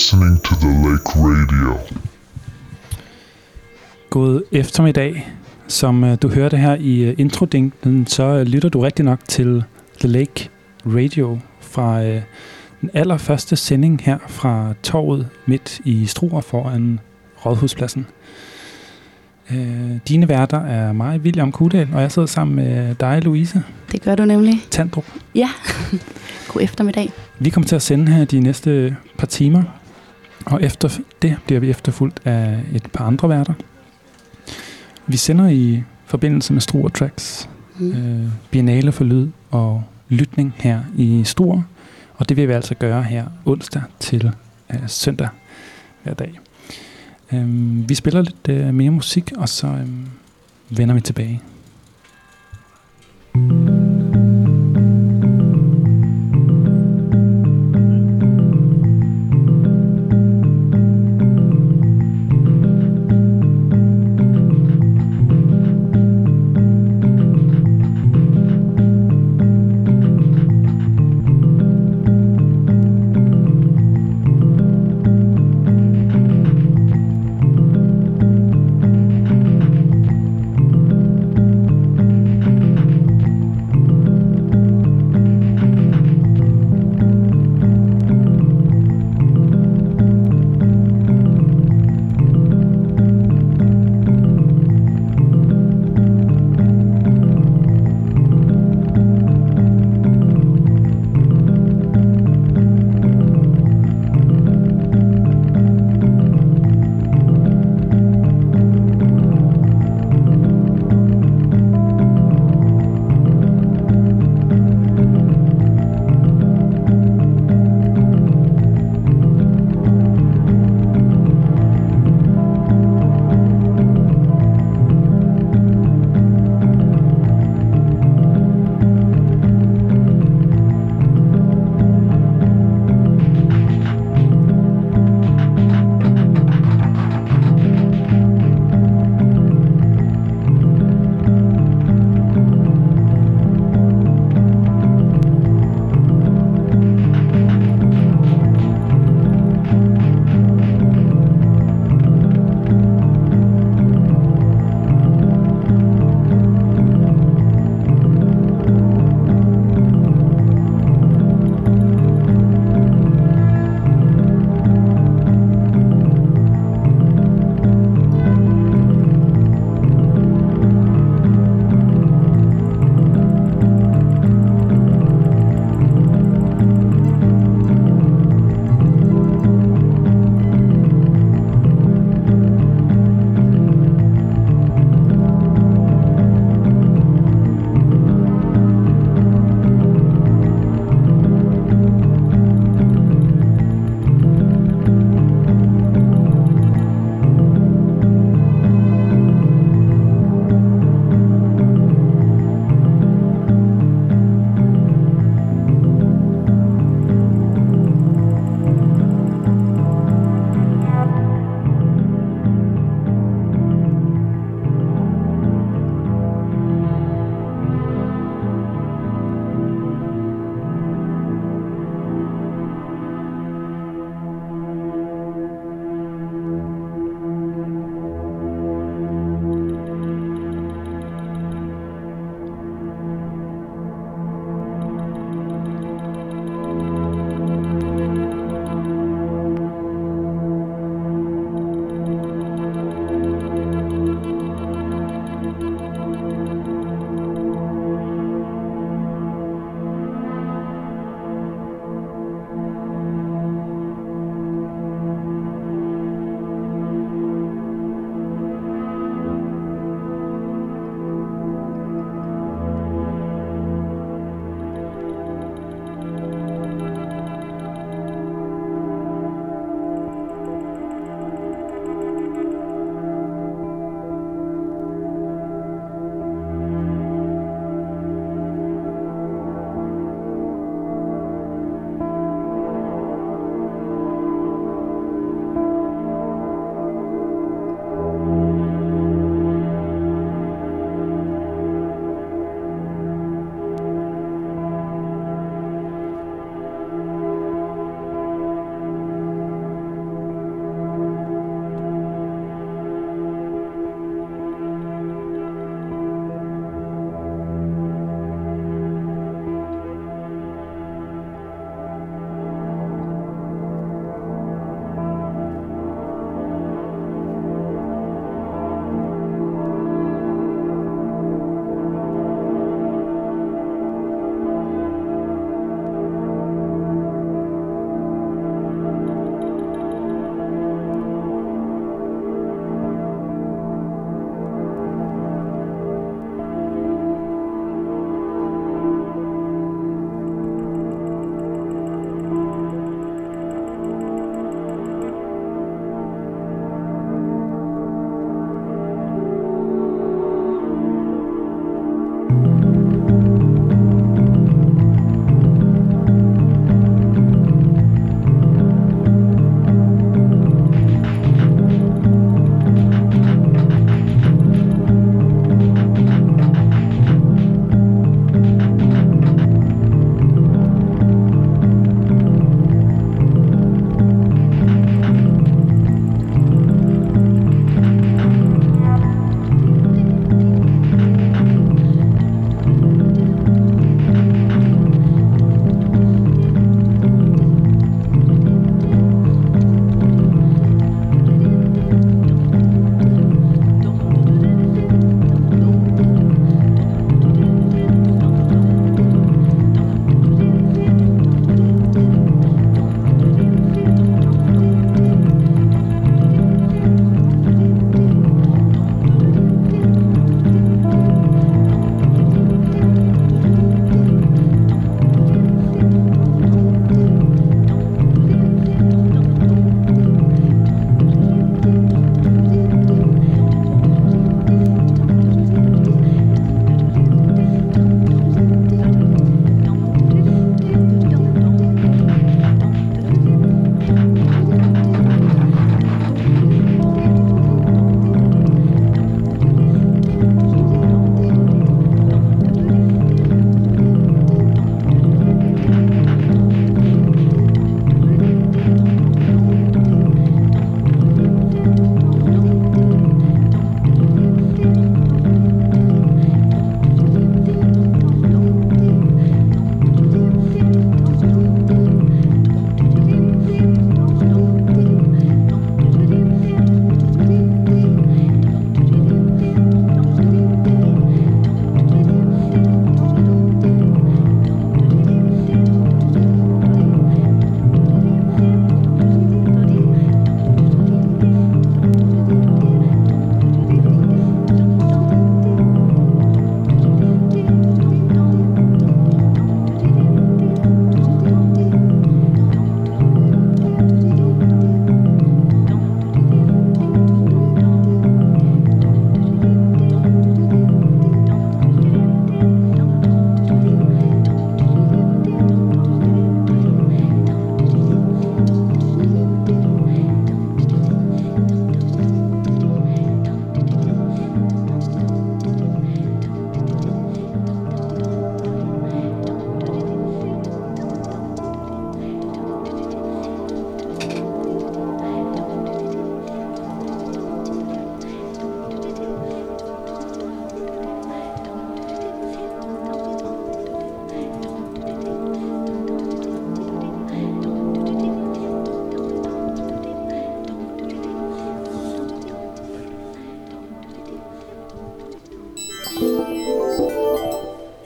listening to The Lake Radio. God eftermiddag. Som du hørte her i introdingten, så lytter du rigtig nok til The Lake Radio fra den allerførste sending her fra torvet midt i Struer foran Rådhuspladsen. Dine værter er mig, William Kudal, og jeg sidder sammen med dig, Louise. Det gør du nemlig. Tandrup. Ja, god eftermiddag. Vi kommer til at sende her de næste par timer, og efter det bliver vi efterfulgt af et par andre værter. Vi sender i forbindelse med Struer Tracks, Biennale for lyd og lytning her i Struer, og det vil vi altså gøre her onsdag til søndag hver dag. Vi spiller lidt mere musik, og så vender vi tilbage.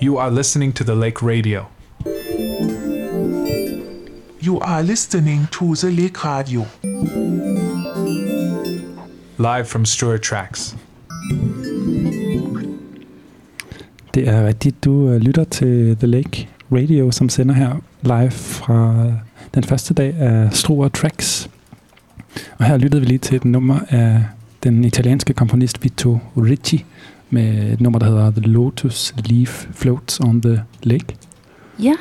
You are listening to the Lake Radio. You are listening to the Lake Radio. Live from Struer Tracks. Det er rigtigt. Du lytter til The Lake Radio, som sender her live fra den første dag af Struer Tracks. Og her lyttede vi lige til et nummer af den italienske komponist Vito Ricci med et nummer, der hedder The Lotus Leaf Floats on the Lake. Ja,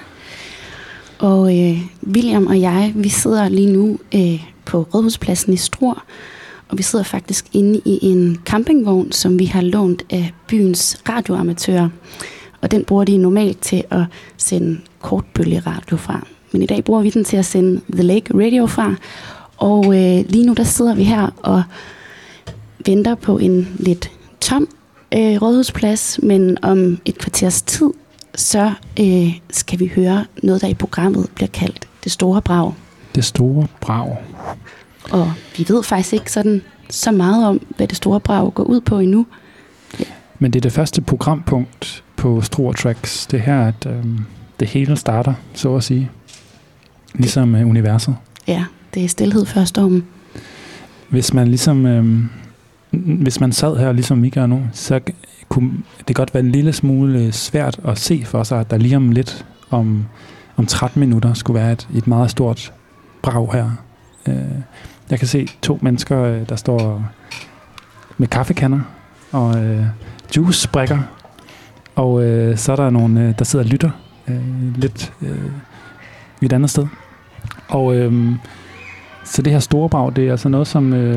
og William og jeg, vi sidder lige nu på Rådhuspladsen i Struer, og vi sidder faktisk inde i en campingvogn, som vi har lånt af byens radioamatører. Og den bruger de normalt til at sende kortbølgeradio fra. Men i dag bruger vi den til at sende The Lake Radio fra. Og lige nu der sidder vi her og venter på en lidt tom rådhusplads. Men om et kvarters tid, så skal vi høre noget, der i programmet bliver kaldt Det Store Brag. Det Store Brag. Og vi ved faktisk ikke sådan så meget om, hvad Det Store Brag går ud på endnu. Ja. Men det er det første programpunkt på Struer Tracks. Det er her, at det hele starter, så at sige. Ligesom universet. Ja, det er stilhed før stormen. Hvis man ligesom... hvis man sad her, ligesom Mika nu, så kunne det godt være en lille smule svært at se for sig, at der lige om lidt, om 13 minutter, skulle være et meget stort brag her. Jeg kan se 2 mennesker, der står med kaffekander og juicebrækker, og så er der nogle, der sidder og lytter lidt et andet sted. Og så det her store brag, det er altså noget,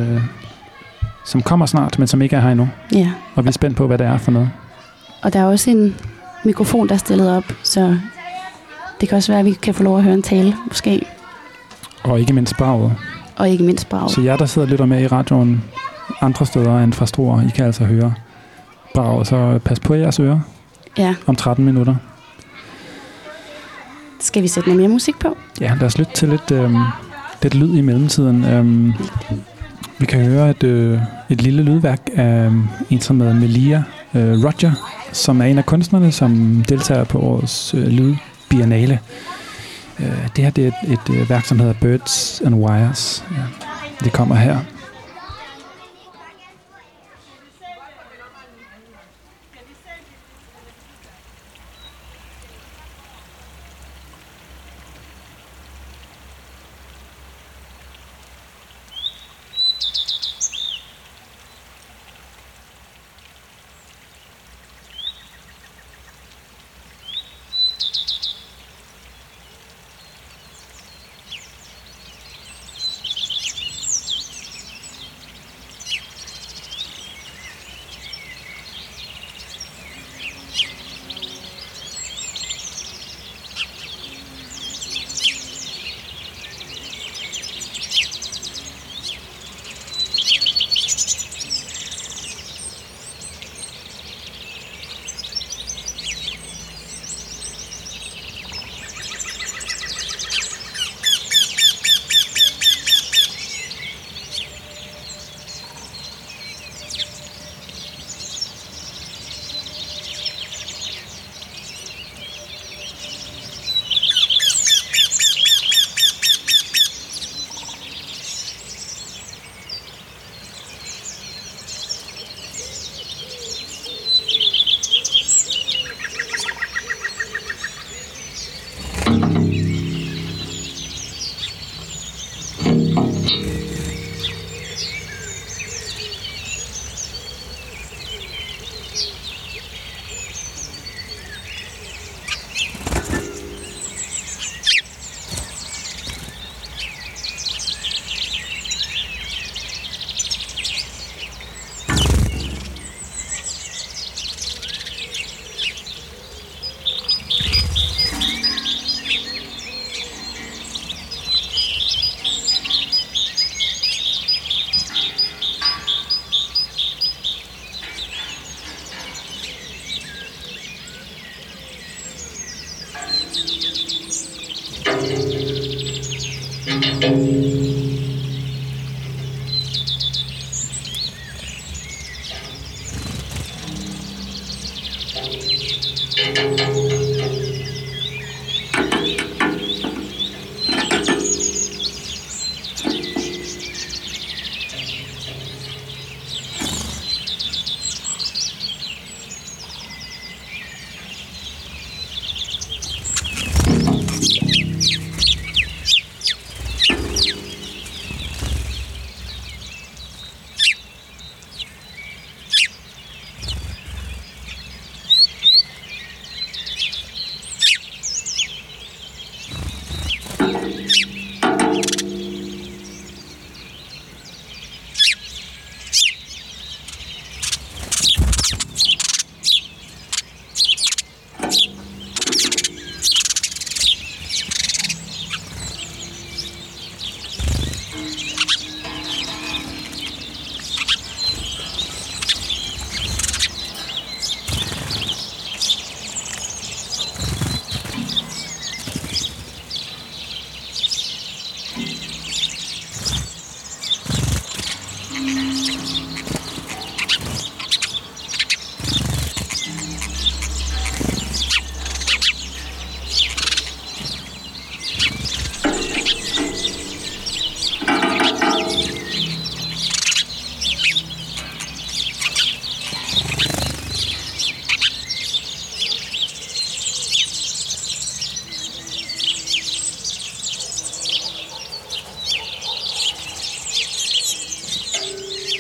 som kommer snart, men som ikke er her endnu. Ja. Og vi er spændt på, hvad det er for noget. Og der er også en mikrofon, der er stillet op, så det kan også være, at vi kan få lov at høre en tale, måske. Og ikke mindst braget. Og ikke mindst braget. Så jer, der sidder og lytter med i radioen andre steder end fra Struer, I kan altså høre braget. Så pas på jeres ører. Ja. Om 13 minutter. Skal vi sætte noget mere musik på? Ja, lad os lytte til lidt lyd i mellemtiden. Vi kan høre et lille lydværk af en, som hedder Melia Roger, som er en af kunstnerne, som deltager på årets lydbiennale. Det her det er et værk, som hedder Birds and Wires. Det kommer her.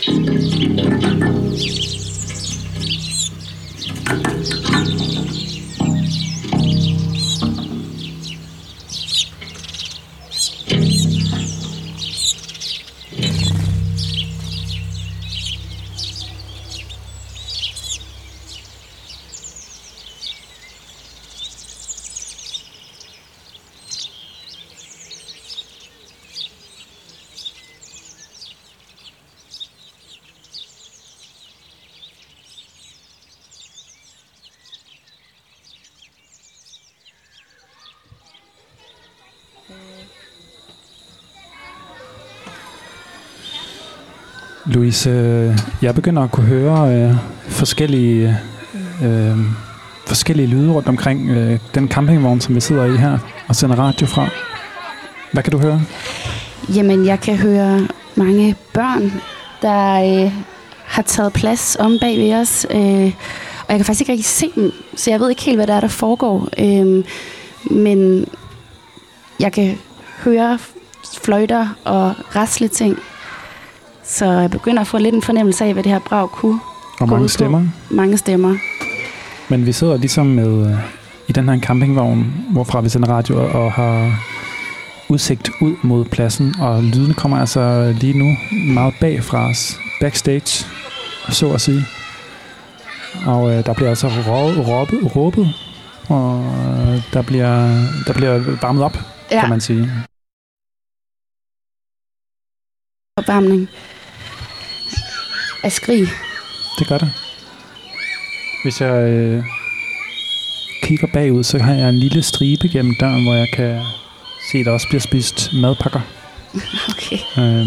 Louise, jeg begynder at kunne høre forskellige lyde rundt omkring den campingvogn, som vi sidder i her og sender radio fra. Hvad kan du høre? Jamen, jeg kan høre mange børn, der har taget plads om bag ved os. Og jeg kan faktisk ikke rigtig se dem, så jeg ved ikke helt, hvad der er, der foregår. Men jeg kan høre fløjter og rasle ting. Så jeg begynder at få lidt en fornemmelse af, hvad det her brag kunne. Og mange stemmer. Mange stemmer. Men vi sidder ligesom med i den her campingvogn, hvorfra vi sender radio og har udsigt ud mod pladsen. Og lyden kommer altså lige nu meget bag fra os. Backstage, så at sige. Og der bliver altså råbet. Og der bliver varmet op, kan man sige. Opvarmning af skrig. Det gør det. Hvis jeg kigger bagud, så har jeg en lille stribe gennem døren, hvor jeg kan se, at der også bliver spist madpakker. Okay.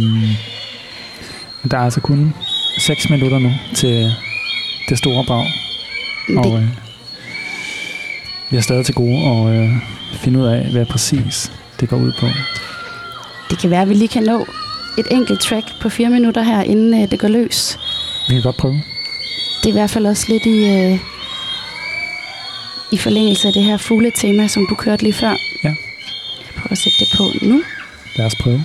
Men der er altså kun 6 minutter nu til det store brag. Og vi er stadig til gode at finde ud af, hvad præcis det går ud på. Det kan være, at vi lige kan nå et enkelt track på 4 minutter her, inden det går løs. Vi kan godt prøve. Det er i hvert fald også lidt i forlængelse af det her fugletema, som du kørte lige før. Ja. Jeg prøver at sætte det på nu. Lad os prøve.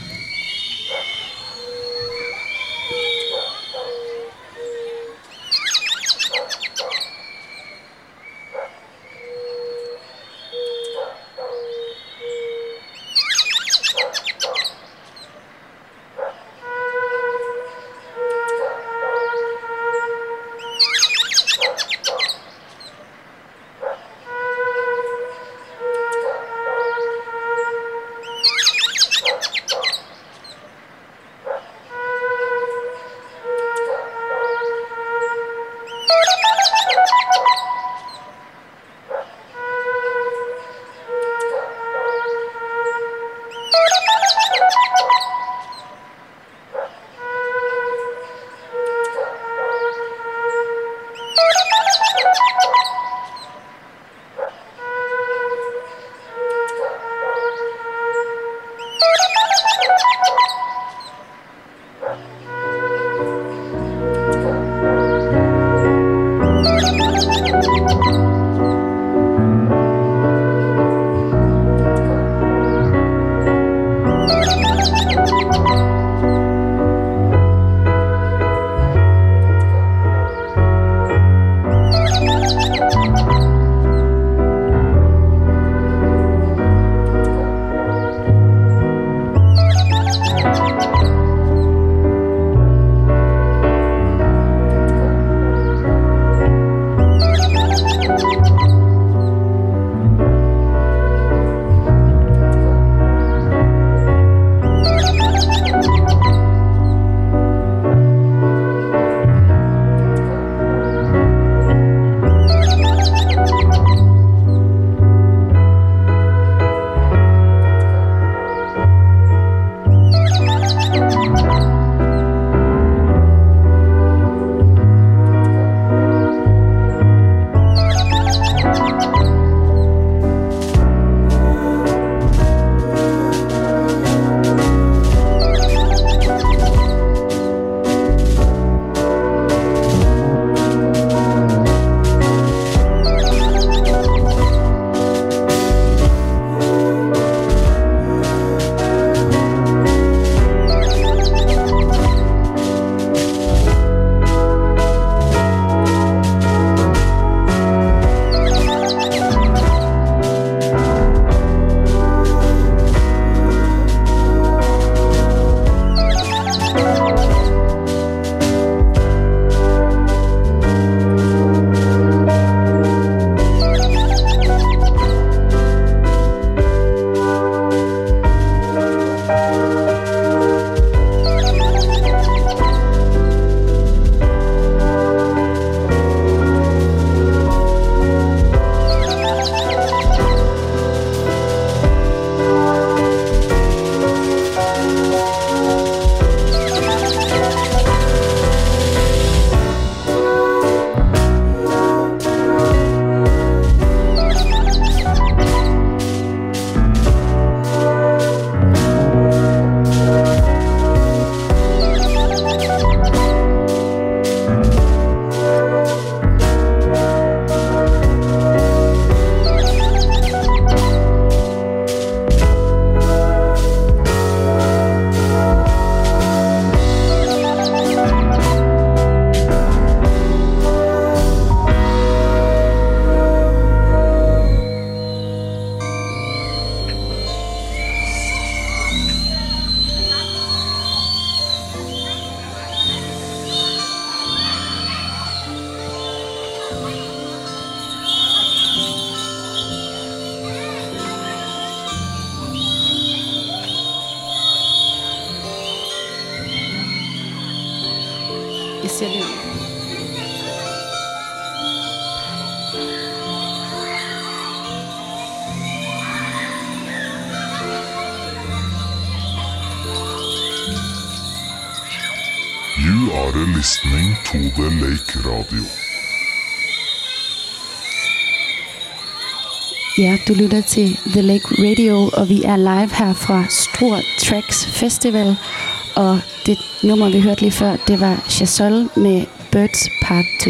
Jeg siger det. You are listening to the Lake Radio. Ja, du lytter til The Lake Radio, og vi er live her fra Struer Tracks Festival. Og det nummer, vi hørte lige før, det var Chazelle med Birds Part 2.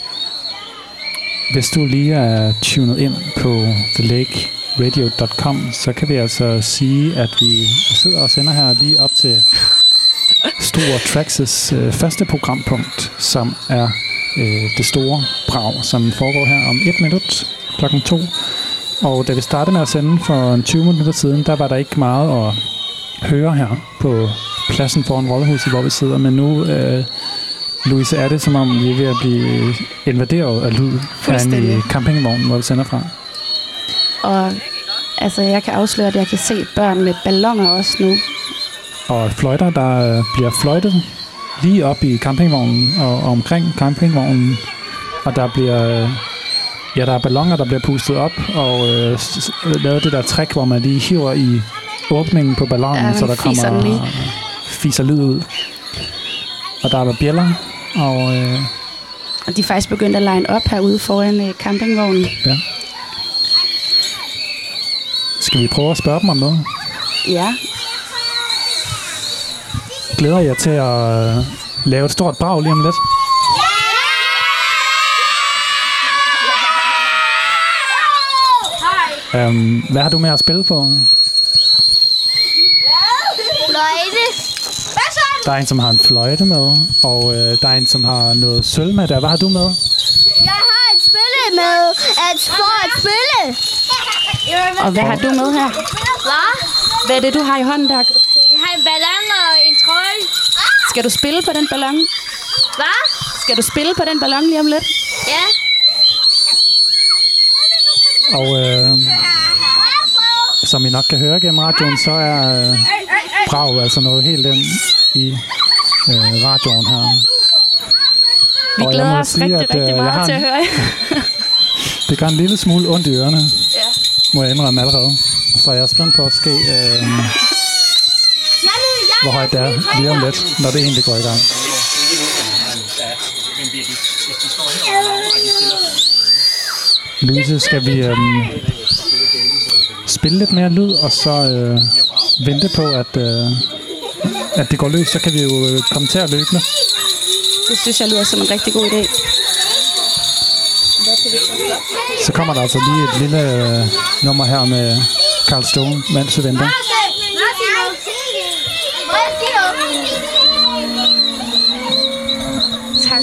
Hvis du lige er tunet ind på thelakeradio.com, så kan vi altså sige, at vi sidder og sender her lige op til Struer Tracks' første programpunkt, som er det store brag, som foregår her om 1 minut klokken 2. Og da vi startede med at sende for 20 minutter siden, der var der ikke meget at høre her på pladsen foran Rådhuset, hvor vi sidder. Men nu, Louise, er det som om vi er ved at blive invaderet af lyd herinde i campingvognen, hvor vi sender fra. Og altså, jeg kan afsløre, at jeg kan se børn med balloner også nu. Og fløjter, der bliver fløjtet lige op i campingvognen og omkring campingvognen. Og der bliver... Ja, der er balloner, der bliver pustet op, og lavet det der trick, hvor man lige hiver i åbningen på ballonen, ja, så der kommer fiser lyd ud. Og der er bjæller, og de er faktisk begyndt at line op herude foran campingvognen. Ja. Skal vi prøve at spørge dem om noget? Ja. Glæder jeg til at lave et stort brag lige om lidt? Hvad har du med at spille på? Fløjte. Der er en, som har en fløjte med, og der er en, som har noget sølv med der. Hvad har du med? Jeg har et spille med for at spille. Og hvad har du med her? Hvad? Hvad er det, du har i hånden der? Jeg har en ballon og en trøje. Skal du spille på den ballon? Hvad? Skal du spille på den ballon lige om lidt? Ja. Og som I nok kan høre gennem radioen, så er brag altså noget helt ind i radioen her. Vi glæder os rigtig meget til at høre. Det gør en lille smule ondt i ørerne, Ja. må jeg indrømme allerede. Så jeg er spændt på at ske, hvor højt det er lige om lidt, når det egentlig går i gang. Louise, skal vi spille lidt mere lyd, og så vente på, at det går løs, så kan vi jo komme til at løbe. Det synes jeg lyder som en rigtig god idé. Så kommer der altså lige et lille nummer her med Carl Stone, mens vi venter. Tak.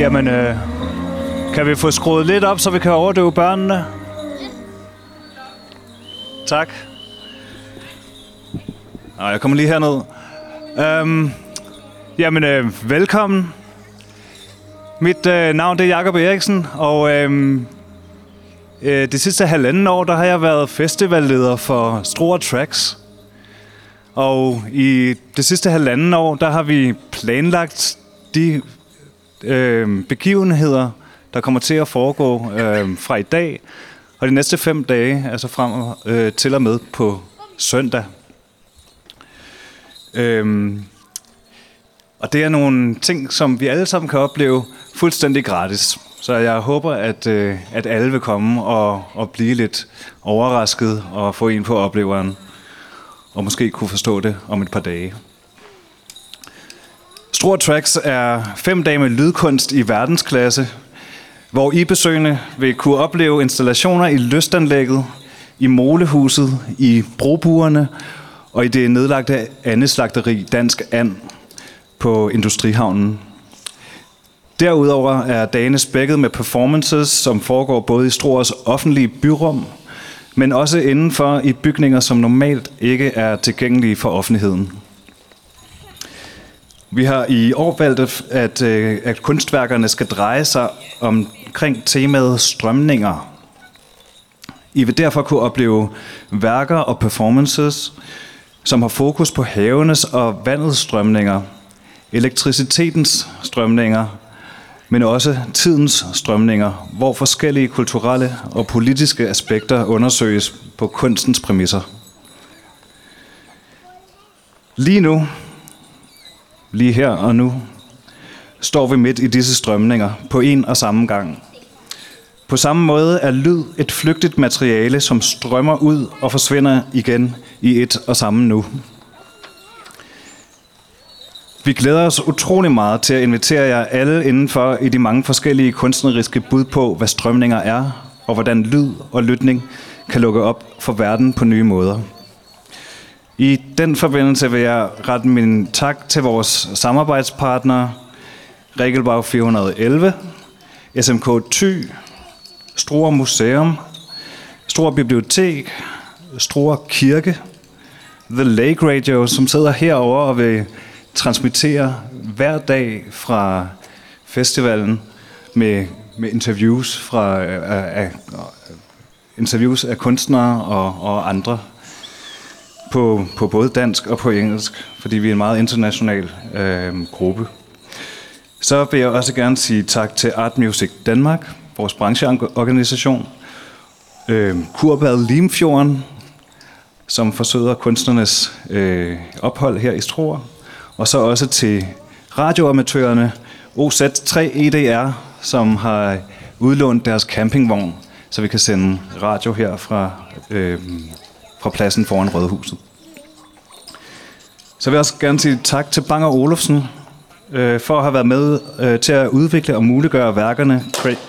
Jamen, kan vi få skruet lidt op, så vi kan overdøve børnene? Tak. Jeg kommer lige herned. Velkommen. Mit navn det er Jakob Eriksen, og det sidste halvanden år, der har jeg været festivalleder for Struer Tracks. Og i det sidste halvanden år, der har vi planlagt de begivenheder, der kommer til at foregå fra i dag og de næste 5 dage, altså frem til og med på søndag. Og det er nogle ting, som vi alle sammen kan opleve fuldstændig gratis. Så jeg håber, at alle vil komme og blive lidt overrasket og få en på opleveren. Og måske kunne forstå det om et par dage. Struer Tracks er 5 dage med lydkunst i verdensklasse, hvor I besøgende vil kunne opleve installationer i lystanlægget, i molehuset, i brobuerne og i det nedlagte andeslagteri Dansk And på Industrihavnen. Derudover er dagene spækket med performances, som foregår både i Struers offentlige byrum, men også indenfor i bygninger, som normalt ikke er tilgængelige for offentligheden. Vi har i år valgt, at kunstværkerne skal dreje sig omkring temaet strømninger. I vil derfor kunne opleve værker og performances, som har fokus på havenes og vandets strømninger, elektricitetens strømninger, men også tidens strømninger, hvor forskellige kulturelle og politiske aspekter undersøges på kunstens præmisser. Lige her og nu, står vi midt i disse strømninger på en og samme gang. På samme måde er lyd et flygtigt materiale, som strømmer ud og forsvinder igen i et og samme nu. Vi glæder os utrolig meget til at invitere jer alle indenfor i de mange forskellige kunstneriske bud på, hvad strømninger er, og hvordan lyd og lytning kan lukke op for verden på nye måder. I den forbindelse vil jeg rette min tak til vores samarbejdspartnere, Regelbag 411, SMK Thy, Struer Museum, Struer Bibliotek, Struer Kirke, The Lake Radio, som sidder herovre og vil transmittere hver dag fra festivalen med interviews af kunstnere og andre på både dansk og på engelsk, fordi vi er en meget international gruppe. Så vil jeg også gerne sige tak til Art Music Danmark, vores brancheorganisation, Kurbad Limfjorden, som forsøger kunstnernes ophold her i Struer, og så også til radioamatørerne OZ3 EDR, som har udlånt deres campingvogn, så vi kan sende radio her fra pladsen foran Rådhuset. Så vil jeg også gerne sige tak til Bang & Olufsen for at have været med til at udvikle og muliggøre værkerne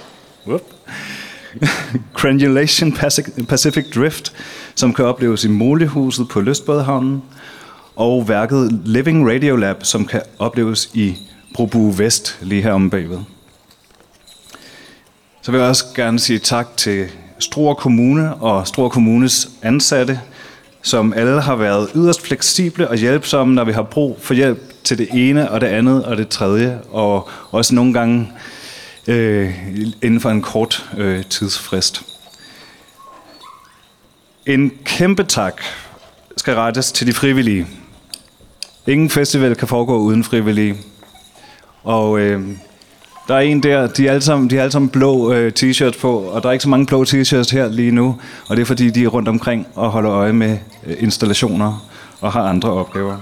Crenulation Pacific Drift, som kan opleves i molehuset på Lystbådehavnen, og værket Living Radio Lab, som kan opleves i Brobu Vest lige her om bagved. Så vil jeg også gerne sige tak til Struer Kommune og Struer Kommunes ansatte, som alle har været yderst fleksible og hjælpsomme, når vi har brug for hjælp til det ene og det andet og det tredje, og også nogle gange inden for en kort tidsfrist. En kæmpe tak skal rettes til de frivillige. Ingen festival kan foregå uden frivillige. Og der er en der, de har alle sammen blå t-shirts på, og der er ikke så mange blå t-shirts her lige nu, og det er fordi, de er rundt omkring og holder øje med installationer og har andre opgaver.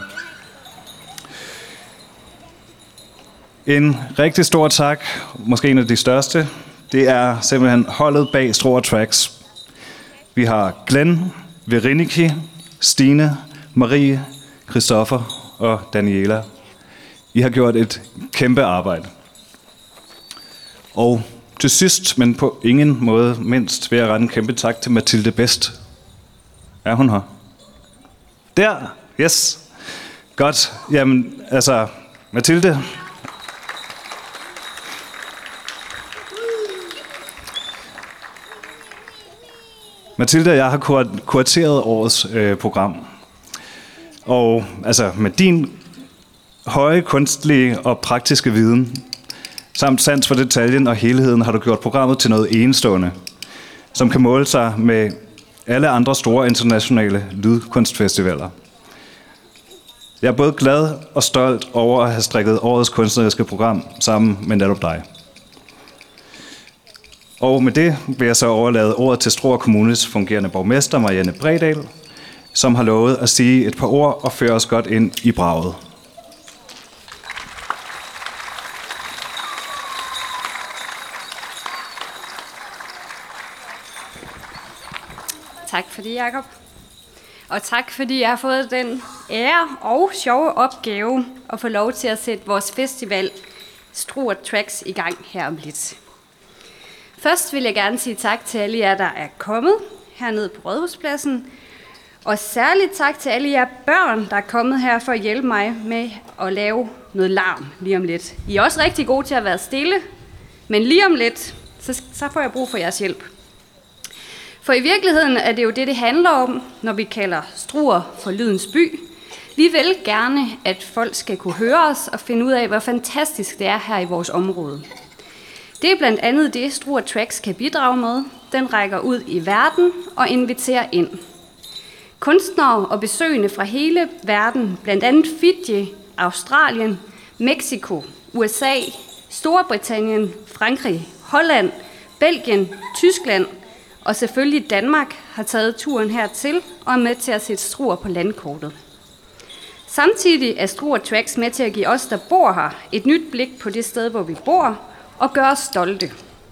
En rigtig stor tak, måske en af de største, det er simpelthen holdet bag Struer Tracks. Vi har Glenn, Vereniki, Stine, Marie, Christoffer og Daniela. I har gjort et kæmpe arbejde. Og til sidst, men på ingen måde mindst, vil jeg rette en kæmpe tak til Mathilde Best. Er hun her? Der! Yes! Godt. Jamen, altså, Mathilde. Mathilde og jeg har kurateret årets program. Og altså med din høje kunstlige og praktiske viden, samt sans for detaljen og helheden, har du gjort programmet til noget enestående, som kan måle sig med alle andre store internationale lydkunstfestivaler. Jeg er både glad og stolt over at have strikket årets kunstneriske program sammen med netop dig. Og med det vil jeg så overlade ordet til Struer Kommunes fungerende borgmester, Marianne Bredal, som har lovet at sige et par ord og føre os godt ind i braget. Tak for det, Jacob. Og tak fordi jeg har fået den ære og sjove opgave at få lov til at sætte vores festival Struer Tracks i gang her om lidt. Først vil jeg gerne sige tak til alle jer, der er kommet hernede på Rådhuspladsen. Og særligt tak til alle jer børn, der er kommet her for at hjælpe mig med at lave noget larm lige om lidt. I er også rigtig gode til at være stille, men lige om lidt, så får jeg brug for jeres hjælp. For i virkeligheden er det jo det handler om, når vi kalder Struer for lydens by. Vi vil gerne, at folk skal kunne høre os og finde ud af, hvor fantastisk det er her i vores område. Det er blandt andet det, Struer Tracks kan bidrage med. Den rækker ud i verden og inviterer ind. Kunstnere og besøgende fra hele verden, blandt andet Fiji, Australien, Mexico, USA, Storbritannien, Frankrig, Holland, Belgien, Tyskland og selvfølgelig Danmark, har taget turen hertil og er med til at sætte Struer på landkortet. Samtidig er Struer Tracks med til at give os, der bor her, et nyt blik på det sted, hvor vi bor, og gøre os stolte.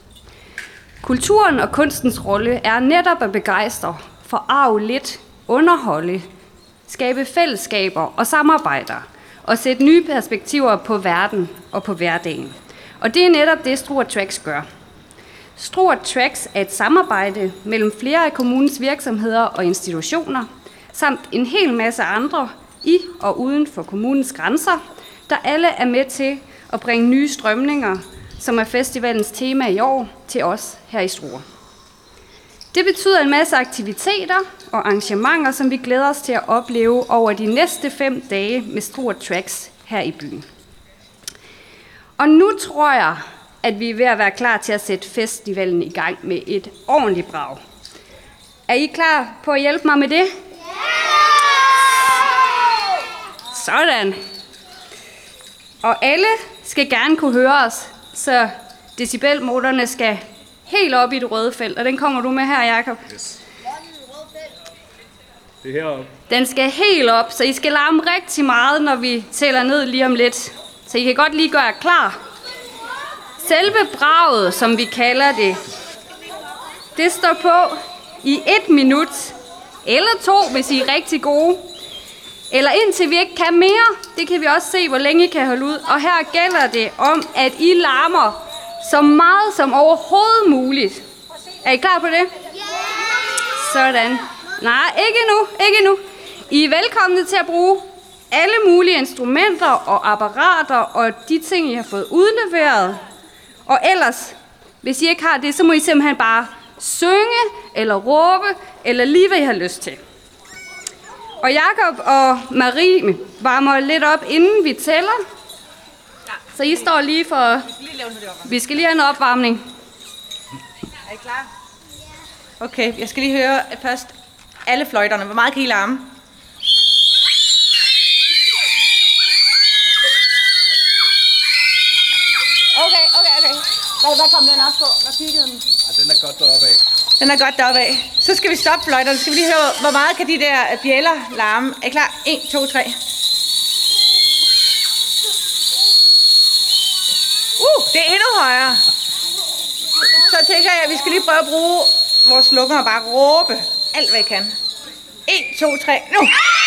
Kulturen og kunstens rolle er netop at begejstre, forarve lidt, underholde, skabe fællesskaber og samarbejder, og sætte nye perspektiver på verden og på hverdagen. Og det er netop det, Struer Tracks gør. Struer Tracks er et samarbejde mellem flere af kommunens virksomheder og institutioner, samt en hel masse andre i og uden for kommunens grænser, der alle er med til at bringe nye strømninger, som er festivalens tema i år, til os her i Struer. Det betyder en masse aktiviteter og arrangementer, som vi glæder os til at opleve over de næste 5 dage med Struer Tracks her i byen. Og nu tror jeg, at vi er ved at være klar til at sætte festivalen i gang med et ordentligt brag. Er I klar på at hjælpe mig med det? Sådan. Og alle skal gerne kunne høre os, så decibelmålerne skal helt op i det røde felt. Og den kommer du med her, Jacob. Yes. Det er heroppe. Den skal helt op, så I skal larme rigtig meget, når vi tæller ned lige om lidt. Så I kan godt lige gøre jer klar. Selve braget, som vi kalder det, det står på i 1 minut, eller 2, hvis I er rigtig gode. Eller indtil vi ikke kan mere. Det kan vi også se, hvor længe I kan holde ud. Og her gælder det om, at I larmer så meget som overhovedet muligt. Er I klar på det? Sådan. Nej, ikke nu. I er velkomne til at bruge alle mulige instrumenter og apparater og de ting, I har fået udleveret. Og ellers, hvis I ikke har det, så må I simpelthen bare synge eller råbe, eller lige hvad I har lyst til. Og Jacob og Marie varmer lidt op, inden vi tæller. Så I står lige for... Vi skal lige have en opvarmning. Er I klar? Okay, jeg skal lige høre først alle fløjterne. Hvor meget kan I larme? Okay. Hvad kom den op på? Hvad kiggede den? Ja, den er godt deroppe af. Den er godt deroppe af. Så skal vi stoppe fløjterne. Så skal vi lige høre, hvor meget kan de der bjæller larme. Er I klar? 1, 2, 3. Det er endnu højere. Så tænker jeg, at vi skal lige prøve at bruge vores lukker og bare råbe alt, hvad I kan. 1, 2, 3, nu!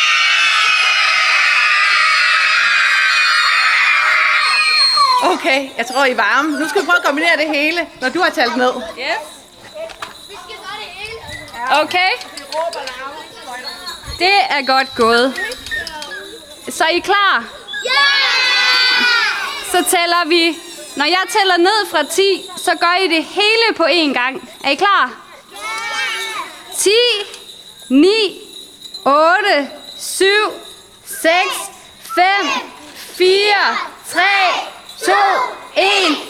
Okay, jeg tror, I er varme. Nu skal vi prøve at kombinere det hele, når du har talt ned. Yes. Okay. Det er godt gået. Så er I klar? Ja! Så tæller vi. Når jeg tæller ned fra 10, så gør I det hele på én gang. Er I klar? 10, 9, 8, 7, 6, 5, 4, 3, 2, 1.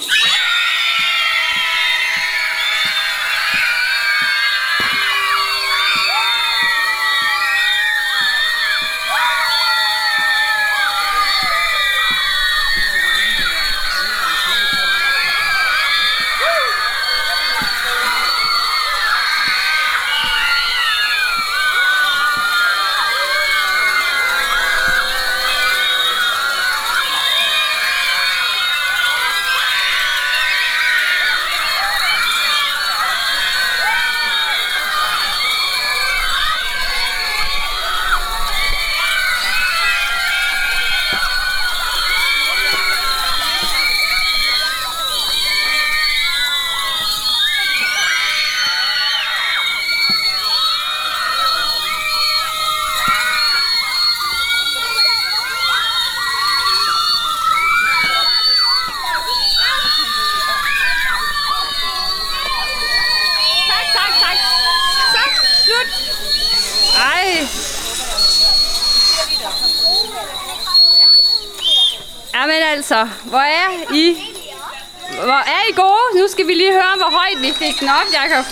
Jamen altså, hvor er I gode? Nu skal vi lige høre, hvor højt vi fik den op, Jakob.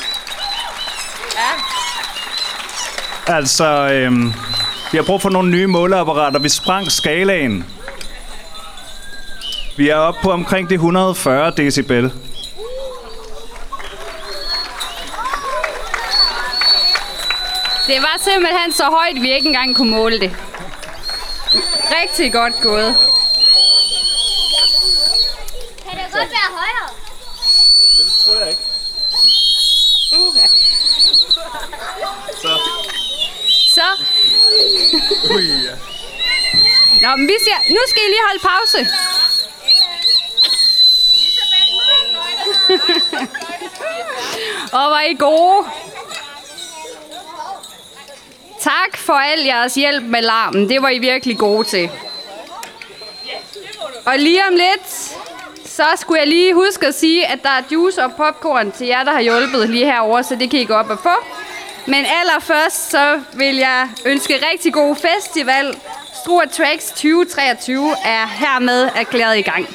Ja. Altså, vi har brug for nogle nye måleapparater. Vi sprang skalaen. Vi er oppe på omkring de 140 decibel. Det var simpelthen så højt, vi ikke engang kunne måle det. Rigtig godt gået. Kan det godt være højere? Det tror jeg ikke. Så. Nå, men nu skal I lige holde pause. Og var I gode. Tak for al jeres hjælp med larmen. Det var I virkelig gode til. Og lige om lidt, så skulle jeg lige huske at sige, at der er juice og popcorn til jer, der har hjulpet lige herovre, så det kan I gå op og få. Men allerførst, så vil jeg ønske rigtig god festival. Struer Tracks 2023 er hermed erklæret i gang.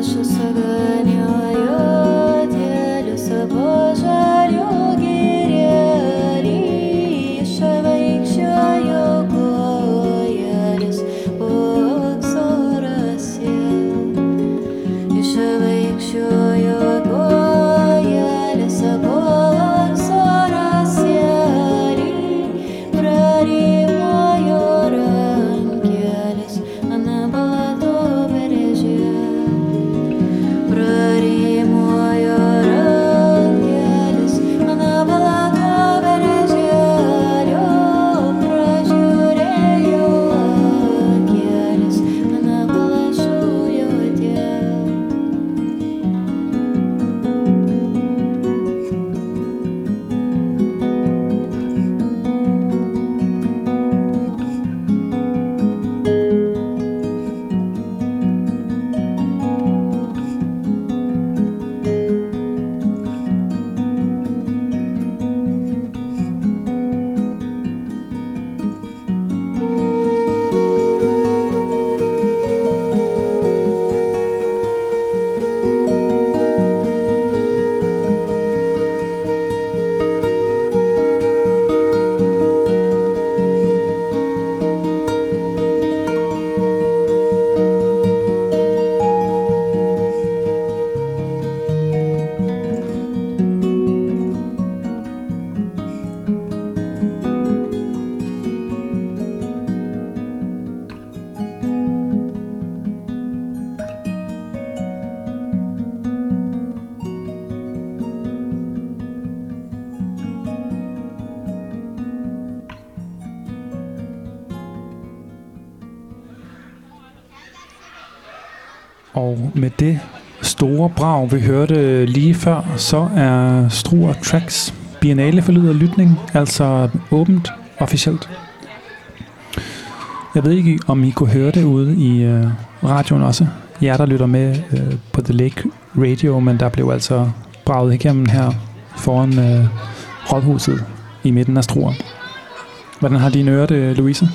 Og med det store brag, vi hørte lige før, så er Struer Tracks Biennale for Lyd og Lytning altså åbent officielt. Jeg ved ikke, om I kunne høre det ude i radioen også. Jer, der lytter med på The Lake Radio, men der blev altså braget igennem her foran Rådhuset i midten af Struer. Hvordan har dine ører det, Louise?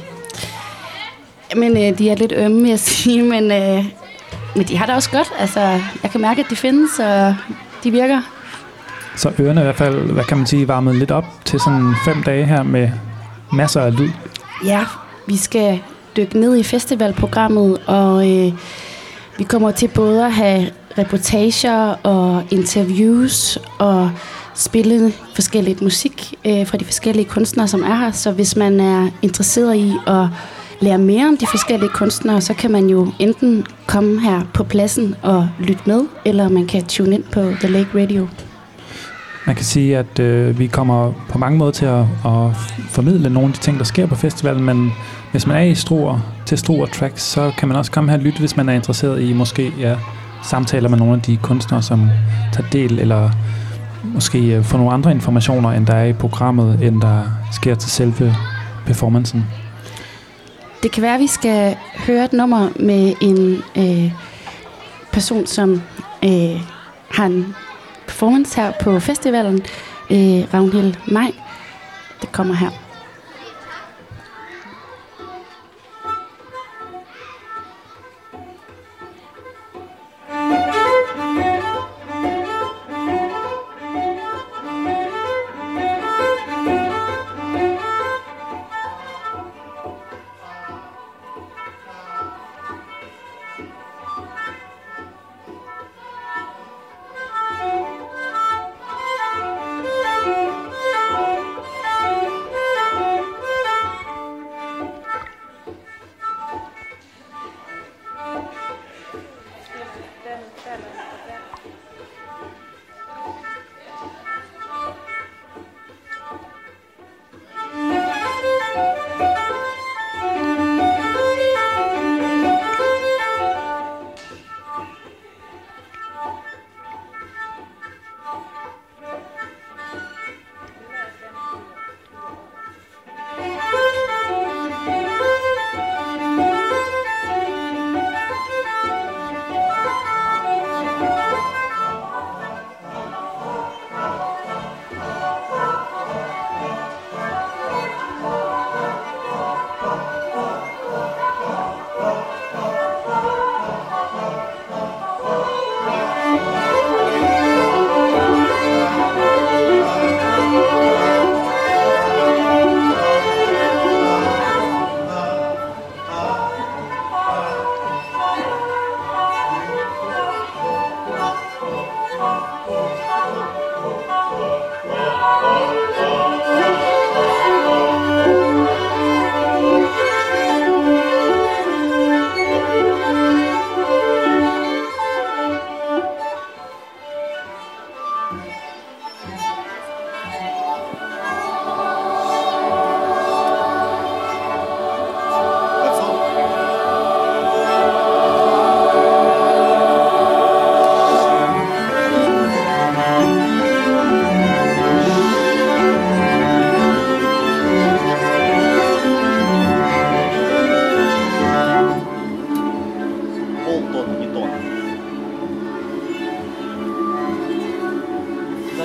Men de er lidt ømme, vil jeg sige, men de har det også godt. Altså, jeg kan mærke, at de findes, og de virker. Så ørerne i hvert fald, hvad kan man sige, varmet lidt op til sådan 5 dage her med masser af lyd. Ja, vi skal dykke ned i festivalprogrammet, og vi kommer til både at have reportager og interviews og spille forskelligt musik fra de forskellige kunstnere, som er her. Så hvis man er interesseret i at lære mere om de forskellige kunstnere, så kan man jo enten komme her på pladsen og lytte med, eller man kan tune ind på The Lake Radio. Man kan sige, at vi kommer på mange måder til at formidle nogle af de ting, der sker på festivalen, men hvis man er i Struer Tracks, så kan man også komme her og lytte, hvis man er interesseret i måske samtaler med nogle af de kunstnere, som tager del, eller måske få nogle andre informationer, end der er i programmet, end der sker til selve performancen. Det kan være, at vi skal høre et nummer med en person, som har en performance her på festivalen, Ragnhild Maj. Det kommer her.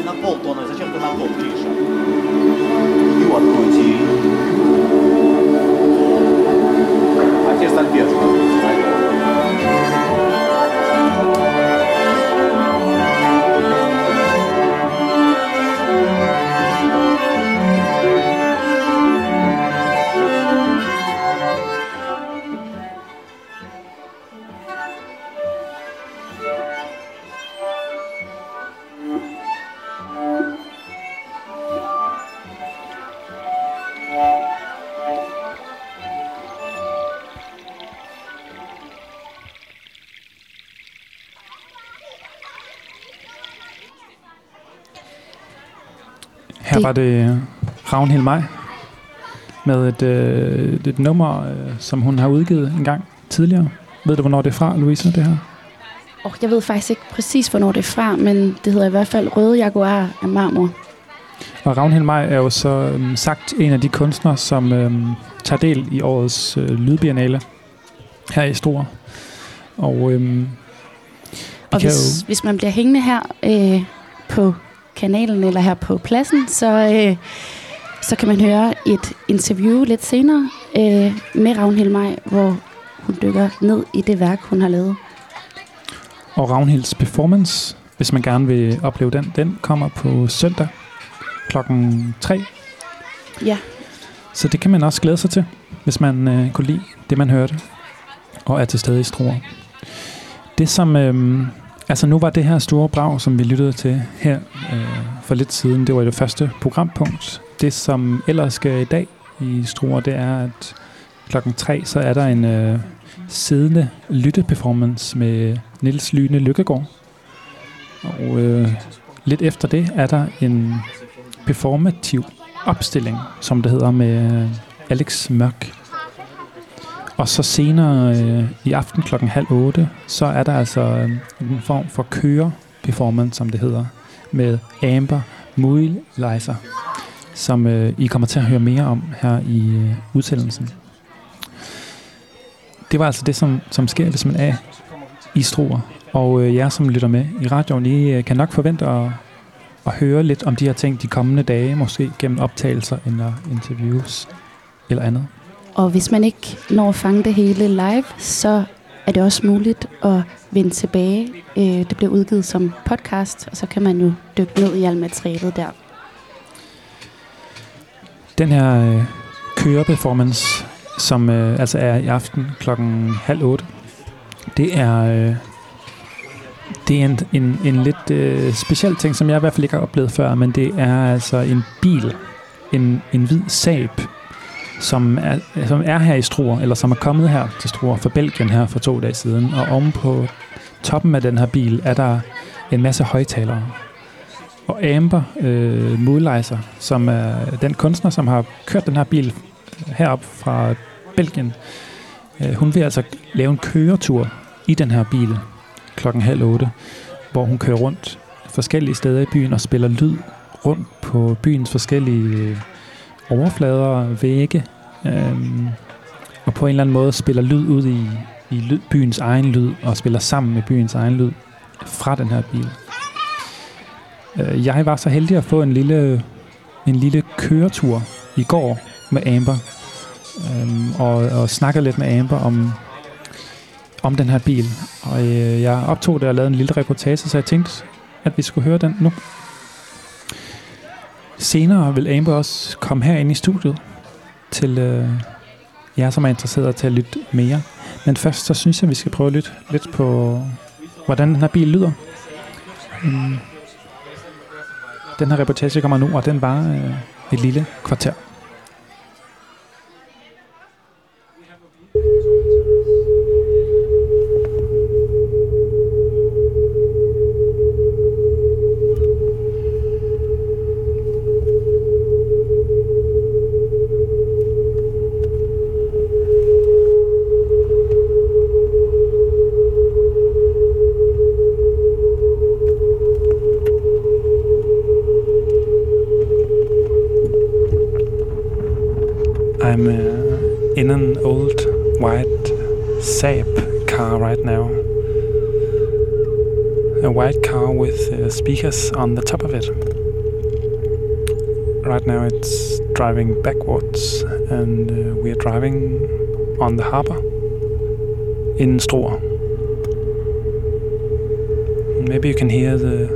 на полтонны. Зачем ты на пол пишешь? И откройте. А теперь сольфеджио. Her var det Ragnhild Maj med et nummer, som hun har udgivet en gang tidligere. Ved du, hvornår det er fra, Louise, det her? Jeg ved faktisk ikke præcis, hvornår det er fra, men det hedder i hvert fald Røde Jaguar af marmor. Og Ragnhild Maj er jo så sagt en af de kunstnere, som tager del i årets lydbiennale her i Struer. Og hvis man bliver hængende her på kanalen eller her på pladsen, så kan man høre et interview lidt senere med Ragnhild Maj, hvor hun dykker ned i det værk, hun har lavet. Og Ragnhilds performance, hvis man gerne vil opleve den kommer på søndag klokken 3. Ja. Så det kan man også glæde sig til, hvis man kunne lide det, man hørte, og er til stede i Struer. Det som... nu var det her store brag, som vi lyttede til her for lidt siden, det var det første programpunkt. Det, som ellers sker i dag i Struer, det er, at klokken 3, så er der en siddende lytteperformance med Niels Lyne Lykkegaard. Og lidt efter det er der en performativ opstilling, som det hedder, med Alex Mørk. Og så senere i aften klokken 7:30, så er der altså en form for køre-performance, som det hedder, med Amber Muehlheiser, som I kommer til at høre mere om her i udsendelsen. Det var altså det, som sker, hvis man er i Struer. Og jer, som lytter med i radioen, I kan nok forvente at høre lidt om de her ting de kommende dage, måske gennem optagelser eller interviews eller andet. Og hvis man ikke når at fange det hele live, så er det også muligt at vende tilbage. Det bliver udgivet som podcast, og så kan man jo dykke ned i alt materialet der. Den her køreperformance, som altså er i aften klokken 7:30, det er en lidt speciel ting, som jeg i hvert fald ikke har oplevet før, men det er altså en bil, en hvid Saab, som er her i Struer, eller som er kommet her til Struer fra Belgien her for 2 dage siden. Og oven på toppen af den her bil er der en masse højtalere. Og Amber Muehlheiser, som er den kunstner, som har kørt den her bil herop fra Belgien, hun vil altså lave en køretur i den her bil klokken 7:30, hvor hun kører rundt forskellige steder i byen og spiller lyd rundt på byens forskellige overflader, vægge, og på en eller anden måde spiller lyd ud i byens egen lyd, og spiller sammen med byens egen lyd fra den her bil. Jeg var så heldig at få en lille køretur i går med Amber, og snakkede lidt med Amber om den her bil. Og jeg optog det og lavede en lille reportage, så jeg tænkte, at vi skulle høre den nu. Senere vil Amber også komme herinde i studiet til jer, som er interesseret til at lytte mere. Men først så synes jeg, at vi skal prøve at lytte lidt på, hvordan den her bil lyder. Den her reportage kommer nu, og den var et lille kvarter. I'm in an old white Saab car right now. A white car with speakers on the top of it. Right now it's driving backwards, and we are driving on the harbor in Struer. Maybe you can hear the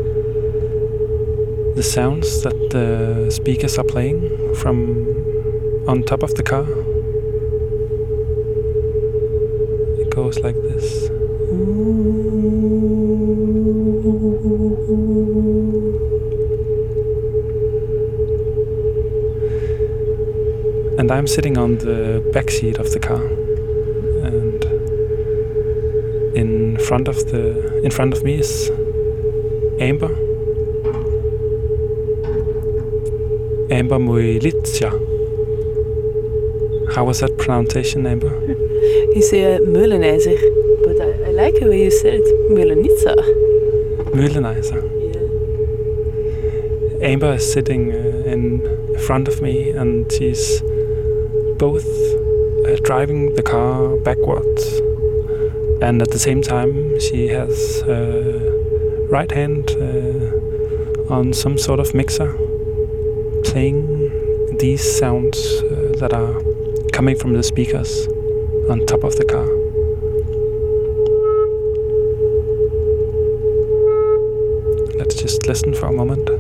sounds that the speakers are playing from on top of the car. It goes like this. And I'm sitting on the back seat of the car, and in front of me is Amber Moilitja. How was that pronunciation, Amber? You say Meulenijzer, but I like the way you said it, Meulenitza. Meulenijzer. Yeah. Amber is sitting in front of me, and she's both driving the car backwards, and at the same time she has right hand on some sort of mixer, playing these sounds that are coming from the speakers on top of the car. Let's just listen for a moment.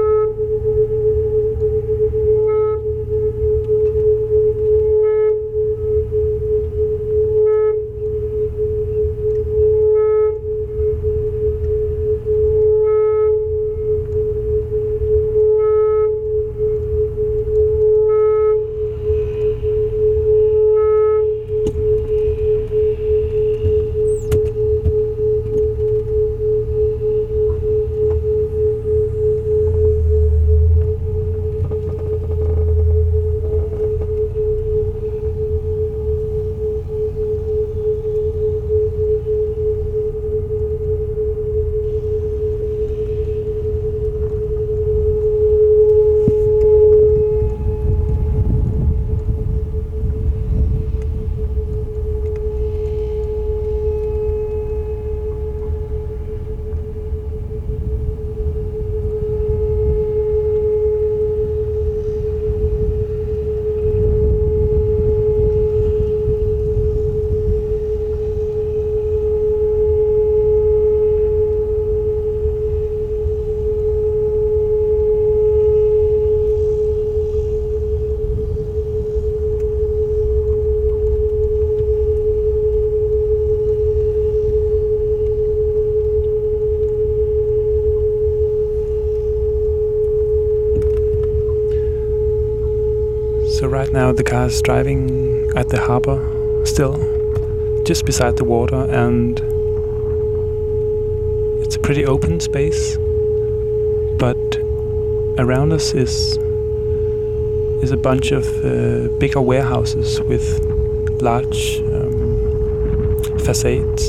So right now the car is driving at the harbor still, just beside the water, and it's a pretty open space, but around us is a bunch of bigger warehouses with large facades.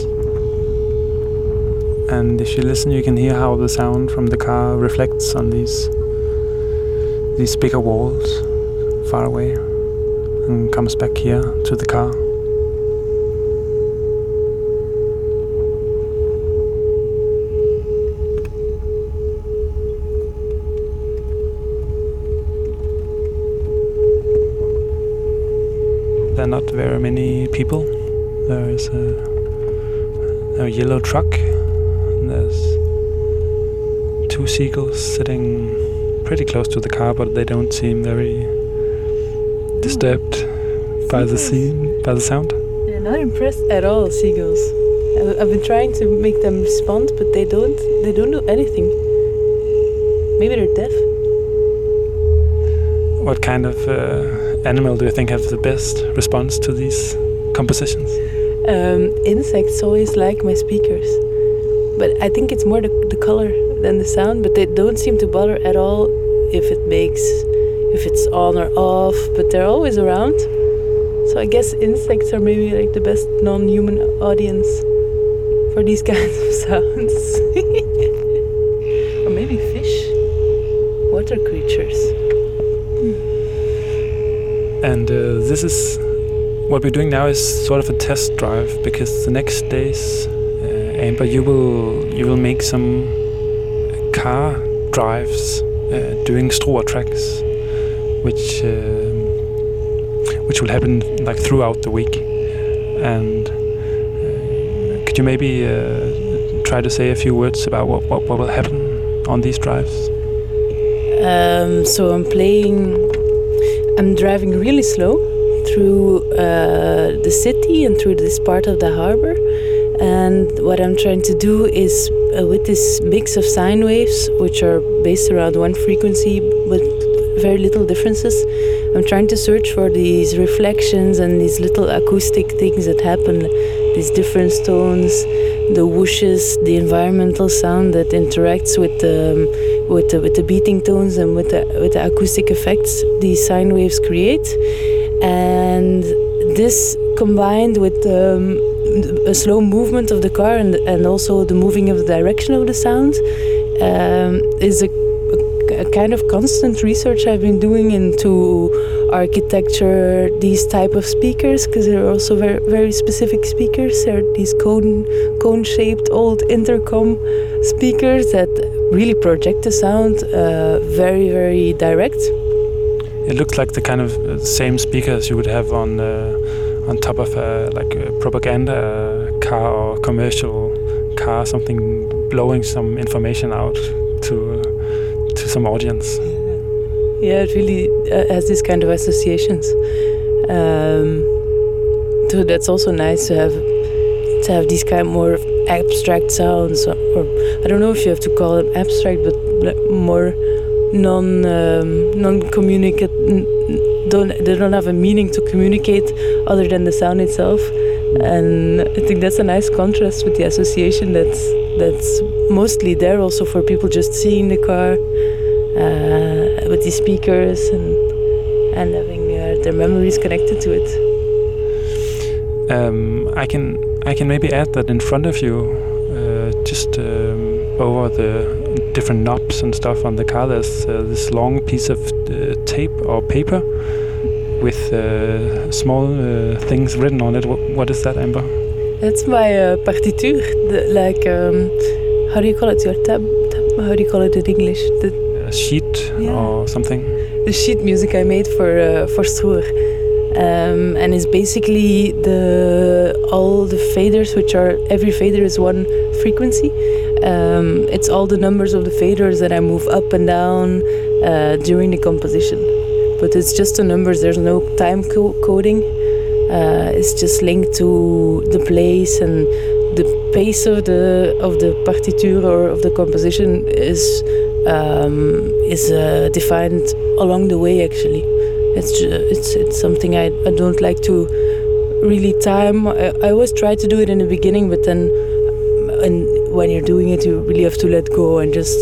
And if you listen, you can hear how the sound from the car reflects on these bigger walls far away and comes back here to the car. There are not very many people. There is a yellow truck, and there's two seagulls sitting pretty close to the car, but they don't seem very disturbed by the sound. They're not impressed at all, seagulls. I've been trying to make them respond, but they don't do anything. Maybe they're deaf. What kind of animal do you think has the best response to these compositions? Insects always like my speakers, but I think it's more the color than the sound, but they don't seem to bother at all if it's on or off, but they're always around. So I guess insects are maybe like the best non-human audience for these kinds of sounds. Or maybe fish, water creatures. And this is what we're doing now is sort of a test drive, because the next days, Amber, you will make some car drives doing Struer tracks, which will happen like throughout the week. And could you maybe try to say a few words about what will happen on these drives? So I'm driving really slow through the city and through this part of the harbor. And what I'm trying to do is, with this mix of sine waves, which are based around one frequency with very little differences, I'm trying to search for these reflections and these little acoustic things that happen, these different tones, the whooshes, the environmental sound that interacts with the beating tones and with the acoustic effects these sine waves create. And this combined with a slow movement of the car and also the moving of the direction of the sound is a kind of constant research I've been doing into architecture, these type of speakers, because they're also very, very specific speakers. They're these cone-shaped old intercom speakers that really project the sound very, very direct. It looks like the kind of same speakers you would have on top of a propaganda car or commercial car, something blowing some information out to some audience. Yeah, it really has this kind of associations. So that's also nice to have these kind of more abstract sounds, or I don't know if you have to call them abstract, but more non-communicate. They don't have a meaning to communicate other than the sound itself, and I think that's a nice contrast with the association that's mostly there also for people just seeing the car with these speakers and having their memories connected to it. I can maybe add that in front of you, just over the different knobs and stuff on the car, there's this long piece of tape or paper with small things written on it. What is that, Amber? That's my partiture. How do you call it? Your tab? How do you call it in English? A sheet or something? The sheet music I made for Struer. And it's basically all the faders, which are, every fader is one frequency. It's all the numbers of the faders that I move up and down during the composition. But it's just the numbers, there's no time coding. It's just linked to the place, and the pace of the partiture or of the composition is defined along the way, actually. It's something I don't like to really time. I always try to do it in the beginning, but then when you're doing it, you really have to let go and just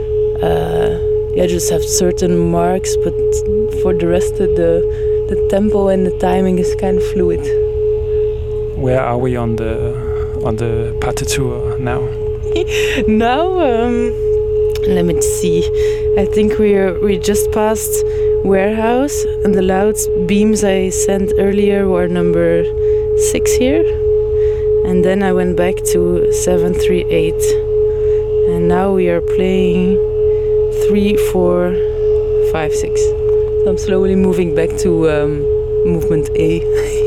have certain marks. But for the rest of the tempo and the timing is kind of fluid. Where are we on the partiture now? Now, let me see. I think we just passed Warehouse, and the loud beams I sent earlier were number 6 here, and then I went back to 738, and now we are playing 3, 4, 5, 6. So I'm slowly moving back to movement A.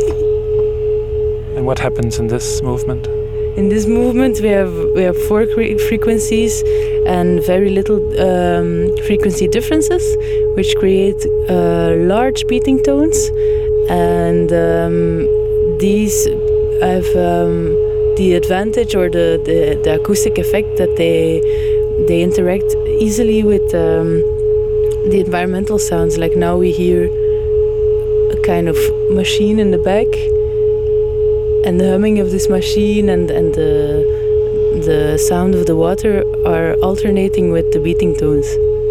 And what happens in this movement? In this movement, we have 4 frequencies and very little frequency differences, which create large beating tones, and these have the advantage or the acoustic effect that they interact easily with the environmental sounds. Like now we hear a kind of machine in the back, and the humming of this machine and the sound of the water are alternating with the beating tones.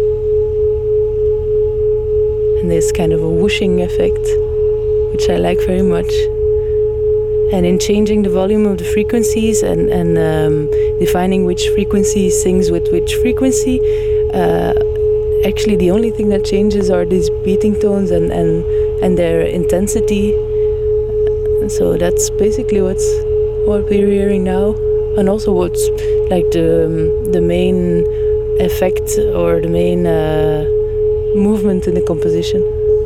And there's kind of a whooshing effect, which I like very much. And in changing the volume of the frequencies and defining which frequency sings with which frequency, actually the only thing that changes are these beating tones and their intensity. So that's basically what we're hearing now, and also what's like the main effect or the main movement in the composition.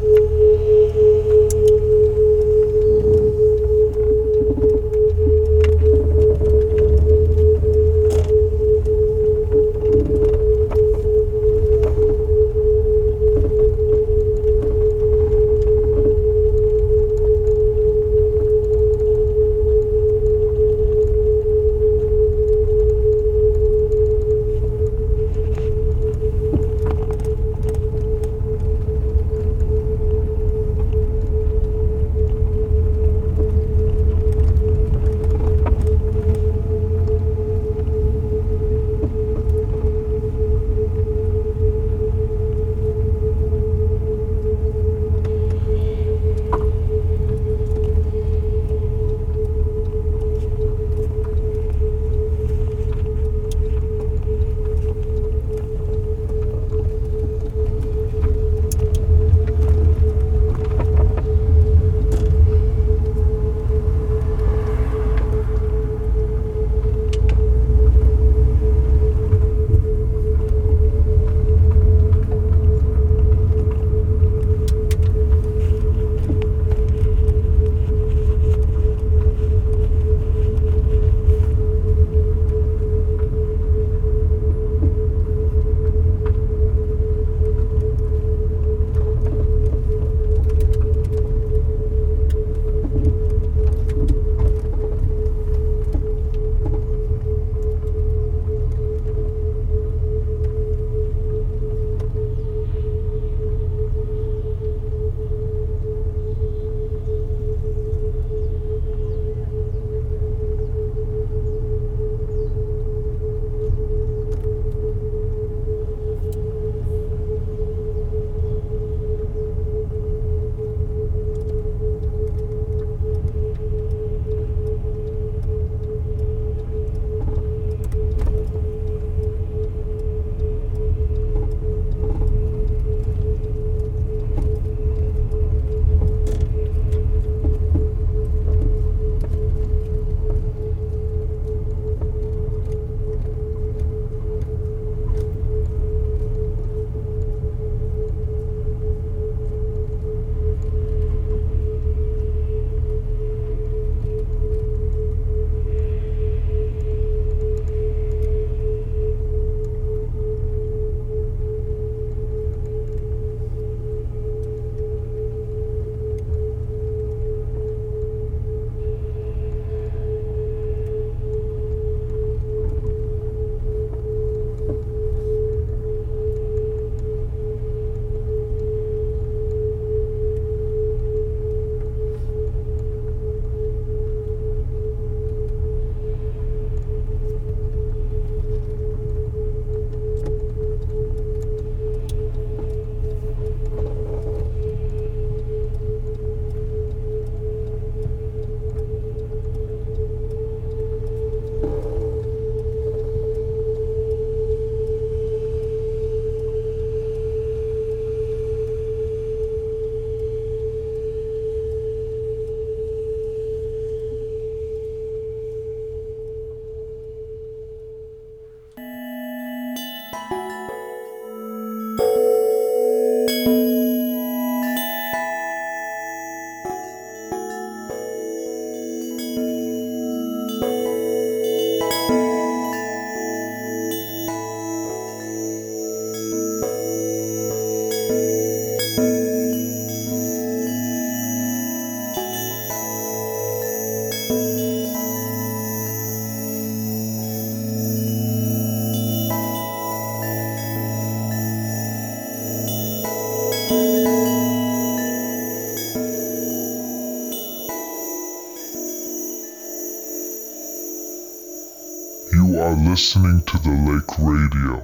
are listening to the Lake Radio.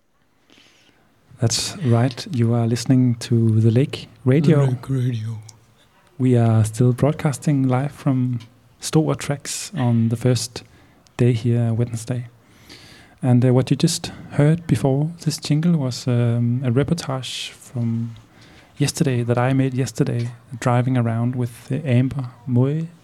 That's right. You are listening to the Lake Radio. Lake Radio. We are still broadcasting live from Store Tracks on the first day here, Wednesday. And what you just heard before this jingle was a reportage from yesterday that I made yesterday, driving around with Amber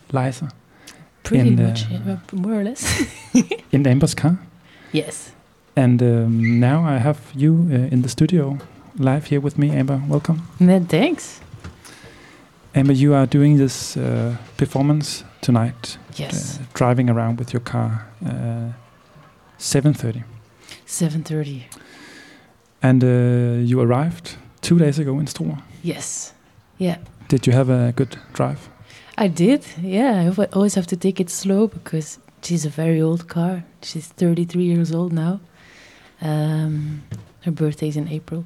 Pretty much, more or less. In Amber's car? Yes. And now I have you in the studio, live here with me, Amber. Welcome. Thanks. Amber, you are doing this performance tonight. Yes. Driving around with your car. 7:30. 7:30. And you arrived 2 days ago in Struer. Yes. Yeah. Did you have a good drive? I did. Yeah. I always have to take it slow because she's a very old car. She's 33 years old now. Her birthday's in April.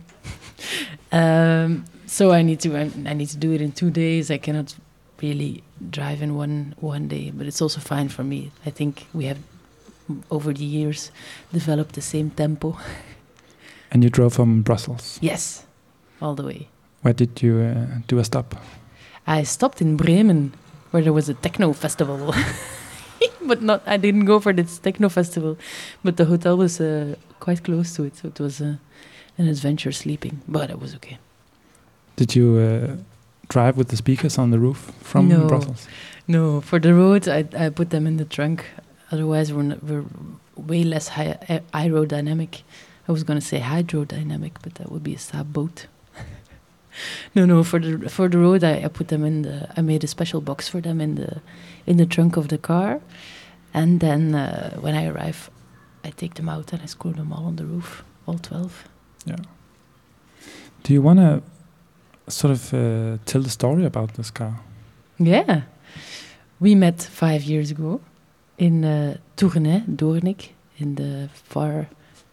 So I need to do it in 2 days. I cannot really drive in one day, but it's also fine for me. I think we have over the years developed the same tempo. And you drove from Brussels? Yes, all the way. Where did you do a stop? I stopped in Bremen, where there was a techno festival. But I didn't go for this techno festival. But the hotel was quite close to it, so it was an adventure sleeping. But it was okay. Did you drive with the speakers on the roof from Brussels? No, for the road, I put them in the trunk. Otherwise, we're way less aerodynamic. I was going to say hydrodynamic, but that would be a Saab boat. No. For the road, I put them in I made a special box for them in the trunk of the car, and then when I arrive, I take them out and I screw them all on the roof, all 12. Yeah. Do you want to sort of tell the story about this car? Yeah, we met 5 years ago in Tournai, Doornik, in the far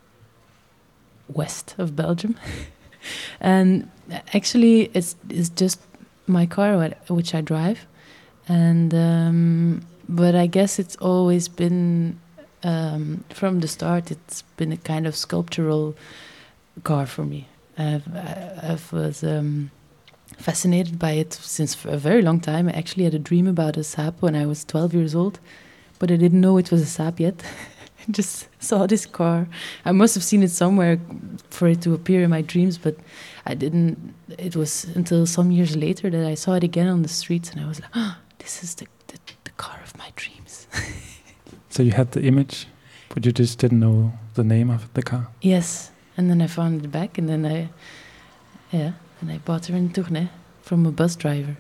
west of Belgium. And actually, it's just my car, which I drive. And but I guess it's always been, from the start, it's been a kind of sculptural car for me. I was fascinated by it since for a very long time. I actually had a dream about a Saab when I was 12 years old, but I didn't know it was a Saab yet. I just saw this car. I must have seen it somewhere for it to appear in my dreams, but I didn't. It was until some years later that I saw it again on the streets, and I was like, oh, this is the car of my dreams. So you had the image, but you just didn't know the name of the car? Yes. And then I found it back, and then I bought her in Tournai from a bus driver.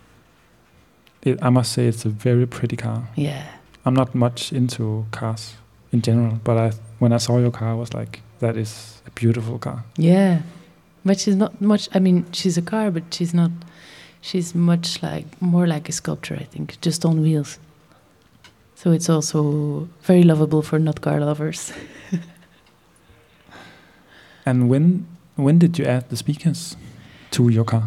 I must say it's a very pretty car. Yeah. I'm not much into cars in general, but when I saw your car, I was like, that is a beautiful car. Yeah. But she's not much, I mean, she's a car, but she's not, she's more like a sculpture, I think, just on wheels. So it's also very lovable for not car lovers. And when did you add the speakers to your car?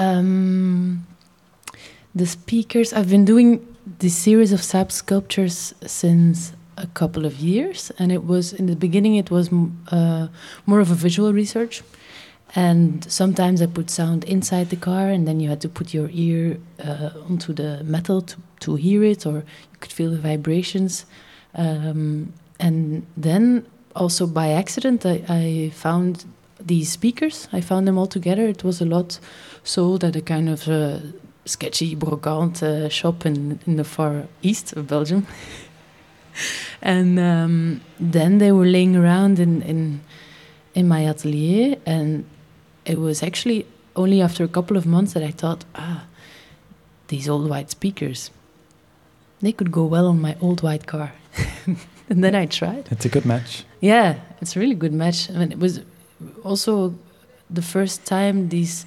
The speakers, I've been doing this series of Saab sculptures since a couple of years, and it was in the beginning it was more of a visual research, and sometimes I put sound inside the car, and then you had to put your ear onto the metal to hear it, or you could feel the vibrations, and then also by accident I found these speakers. I found them all together. It was a lot sold at a kind of sketchy brocante shop in the far east of Belgium. And then they were laying around in my atelier, and it was actually only after a couple of months that I thought, these old white speakers, they could go well on my old white car. And then I tried. It's a good match. Yeah, it's a really good match. I mean, it was also the first time these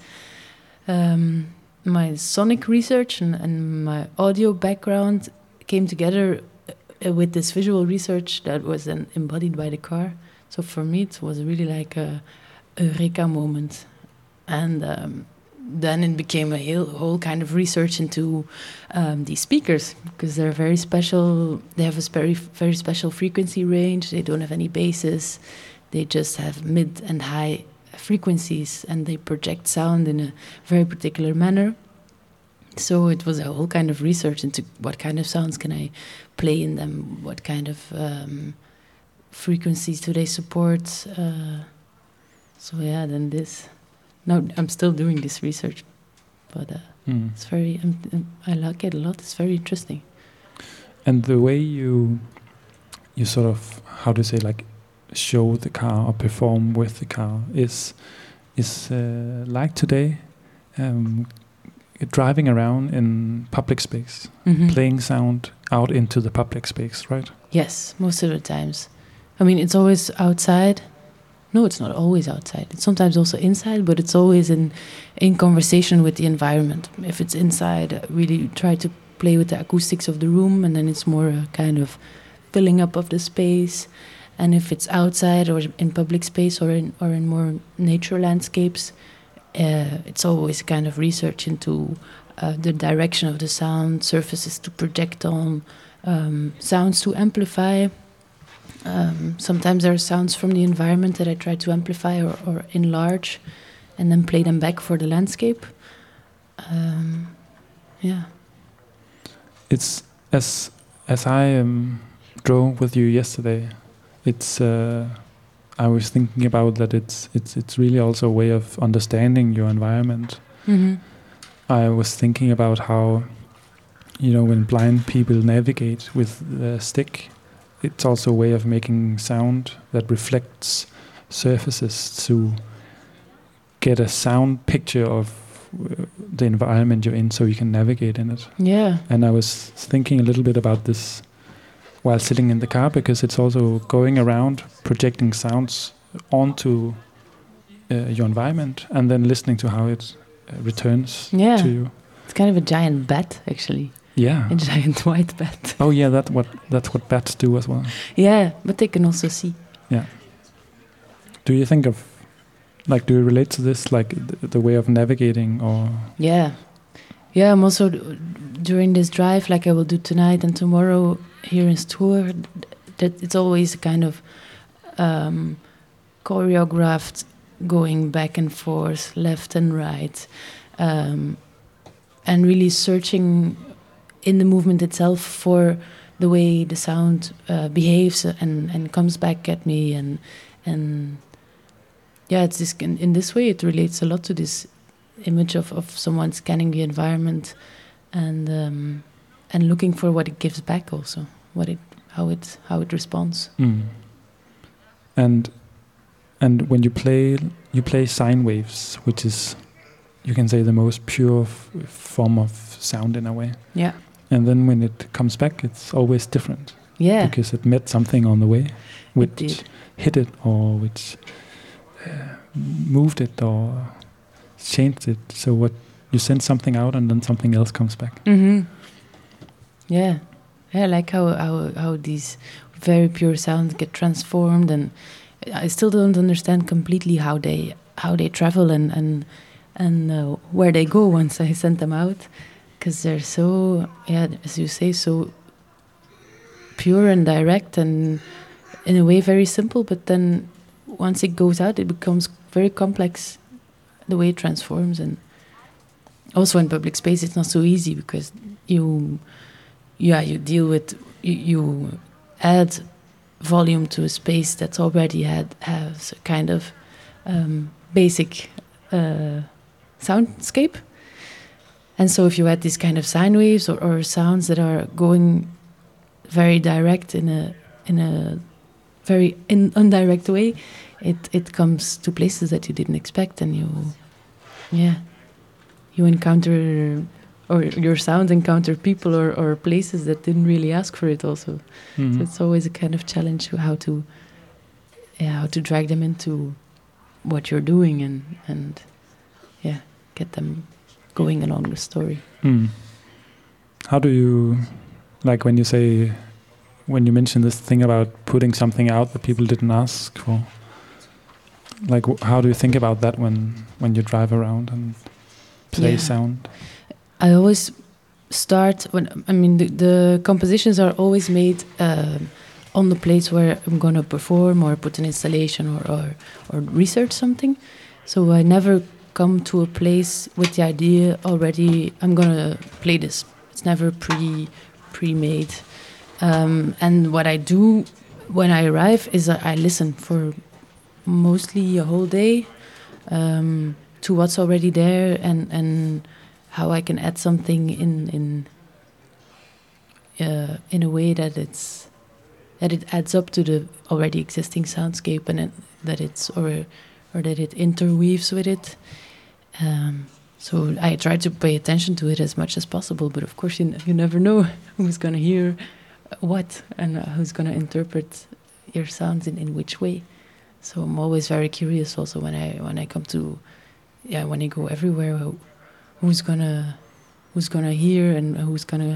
my sonic research and my audio background came together with this visual research that was then embodied by the car. So for me, it was really like a eureka moment. And then it became a whole kind of research into these speakers, because they're very special. They have a very, very special frequency range. They don't have any basses. They just have mid and high frequencies, and they project sound in a very particular manner. So it was a whole kind of research into what kind of sounds can I play in them, what kind of frequencies do they support. So yeah, then this. Now I'm still doing this research, but it's very. I like it a lot. It's very interesting. And the way you sort of, how to say, like, show the car or perform with the car is like today, driving around in public space, playing sound out into the public space, right? Yes, most of the times. I mean, it's always outside. No, it's not always outside. It's sometimes also inside, but it's always in conversation with the environment. If it's inside, I really try to play with the acoustics of the room, and then it's more a kind of filling up of the space. And if it's outside or in public space or in more nature landscapes, it's always kind of research into the direction of the sound, surfaces to project on, sounds to amplify. Sometimes there are sounds from the environment that I try to amplify or enlarge, and then play them back for the landscape. Yeah. It's as I drove with you yesterday. It's I was thinking about that. It's really also a way of understanding your environment. Mm-hmm. I was thinking about how, when blind people navigate with the stick, it's also a way of making sound that reflects surfaces to get a sound picture of the environment you're in, so you can navigate in it. Yeah. And I was thinking a little bit about this while sitting in the car, because it's also going around projecting sounds onto your environment and then listening to how it returns to you. It's kind of a giant bat, actually. Yeah. A giant white bat. Oh yeah, that's what bats do as well. Yeah, but they can also see. Yeah. Do you think of, do you relate to this, the way of navigating, or? Yeah. Yeah, I'm also, during this drive, like I will do tonight and tomorrow here in Struer, that it's always a kind of choreographed going back and forth, left and right, and really searching in the movement itself for the way the sound behaves and comes back at me, and yeah, it's this, in this way it relates a lot to this image of someone scanning the environment and looking for what it gives back, also how it responds. And when you play sine waves, which is, you can say, the most pure form of sound in a way. Yeah. And then when it comes back, it's always different. Yeah. Because it met something on the way, which hit it, or which moved it, or changed it. So what you send something out, and then something else comes back. Mm-hmm. Yeah. I like how these very pure sounds get transformed, and I still don't understand completely how they travel and where they go once I send them out, because they're so, as you say, so pure and direct, and in a way very simple, but then once it goes out, it becomes very complex, the way it transforms. And also in public space, it's not so easy, because you deal with, you add volume to a space that's already has a kind of basic soundscape. And so if you add these kind of sine waves or sounds that are going very direct in a very indirect way, it comes to places that you didn't expect, and you encounter, or your sound encounter people or places that didn't really ask for it also. Mm-hmm. So it's always a kind of challenge how to drag them into what you're doing and get them going along the story. How do you, when you mention this thing about putting something out that people didn't ask for, how do you think about that when you drive around and play sound? I always start the compositions are always made on the place where I'm going to perform or put an installation or research something. So I never come to a place with the idea already, I'm going to play this. It's never pre-made. And what I do when I arrive is I listen for mostly a whole day to what's already there and how I can add something in a way that it's it adds up to the already existing soundscape, and that it's or that it interweaves with it. So I try to pay attention to it as much as possible, but of course you never know who's going to hear what and who's going to interpret your sounds in which way. So I'm always very curious also when I come to, when I go everywhere, who's gonna hear and who's gonna,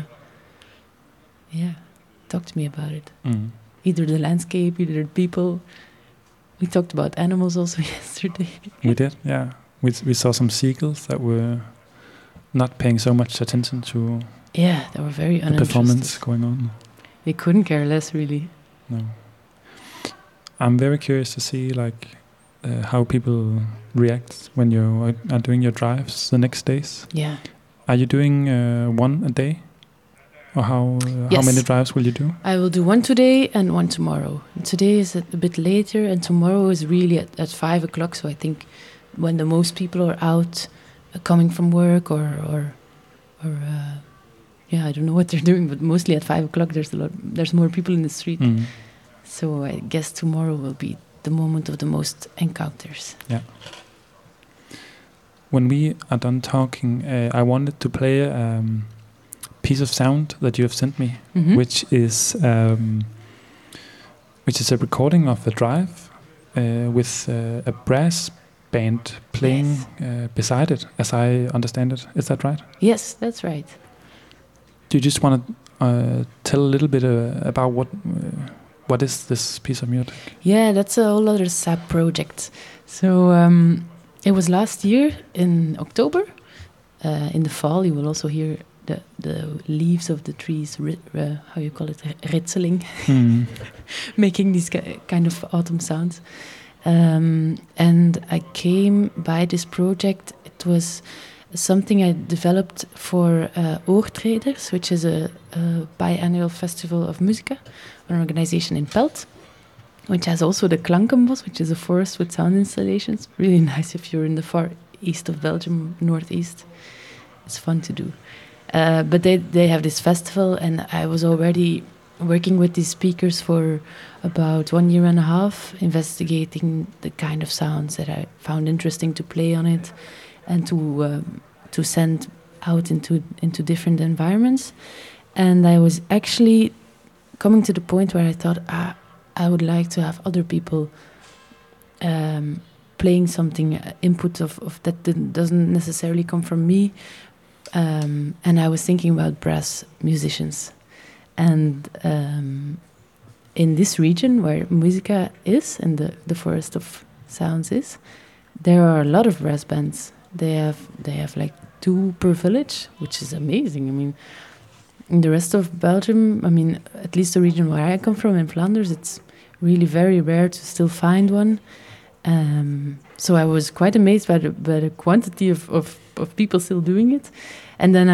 talk to me about it. Mm. Either the landscape, either the people. We talked about animals also yesterday. We did, yeah. We saw some seagulls that were not paying so much attention to they were very the performance going on. They couldn't care less, really. No. I'm very curious to see how people react when you are doing your drives the next days. Yeah. Are you doing one a day? Or how many drives will you do? I will do one today and one tomorrow. And today is a bit later, and tomorrow is really at 5 o'clock. So I think when the most people are out, coming from work or I don't know what they're doing, but mostly at 5 o'clock there's more people in the street. Mm. So I guess tomorrow will be the moment of the most encounters. Yeah. When we are done talking, I wanted to play a piece of sound that you have sent me, which is a recording of a drive with a brass band playing beside it, as I understand it. Is that right? Yes, that's right. Do you just want to tell a little bit about what is this piece of music? Yeah, that's a whole other SAP project. So it was last year in October. In the fall, you will also hear the leaves of the trees, how you call it, ritseling, making these kind of autumn sounds. And I came by this project. It was something I developed for Oortreders, which is a biannual festival of musica, an organization in Pelt, which has also the Klankenbos, which is a forest with sound installations. Really nice if you're in the far east of Belgium, northeast. It's fun to do. But they have this festival, and I was already working with these speakers for about 1.5 years, investigating the kind of sounds that I found interesting to play on it, and to send out into different environments. And I was actually coming to the point where I thought I would like to have other people playing something, input of that doesn't necessarily come from me. And I was thinking about brass musicians. And in this region where musica is, and the Forest of Sounds is, there are a lot of brass bands. They have like 2 per village, which is amazing. I mean, in the rest of Belgium, I mean, at least the region where I come from in Flanders, it's really very rare to still find one. So I was quite amazed by the quantity of people still doing it. And then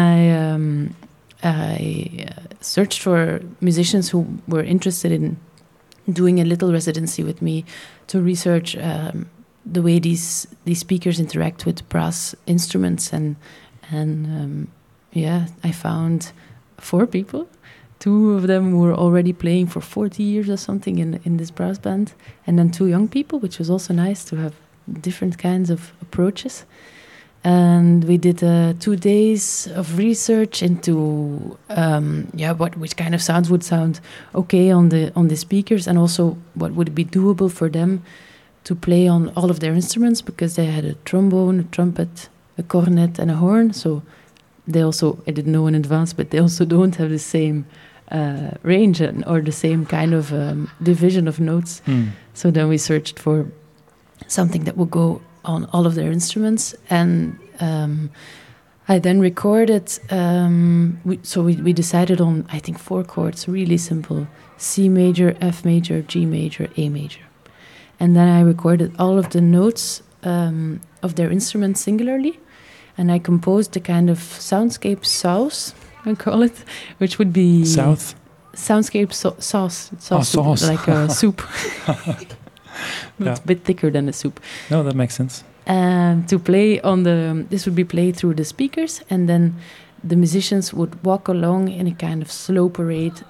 I searched for musicians who were interested in doing a little residency with me to research the way these speakers interact with brass instruments. And I found 4 people. 2 of them were already playing for 40 years or something in this brass band. And then 2 young people, which was also nice to have different kinds of approaches. And we did 2 days of research into which kind of sounds would sound okay on the speakers, and also what would be doable for them to play on all of their instruments, because they had a trombone, a trumpet, a cornet, and a horn. So they also, I didn't know in advance, but they also don't have the same range or the same kind of division of notes. So then we searched for something that would go on all of their instruments, and I then recorded. We decided on, I think, 4 chords, really simple: C major, F major, G major, A major, and then I recorded all of the notes of their instruments singularly, and I composed a kind of soundscape sauce, I call it, which would be soundscape sauce, sauce, like a soup. It's a bit thicker than a soup. No, that makes sense. To play on this would be played through the speakers, and then the musicians would walk along in a kind of slow parade,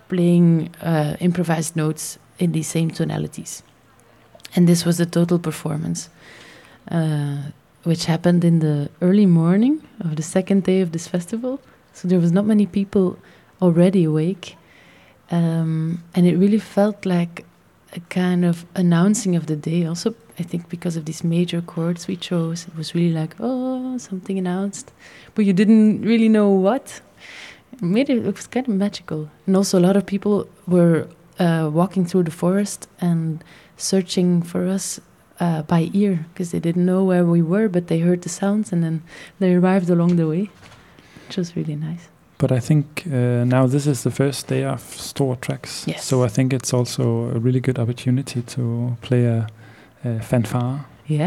playing improvised notes in these same tonalities. And this was the total performance, which happened in the early morning of the second day of this festival. So there was not many people already awake. And it really felt like a kind of announcing of the day. Also, I think because of these major chords we chose, it was really like, oh, something announced. But you didn't really know what. It was kind of magical. And also a lot of people were walking through the forest and searching for us by ear, because they didn't know where we were, but they heard the sounds and then they arrived along the way, which was really nice. But I think now this is the first day of Store Tracks. Yes. So I think it's also a really good opportunity to play a fanfare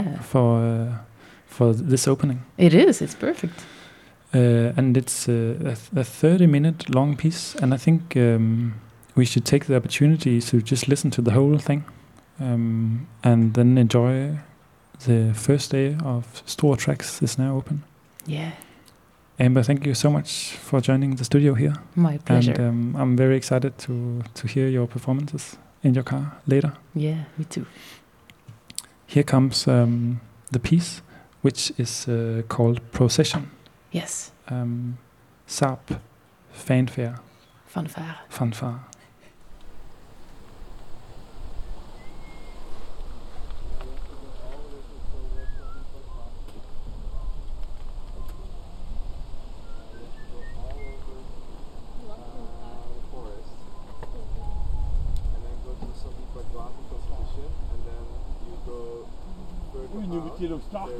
for this opening. It is. It's perfect. And it's a 30-minute long piece. And I think we should take the opportunity to just listen to the whole thing and then enjoy the first day of Store Tracks is now open. Yeah. Amber, thank you so much for joining the studio here. My pleasure. And I'm very excited to hear your performances in your car later. Yeah, me too. Here comes the piece, which is called Procession. Yes. Saab Fanfare. Fanfare. Nu er vi til at starte.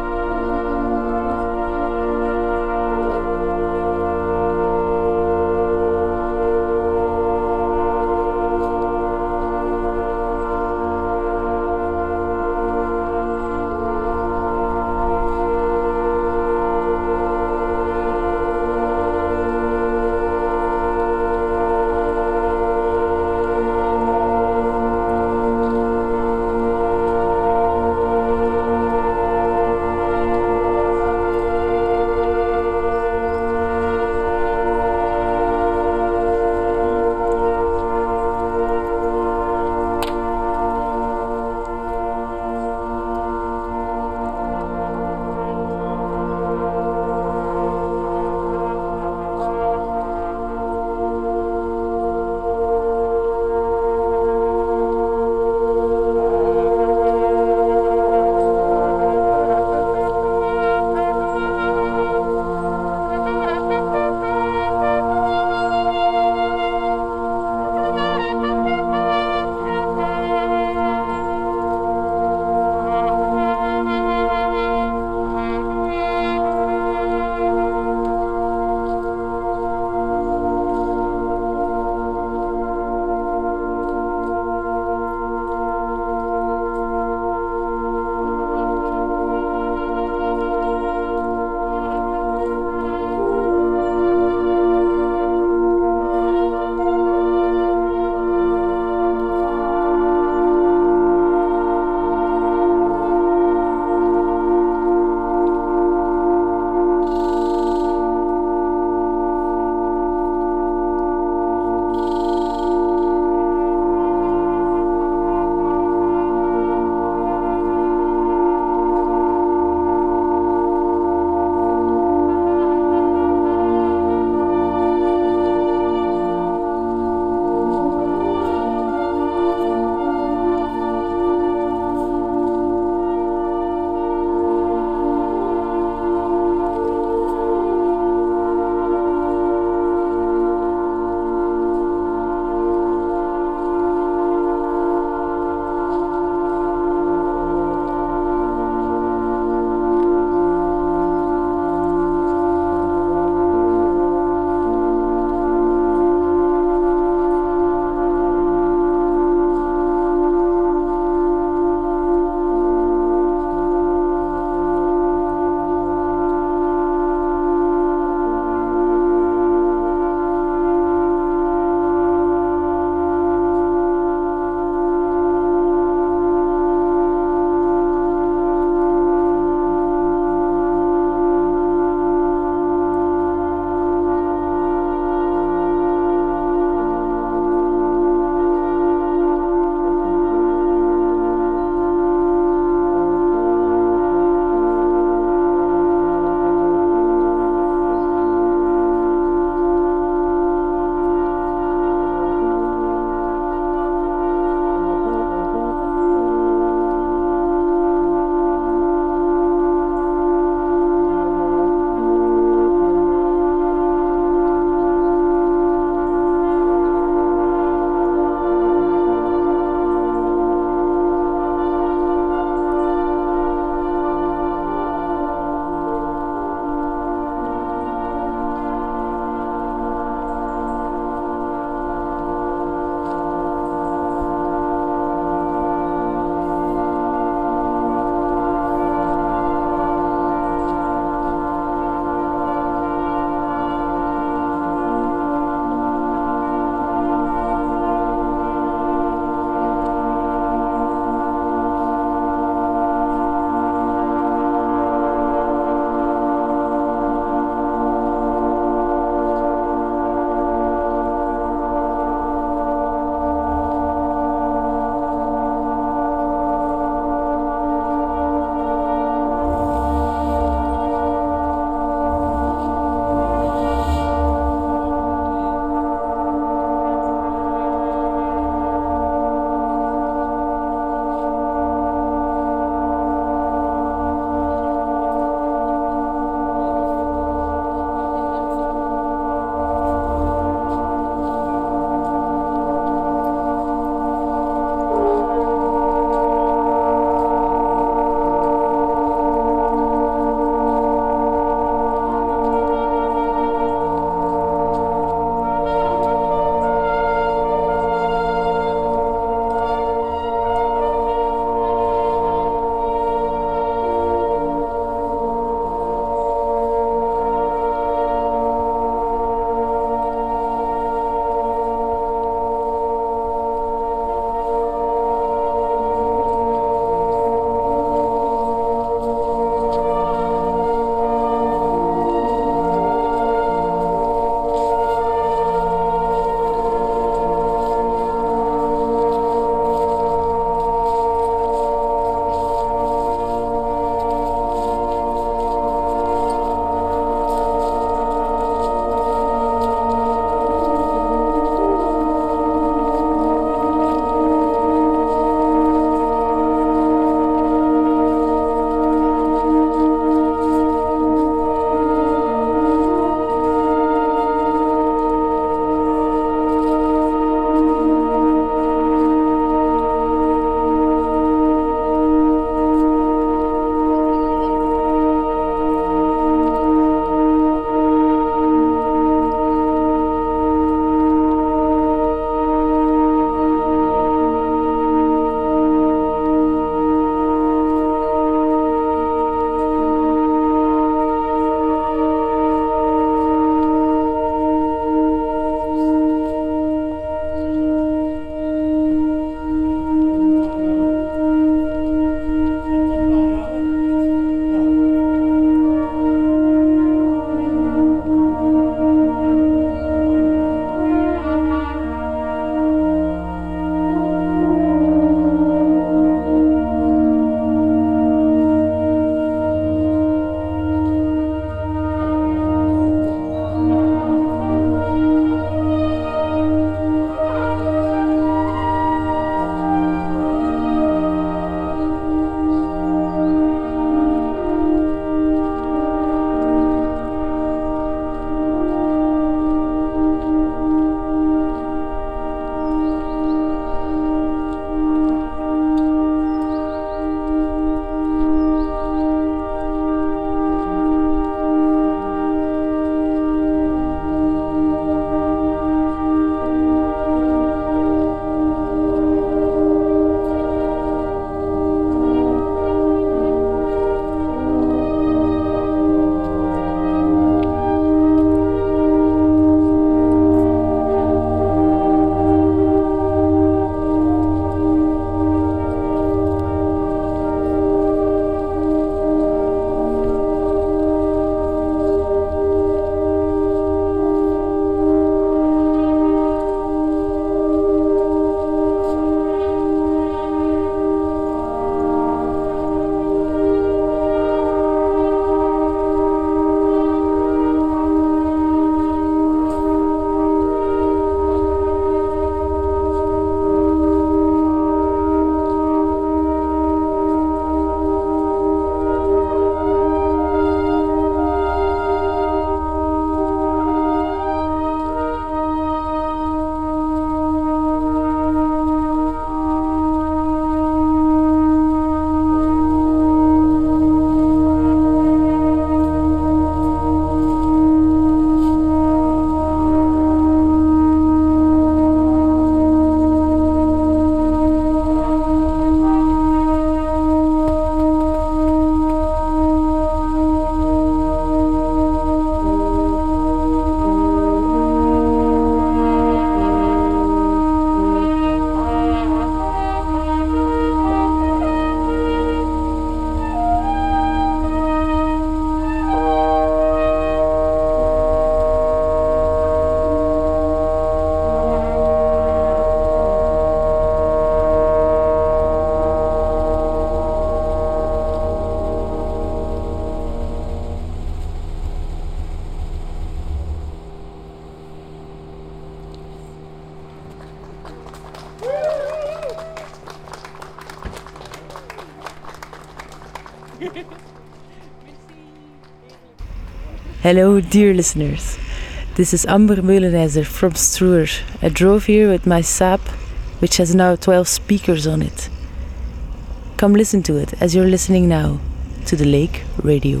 Hello, dear listeners. This is Amber Meulenazer from Struer. I drove here with my Saab, which has now 12 speakers on it. Come listen to it as you're listening now to the Lake Radio.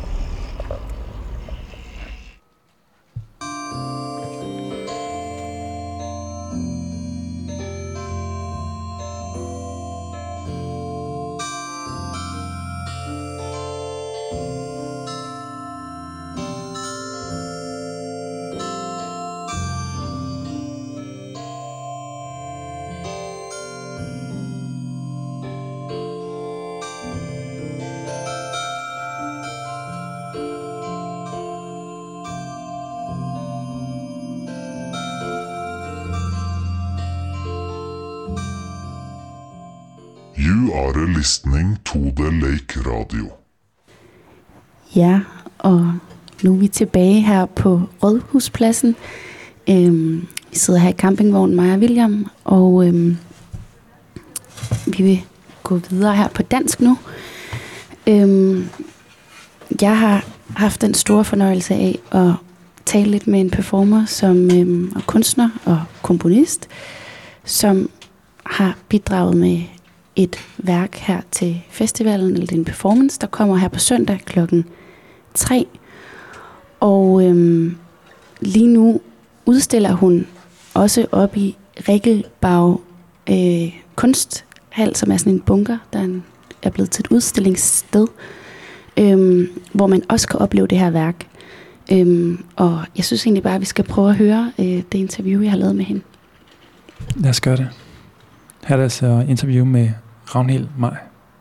You are listening to the Lake Radio. Ja, og nu er vi tilbage her på Rådhuspladsen. Vi sidder her i campingvognen, mig og William, og vi vil gå videre her på dansk nu. Jeg har haft den store fornøjelse af at tale lidt med en performer, som er kunstner og komponist, som har bidraget med et værk her til festivalen, eller en performance, der kommer her på søndag klokken 3. Og lige nu udstiller hun også op i Regelbag Kunsthal, som er sådan en bunker, der er blevet til et udstillingssted, hvor man også kan opleve det her værk. Og jeg synes egentlig bare, at vi skal prøve at høre det interview, jeg har lavet med hende. Lad os gøre det. Her er der så interview med Ragnhild Maj.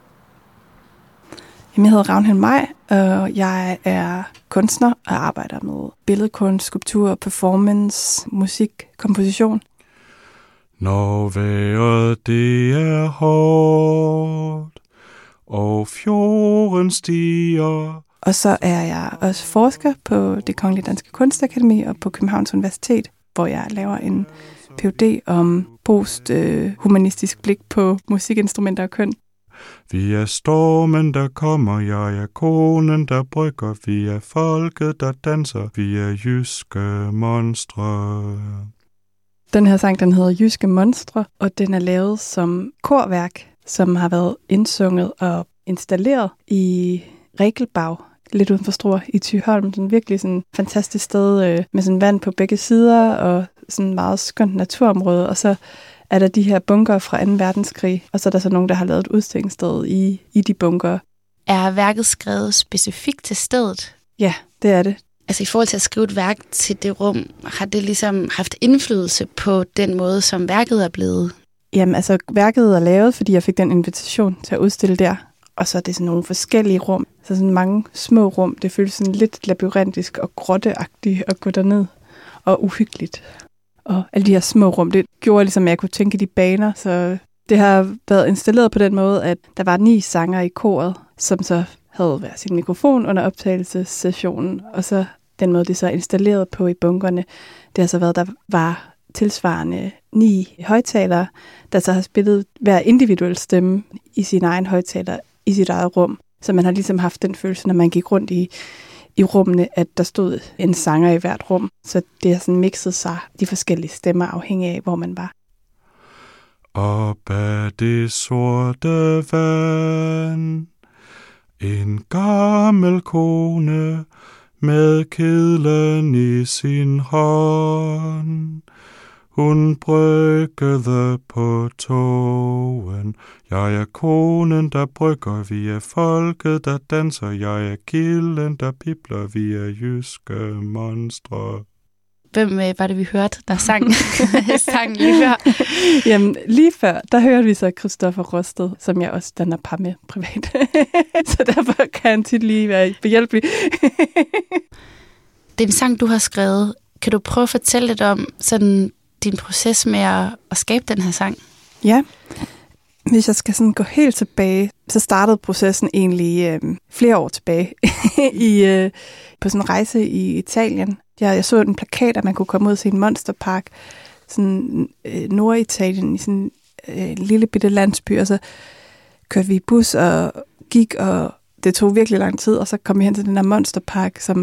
Jeg hedder Ragnhild Maj, og jeg er kunstner og arbejder med billedkunst, skulptur, performance, musik, komposition. Når vejret det er hårdt, og fjorden stiger. Og så er jeg også forsker på Det Kongelige Danske Kunstakademi og på Københavns Universitet, hvor jeg laver en Ph.D. om posthumanistisk blik på musikinstrumenter og køn. Vi er stormen, der kommer, jeg er konen, der brygger, vi er folket, der danser, vi er jyske monstre. Den her sang, den hedder Jyske Monstre, og den er lavet som korværk, som har været indsunget og installeret i Regelbag, lidt uden for Struer i Thyholm. Sådan virkelig sådan et fantastisk sted med sådan vand på begge sider og sådan meget skønt naturområde. Og så er der de her bunker fra 2. verdenskrig, og så er der så nogen, der har lavet et udstillingssted i de bunker. Er værket skrevet specifikt til stedet? Ja, det er det. Altså i forhold til at skrive et værk til det rum, har det ligesom haft indflydelse på den måde, som værket er blevet? Jamen altså, værket er lavet, fordi jeg fik den invitation til at udstille der. Og så er det sådan nogle forskellige rum. Så sådan mange små rum. Det føles sådan lidt labyrintisk og grotteagtigt at gå derned. Og uhyggeligt. Og alle de her små rum, det gjorde ligesom, at jeg kunne tænke de baner. Så det har været installeret på den måde, at der var 9 sanger i koret, som så havde hver sin mikrofon under optagelsessessionen. Og så den måde, det så er installeret på i bunkerne, det har så været, der var tilsvarende 9 højtalere, der så har spillet hver individuel stemme i sin egen højtaler i sit eget rum. Så man har ligesom haft den følelse, når man gik rundt i rummene, at der stod en sanger i hvert rum. Så det har sådan mixet sig, de forskellige stemmer, afhængig af, hvor man var. Op ad det sorte vand, en gammel kone med kedlen i sin hånd. Hun bryggede på togen. Jeg er konen, der brygger, vi er folket, der danser. Jeg er kilden, der pibler, vi er jyske monstre. Hvem var det, vi hørte, der sang lige før? Jamen, lige før, der hørte vi så Christoffer Rosted, som jeg også danner par med privat. Så derfor kan han tit lige være behjælpelig. Det er en sang, du har skrevet. Kan du prøve at fortælle lidt om sådan din proces med at skabe den her sang? Ja. Hvis jeg skal sådan gå helt tilbage, så startede processen egentlig flere år tilbage på sådan en rejse i Italien. Jeg så en plakat, at man kunne komme ud og se en monsterpark, sådan Norditalien, i sådan en lille bitte landsby, og så kørte vi i bus og gik, og det tog virkelig lang tid, og så kom vi hen til den der monsterpark, som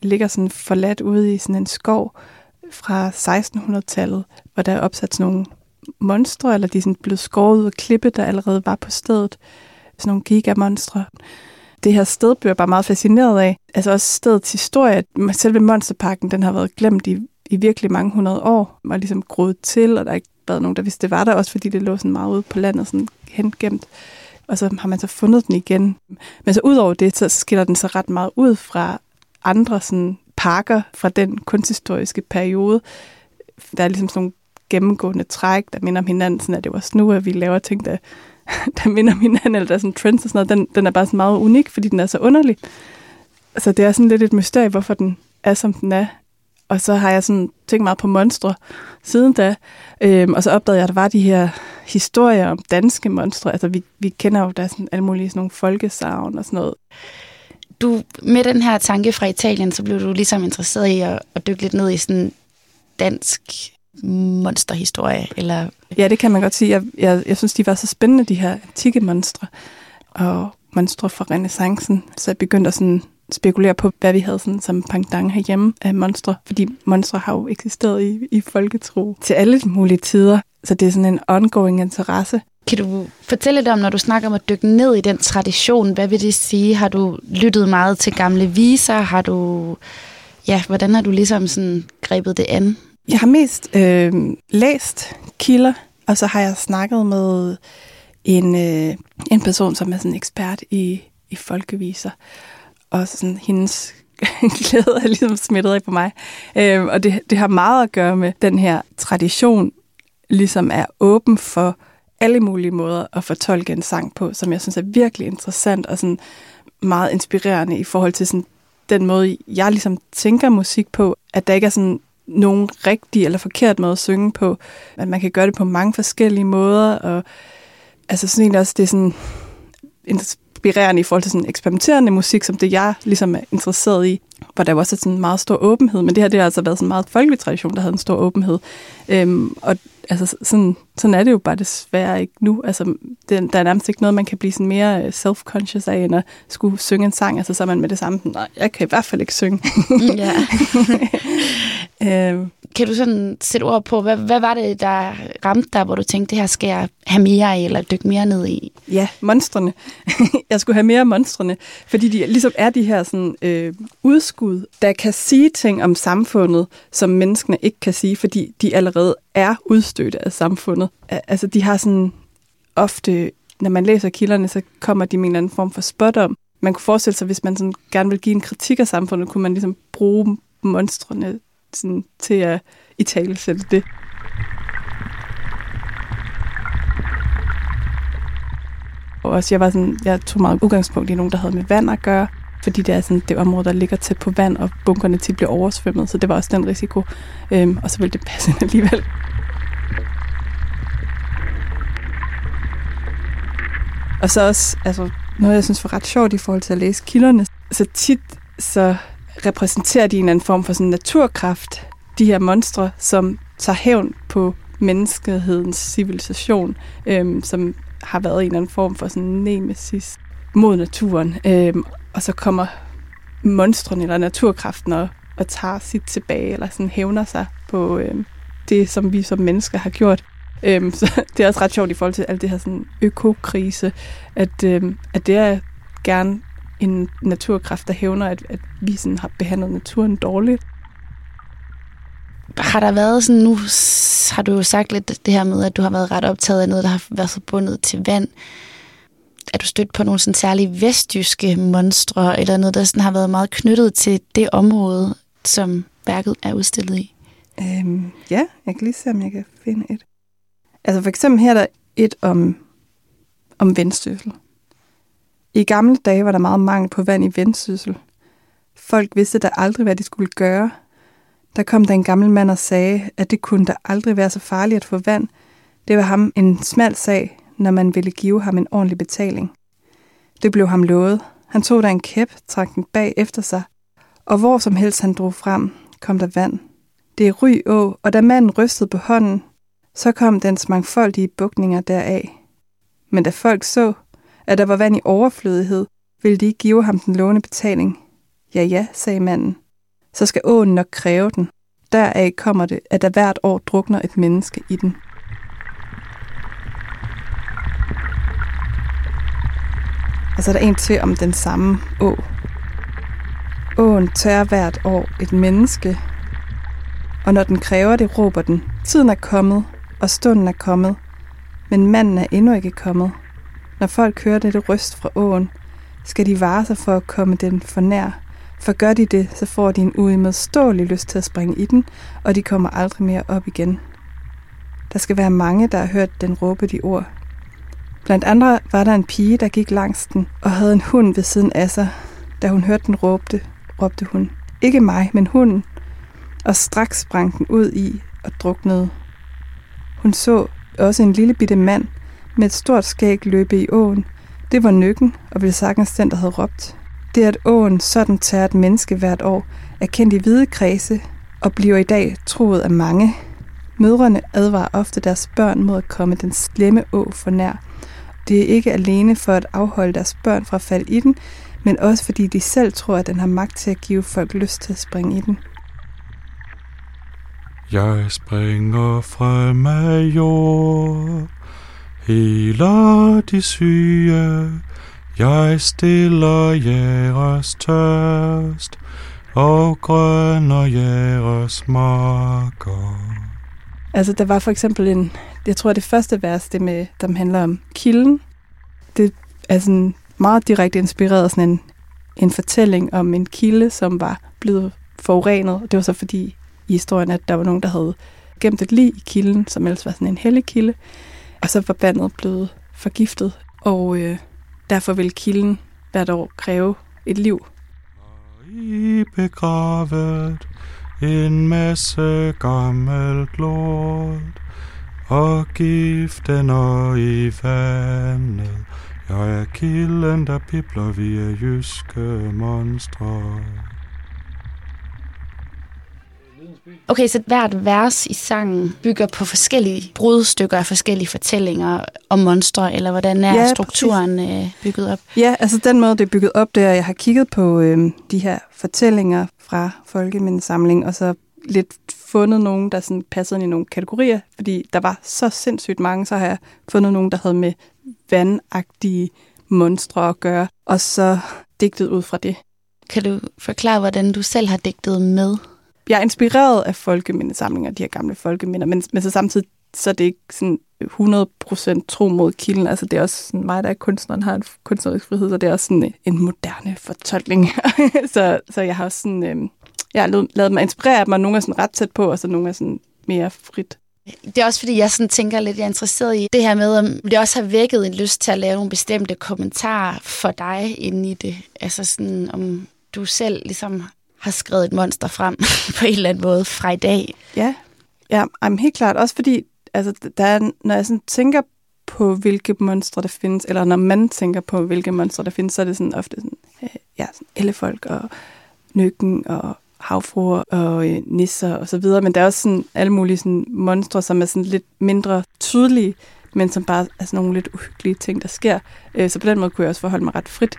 ligger sådan forladt ude i sådan en skov fra 1600-tallet, hvor der er opsat sådan nogle monstre, eller de er sådan blevet skåret ud af klippe, der allerede var på stedet. Sådan nogle gigamonstre. Det her sted bliver jeg bare meget fascineret af. Altså også stedets historie. Selve Monsterparken, den har været glemt i virkelig mange 100 år. Og ligesom groet til, og der har ikke været nogen, der vidste, det var der. Også fordi det lå sådan meget ude på landet, sådan hengemt. Og så har man så fundet den igen. Men så udover det, så skiller den så ret meget ud fra andre sådan parker fra den kunsthistoriske periode. Der er ligesom sådan nogle gennemgående træk, der minder om hinanden. Sådan at det var også nu, at vi laver ting, der minder om hinanden, eller der er sådan trends og sådan noget. Den er bare sådan meget unik, fordi den er så underlig. Så det er sådan lidt et mysterie, hvorfor den er, som den er. Og så har jeg sådan tænkt meget på monstre siden da. Og så opdagede jeg, at der var de her historier om danske monstre. Altså vi kender jo, der er sådan alle mulige sådan nogle folkesagn og sådan noget. Du, med den her tanke fra Italien, så blev du ligesom interesseret i at dykke lidt ned i sådan dansk monsterhistorie, eller? Ja, det kan man godt sige. Jeg synes, de var så spændende, de her antikke monstre, og monstre fra renæssancen. Så jeg begyndte at sådan spekulere på, hvad vi havde sådan som pendant herhjemme af monstre, fordi monstre har jo eksisteret i folketro til alle mulige tider. Så det er sådan en ongoing interesse. Kan du fortælle lidt om, når du snakker om at dykke ned i den tradition, hvad vil det sige? Har du lyttet meget til gamle viser? Har du, hvordan har du ligesom sådan grebet det an? Jeg har mest læst kilder, og så har jeg snakket med en person, som er sådan ekspert i folkeviser. Og sådan hendes glæde er ligesom smittet af på mig. Og det har meget at gøre med den her tradition, ligesom er åben for alle mulige måder at fortolke en sang på, som jeg synes er virkelig interessant og sådan meget inspirerende i forhold til sådan den måde, jeg ligesom tænker musik på, at der ikke er sådan nogen rigtig eller forkert måde at synge på, at man kan gøre det på mange forskellige måder, og altså sådan egentlig også, det er sådan inspirerende i forhold til sådan eksperimenterende musik, som det jeg ligesom er interesseret i, hvor der også er sådan en meget stor åbenhed, men det har altså været sådan en meget folkelig tradition, der havde en stor åbenhed. Og altså sådan er det jo bare desværre ikke nu. Altså der er nærmest ikke noget, man kan blive sådan mere self-conscious af, end at skulle synge en sang. Altså så er man med det samme, nej, jeg kan i hvert fald ikke synge. Ja. Kan du sådan sætte ord på, hvad var det, der ramte dig, hvor du tænkte, det her skal jeg have mere af, eller dykke mere ned i? Ja, monstrene. Jeg skulle have mere af monstrene, fordi de ligesom er de her sådan, udskud, der kan sige ting om samfundet, som menneskene ikke kan sige, fordi de allerede er udstødte af samfundet. Altså de har sådan ofte, når man læser kilderne, så kommer de med en eller anden form for spot om. Man kunne forestille sig, hvis man sådan gerne vil give en kritik af samfundet, kunne man ligesom bruge monstrene sådan, til at italesætte det. Og også, jeg tog meget udgangspunkt i nogen, der havde med vand at gøre, fordi det er sådan det område, der ligger tæt på vand, og bunkerne tit bliver oversvømmet, så det var også den risiko. Og så ville det passe ind alligevel. Og så også, altså, noget jeg synes var ret sjovt i forhold til at læse kilderne, så tit så repræsenterer de en anden form for sådan naturkraft, de her monstre, som tager hævn på menneskehedens civilisation, som har været en eller anden form for sådan nemesis mod naturen. Og så kommer monstrene eller naturkraften og tager sit tilbage, eller sådan hævner sig på det, som vi som mennesker har gjort. Så det er også ret sjovt i forhold til alt det her sådan økokrise, at det er gerne en naturkraft, der hævner, at vi sådan har behandlet naturen dårligt. Har der været sådan, nu har du jo sagt lidt det her med, at du har været ret optaget af noget, der har været forbundet til vand. Er du stødt på nogle sådan særlige vestjyske monstre, eller noget, der sådan har været meget knyttet til det område, som værket er udstillet i? Ja, jeg kan lige se, om jeg kan finde et. Altså for eksempel her er der et om Vendsyssel. I gamle dage var der meget mangel på vand i Vendsyssel. Folk vidste da aldrig, hvad de skulle gøre. Der kom der en gammel mand og sagde, at det kunne da aldrig være så farligt at få vand. Det var ham en smal sag, når man ville give ham en ordentlig betaling. Det blev ham lovet. Han tog der en kæp, trak den bag efter sig, og hvor som helst han drog frem, kom der vand. Det er Ry Å, og da manden rystede på hånden, så kom dens mangfoldige bugninger deraf. Men da folk så, at der var vand i overflødighed, ville de ikke give ham den lovende betaling. Ja, sagde manden. så skal åen nok kræve den. Deraf kommer det, at der hvert år drukner et menneske i den. Og så er der en til om den samme å. Åen tør hvert år et menneske, og når den kræver det, råber den, tiden er kommet, og stunden er kommet, men manden er endnu ikke kommet. Når folk hører dette røst fra åen, skal de vare sig for at komme den for nær. For gør de det, så får de en uimodståelig lyst til at springe i den, og de kommer aldrig mere op igen. Der skal være mange, der har hørt den råbe de ord. Blandt andre var der en pige, der gik langs den, og havde en hund ved siden af sig. Da hun hørte den råbte hun, ikke mig, men hunden, og straks sprang den ud i og druknede. Hun så også en lille bitte mand med et stort skæg løbe i åen. Det var Nykken, og ville sagtens den, der havde råbt. Det at åen sådan tager et menneske hvert år, er kendt i hvide kredse og bliver i dag troet af mange. Mødrene advarer ofte deres børn mod at komme den slemme å for nær. Det er ikke alene for at afholde deres børn fra at falde i den, men også fordi de selv tror, at den har magt til at give folk lyst til at springe i den. Jeg springer frem af jord, heler de syge. Jeg stiller jeres tørst og grønner jeres marker. Altså, der var for eksempel jeg tror, det første vers, det med, der handler om kilden. Det er sådan meget direkte inspireret af sådan en fortælling om en kilde, som var blevet forurenet. Det var så fordi i historien, at der var nogen, der havde gemt et lig i kilden, som ellers var sådan en hellig kilde. Og så var vandet blevet forgiftet, og derfor vil kilden hvert år kræve et liv. I begravet en masse gammelt lort, og giften og i vandet. Jeg er kilden, der pibler via jyske monstre. Okay, så hvert vers i sangen bygger på forskellige brudstykker af forskellige fortællinger om monstre, eller hvordan er strukturen bygget op? Ja, altså den måde, det er bygget op, det er, at jeg har kigget på de her fortællinger fra Folkemindesamling, og så lidt fundet nogen, der sådan passede ind i nogle kategorier, fordi der var så sindssygt mange, så har jeg fundet nogen, der havde med vandagtige monstre at gøre, og så digtet ud fra det. Kan du forklare, hvordan du selv har digtet med? Jeg er inspireret af folkemindesamlinger, de her gamle folkeminder, men så samtidig så er det ikke sådan 100% tro mod kilden. Altså det er også sådan, mig, der er kunstneren, har en kunstnerisk frihed, så det er også sådan en moderne fortolkning. så jeg har også sådan, jeg har lavet mig inspirere af dem, og nogle er sådan ret tæt på, og så nogle er sådan mere frit. Det er også fordi, jeg sådan tænker lidt, jeg er interesseret i det her med, om det også har vækket en lyst til at lave nogle bestemte kommentarer for dig inde i det. Altså sådan, om du selv ligesom har skrevet et monster frem på en eller anden måde fra i dag. Ja, helt klart. Også fordi, altså, der er, når jeg sådan tænker på, hvilke monstre der findes, eller når man tænker på, hvilke monstre der findes, så er det sådan ofte sådan, sådan ellefolk og Nykken og havfruer og nisser og så videre. Men der er også sådan alle mulige sådan monstre, som er sådan lidt mindre tydelige, men som bare er sådan nogle lidt uhyggelige ting, der sker. Så på den måde kunne jeg også forholde mig ret frit.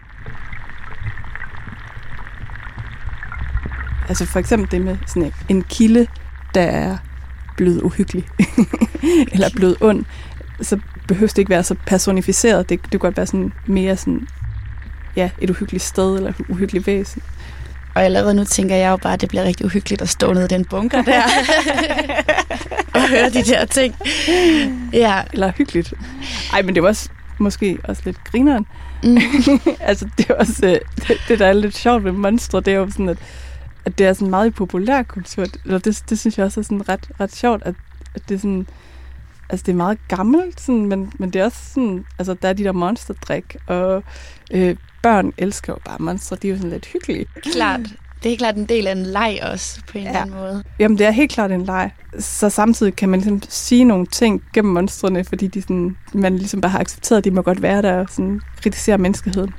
Altså for eksempel det med sådan en kilde, der er blevet uhyggelig, eller blevet ond, så behøver det ikke være så personificeret. Det kan godt være sådan mere sådan, et uhyggeligt sted, eller et uhyggeligt væsen. Og allerede nu tænker jeg jo bare, at det bliver rigtig uhyggeligt at stå nede i den bunker der, og høre de der ting. Ja. Eller hyggeligt. Ej, men det var også, måske også lidt grineren. Altså, det er også, det der er lidt sjovt ved monstre, det er jo sådan, at det er sådan meget i populærkultur. Det synes jeg også er sådan ret sjovt, at det er sådan, altså det er meget gammelt, sådan, men det er også sådan, altså der er de der monsterdrik, og børn elsker jo bare monstre, de er jo sådan lidt hyggelige. Klart. Det er helt klart en del af en leg også, på en eller anden måde. Jamen, det er helt klart en leg. Så samtidig kan man ligesom sige nogle ting gennem monstrene, fordi de sådan, man ligesom bare har accepteret, at de må godt være der og sådan kritisere menneskeheden.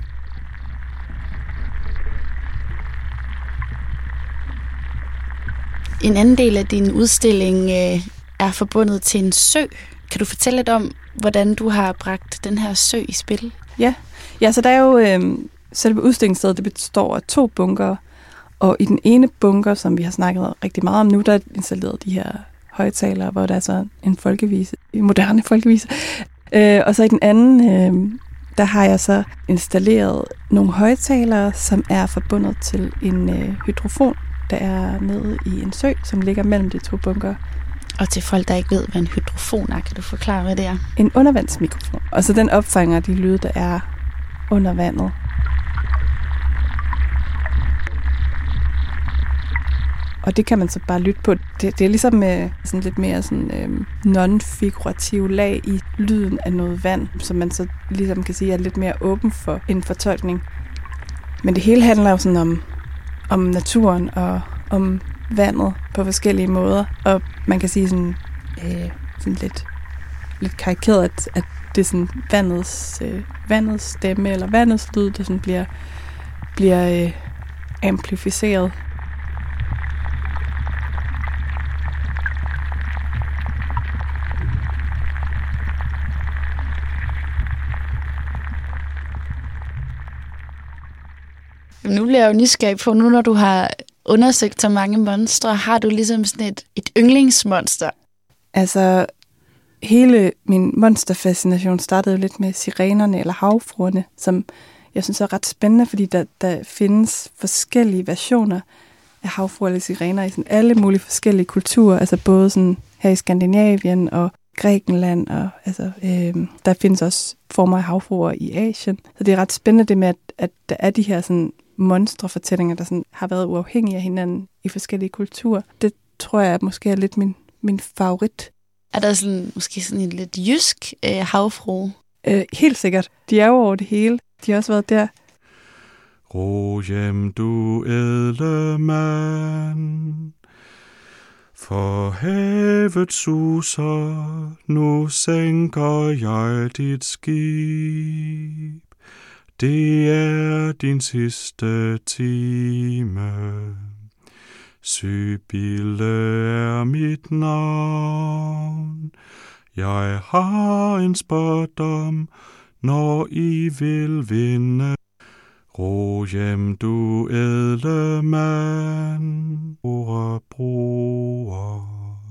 En anden del af din udstilling er forbundet til en sø. Kan du fortælle lidt om, hvordan du har bragt den her sø i spil? Ja, så der er jo selve udstillingsstedet, det består af 2 bunker, Og i den ene bunker, som vi har snakket rigtig meget om nu, der er installeret de her højtalere, hvor der er så en folkevise, en moderne folkevise. Og så i den anden, der har jeg så installeret nogle højtalere, som er forbundet til en hydrofon, der er nede i en sø, som ligger mellem de to bunker. Og til folk, der ikke ved, hvad en hydrofon er, kan du forklare, hvad det er? En undervandsmikrofon. Og så den opfanger de lyde, der er under vandet. Og det kan man så bare lytte på. Det er ligesom sådan lidt mere sådan, non-figurativ lag i lyden af noget vand, som man så ligesom kan sige er lidt mere åben for en fortolkning. Men det hele handler jo sådan om naturen og om vandet på forskellige måder. Og man kan sige sådan lidt karikeret, at det er sådan vandets stemme eller vandets lyd, der sådan bliver amplificeret. Nu bliver jeg jo nysgerrig på, nu når du har undersøgt så mange monstre, har du ligesom sådan et yndlingsmonster? Altså, hele min monsterfascination startede jo lidt med sirenerne eller havfruerne, som jeg synes er ret spændende, fordi der findes forskellige versioner af havfruer eller sirener i sådan alle mulige forskellige kulturer, altså både sådan her i Skandinavien og Grækenland, og altså, der findes også former af havfruer i Asien. Så det er ret spændende det med, at der er de her sådan monstrefortællinger, der sådan har været uafhængige af hinanden i forskellige kulturer. Det tror jeg måske er lidt min favorit. Er der sådan, måske sådan en lidt jysk havfrue? Helt sikkert. De er jo over det hele. De har også været der. Ro hjem, du ædle mand, for havet suser, nu sænker jeg dit skib. Det er din sidste time. Sybille er mit navn. Jeg har en spådom, når I vil vinde. Ro hjem, du ædle mand, broer.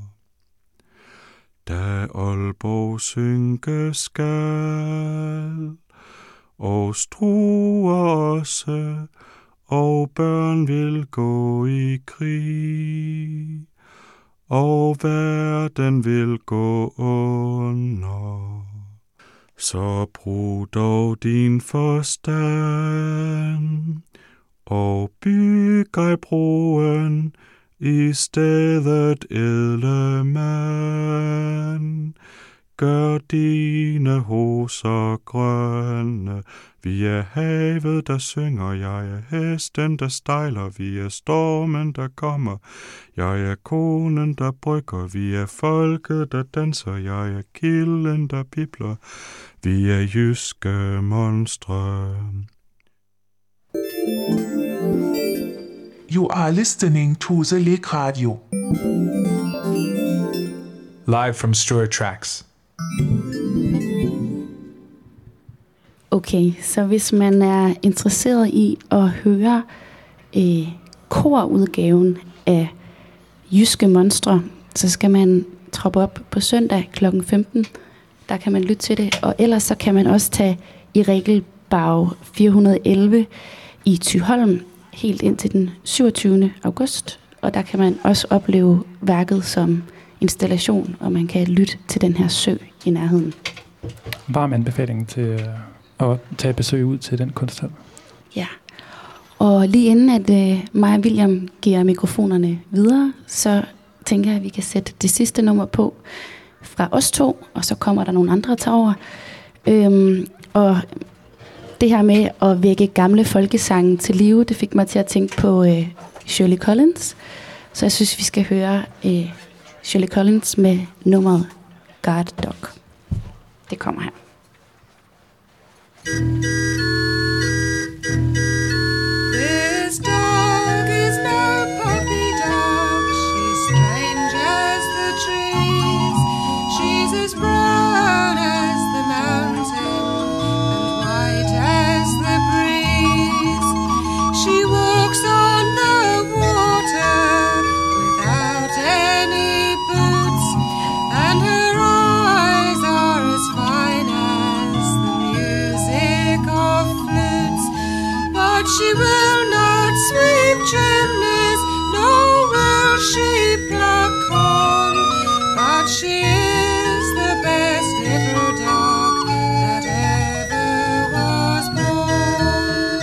Da Aalborg synke skal, og Struer også, og børn vil gå i krig, og verden vil gå under. Så brug dog din forstand, og byg ej broen i stedet, ædle mand. Gør dine hoser grønne, vi er havet, der synger, jeg er hesten, der stejler, vi er stormen, der kommer, jeg er konen, der brygger, vi er folket, der danser, jeg er kilden, der bibler, vi er jyske monstre. You are listening to the Lake Radio. Live from Struer Tracks. Okay, så hvis man er interesseret i at høre korudgaven af Jyske Monstre, så skal man troppe op på søndag kl. 15. Der kan man lytte til det, og ellers så kan man også tage i Regelbag 411 i Thyholm helt indtil den 27. august. Og der kan man også opleve værket som installation, og man kan lytte til den her sø i nærheden. Varm anbefaling til at tage besøg ud til den kunsthal. Ja, og lige inden at mig og William giver mikrofonerne videre, så tænker jeg, at vi kan sætte det sidste nummer på fra os to, og så kommer der nogle andre til over. Og det her med at vække gamle folkesange til live, det fik mig til at tænke på Shirley Collins. Så jeg synes, vi skal høre Shirley Collins med nummeret Guard Dog. Det kommer her. This dog is no puppy dog. She's strange as the trees. She's as brown as the mountain and white as the breeze. She walks on the sweep chimneys, nor will she pluck corn, but she is the best little dog that ever was born.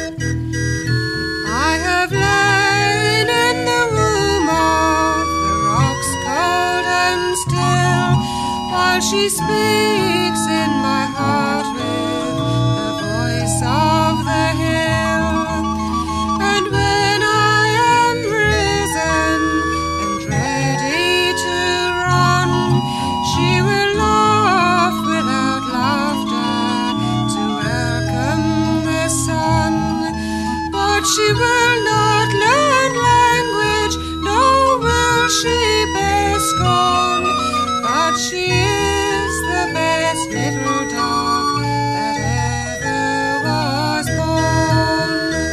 I have lain in the womb of the rocks cold and still, while she speaks in my heart with the voice of the hill. And when I am risen and ready to run, she will laugh without laughter to welcome the sun. But she will not learn language, nor will she bear scorn, but she is the best little dog that ever was born.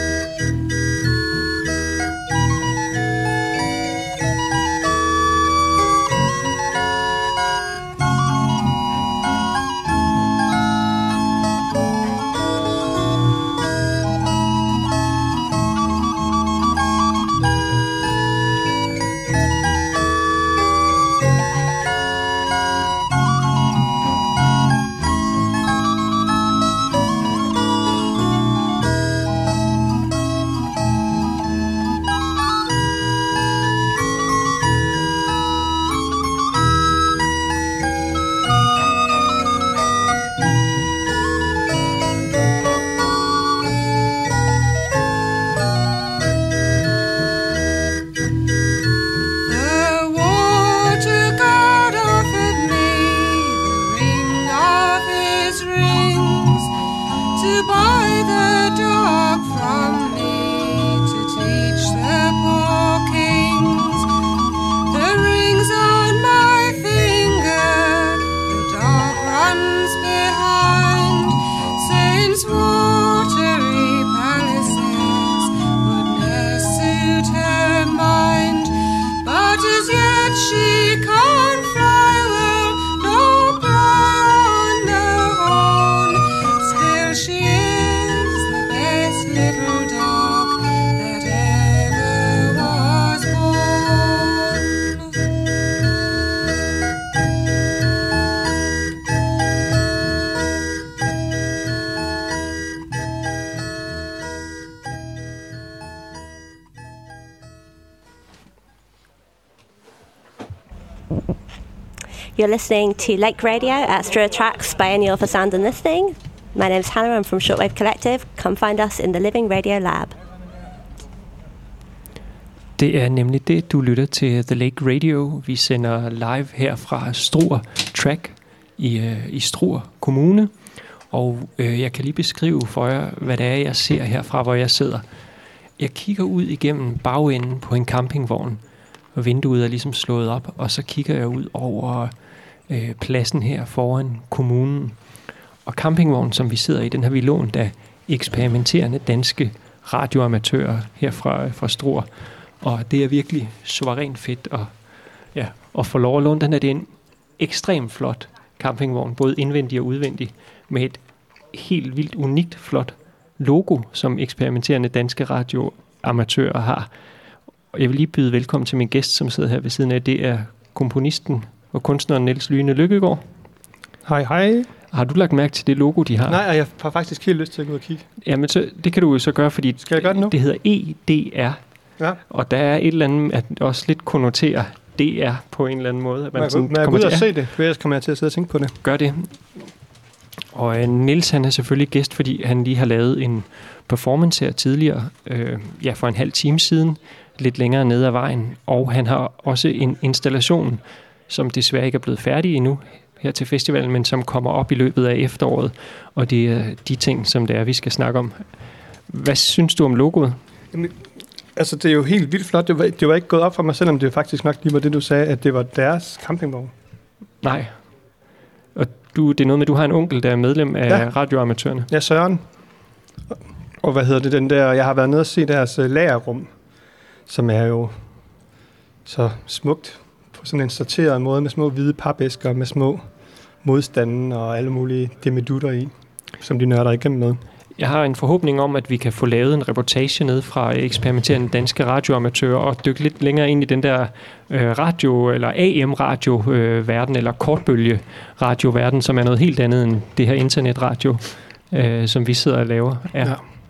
The water god offered me the ring of his rings, to buy the dog from me, to teach the poor kings. The ring's on my finger, the dog runs behind, since watery palaces would ne'er suit her mind. But as yet she can't fly well, nor play on the horn. Still she is the best little dog that ever was born. You're listening to Lake Radio at Struer Tracks Biennial for Sound and Listening. My name's Hannah, I'm from Shortwave Collective. Come find us in the Living Radio Lab. Det er nemlig det, du lytter til The Lake Radio. Vi sender live her fra Struer Track i Struer Kommune. Og jeg kan lige beskrive for jer, hvad det er, jeg ser herfra, hvor jeg sidder. Jeg kigger ud igennem bagenden på en campingvogn, og vinduet er ligesom slået op, og så kigger jeg ud over pladsen her foran kommunen. Og campingvognen, som vi sidder i, den har vi lånt af eksperimenterende danske radioamatører her fra Struer. Og det er virkelig suverænt fedt at få lov at låne den her. Det er en ekstremt flot campingvogn, både indvendig og udvendig, med et helt vildt unikt flot logo, som eksperimenterende danske radioamatører har. Og jeg vil lige byde velkommen til min gæst, som sidder her ved siden af. Det er komponisten og kunstneren Niels Lyne Lykkegaard. Hej, hej. Har du lagt mærke til det logo, de har? Nej, jeg har faktisk helt lyst til at gå ud og kigge. Jamen, det kan du jo så gøre, fordi skal jeg gøre det nu? Det hedder EDR. Ja. Og der er et eller andet, at også lidt konnoterer DR på en eller anden måde. At man må jeg gå ud og se det? For ellers kommer jeg til at sidde og tænke på det. Gør det. Og Niels, han er selvfølgelig gæst, fordi han lige har lavet en performance her tidligere, for en halv time siden, lidt længere nede ad vejen. Og han har også en installation, som desværre ikke er blevet færdig endnu her til festivalen, men som kommer op i løbet af efteråret. Og det er de ting, som det er, vi skal snakke om. Hvad synes du om logoet? Jamen, altså, det er jo helt vildt flot. Det var ikke gået op for mig, selvom det faktisk nok lige var det, du sagde, at det var deres campingvogn. Nej. Og det er noget med, at du har en onkel, der er medlem af radioamatørerne. Ja, Søren. Og hvad hedder det, den der, jeg har været nede og se deres lagerrum, som er jo så smukt på sådan en sorteret måde, med små hvide papæsker, med små modstande og alle mulige demidutter i, som de nørder igennem med. Jeg har en forhåbning om, at vi kan få lavet en reportage ned fra eksperimenterende danske radioamatører og dykke lidt længere ind i den der radio- eller AM-radio-verden, eller kortbølge-radio-verden, som er noget helt andet end det her internetradio, som vi sidder og laver. Ja.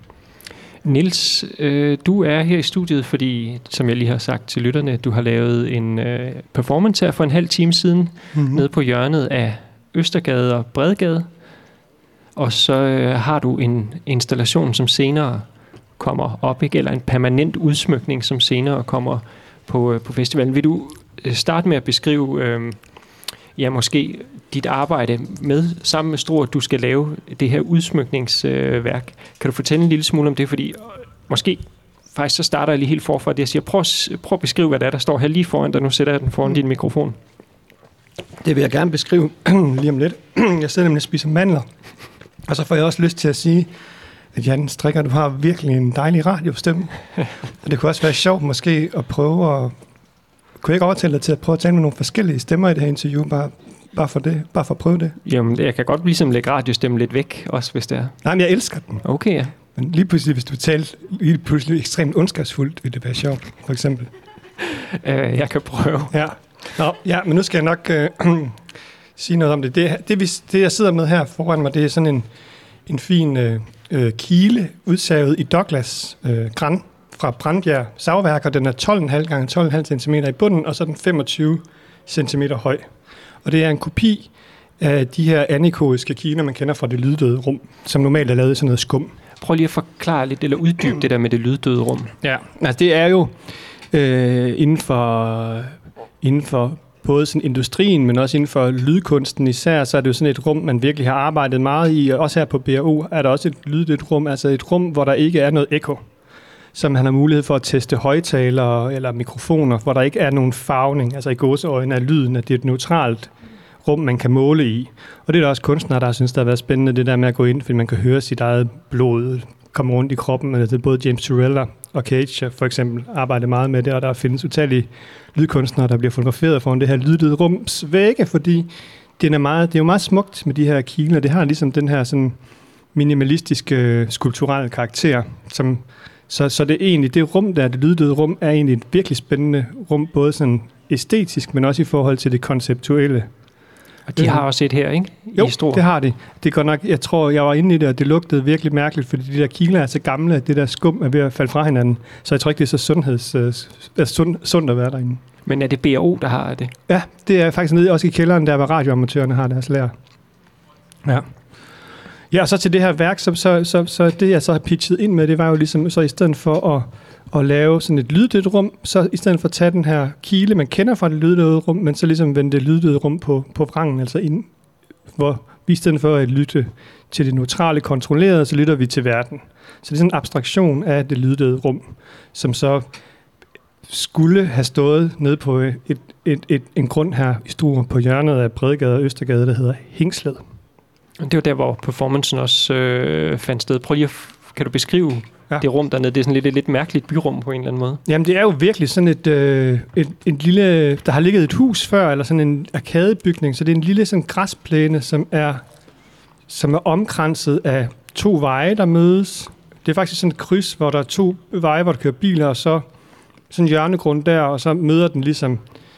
Niels, du er her i studiet, fordi, som jeg lige har sagt til lytterne, du har lavet en performance her for en halv time siden, nede på hjørnet af Østergade og Bredgade. Og så har du en installation, som senere kommer op, ikke? Eller en permanent udsmykning, som senere kommer på festivalen. Vil du starte med at beskrive, måske dit arbejde sammen med Struer, du skal lave det her udsmykningsværk. Kan du fortælle en lille smule om det? Fordi måske faktisk så starter jeg lige helt forfra det. Jeg siger, prøv at beskrive, hvad der står her lige foran dig. Nu sætter jeg den foran din mikrofon. Det vil jeg gerne beskrive lige om lidt. Jeg sidder nemlig og spiser mandler. Og så får jeg også lyst til at sige, at Jan Strikker, du har virkelig en dejlig radiostemme. Og det kunne også være sjovt måske at prøve at... Kunne jeg ikke overtale dig til at prøve at tale med nogle forskellige stemmer i det her interview? Bare for det. Bare for at prøve det. Jamen, jeg kan godt ligesom lægge radiostemmen lidt væk, også hvis det er. Nej, men jeg elsker den. Okay, ja. Men lige pludselig, hvis du talte lige pludselig ekstremt ondskabsfuldt, vil det være sjovt, for eksempel. Jeg kan prøve. Ja. Ja, men nu skal jeg nok sige noget om det. Det, jeg sidder med her foran mig, det er sådan en fin kile, udsavet i Douglas gran fra Brandbjerg Savværk, og den er 12,5 gange 12,5 cm i bunden, og så er den 25 cm høj. Og det er en kopi af de her anekoiske kiler, man kender fra det lyddøde rum, som normalt er lavet i sådan noget skum. Prøv lige at forklare lidt, eller uddybe det der med det lyddøde rum. Ja, altså det er jo inden for både sådan industrien, men også inden for lydkunsten især, så er det jo sådan et rum, man virkelig har arbejdet meget i. Og også her på BRU er der også et lyddødt rum, altså et rum, hvor der ikke er noget ekko, som man har mulighed for at teste højtalere eller mikrofoner, hvor der ikke er nogen farvning, altså i gåseøjne af lyden, at det er et neutralt rum, man kan måle i. Og det er der også kunstnere, der synes, der har været spændende, det der med at gå ind, fordi man kan høre sit eget blod komme rundt i kroppen. Altså både James Turrell og Cage for eksempel arbejder meget med det, og der findes utallige lydkunstnere, der bliver fotograferet foran det her lyddøde rums vægge, fordi det er jo meget smukt med de her kiler. Det har ligesom den her sådan minimalistiske skulpturelle karakter, som så det er egentlig det rum der, det lyddøde rum, er egentlig et virkelig spændende rum, både sådan æstetisk, men også i forhold til det konceptuelle. Og de har også et her, ikke? Jo, det har de. Det er godt nok, jeg tror, jeg var inde i det, og det lugtede virkelig mærkeligt, fordi de der kiler er så gamle, at det der skum er ved at falde fra hinanden. Så jeg tror ikke, det er så sundt at være derinde. Men er det BRO, der har det? Ja, det er faktisk nede også i kælderen, der hvor radioamatørerne har deres lager. Ja. Ja, og så til det her værk, så det jeg så har pitchet ind med, det var jo ligesom, så i stedet for at lave sådan et lyddødt rum, så i stedet for at tage den her kile, man kender fra det lyddøde rum, men så ligesom vende det lyddøde rum på vrangen, altså ind, hvor vi i stedet for at lytte til det neutrale kontrollerede, så lytter vi til verden. Så det er sådan en abstraktion af det lyddøde rum, som så skulle have stået nede på en grund her i Struer på hjørnet af Bredgade og Østergade, der hedder Hingslet. Det var der, hvor performancen også fandt sted. Prøv lige kan du beskrive det rum dernede? Det er sådan lidt mærkeligt byrum på en eller anden måde. Jamen, det er jo virkelig sådan et lille... Der har ligget et hus før, eller sådan en arkadebygning, så det er en lille sådan græsplæne, som er omkranset af 2 veje, der mødes. Det er faktisk sådan et kryds, hvor der er 2 veje, hvor der kører biler, og så sådan en hjørnegrund der, og så møder den ligesom...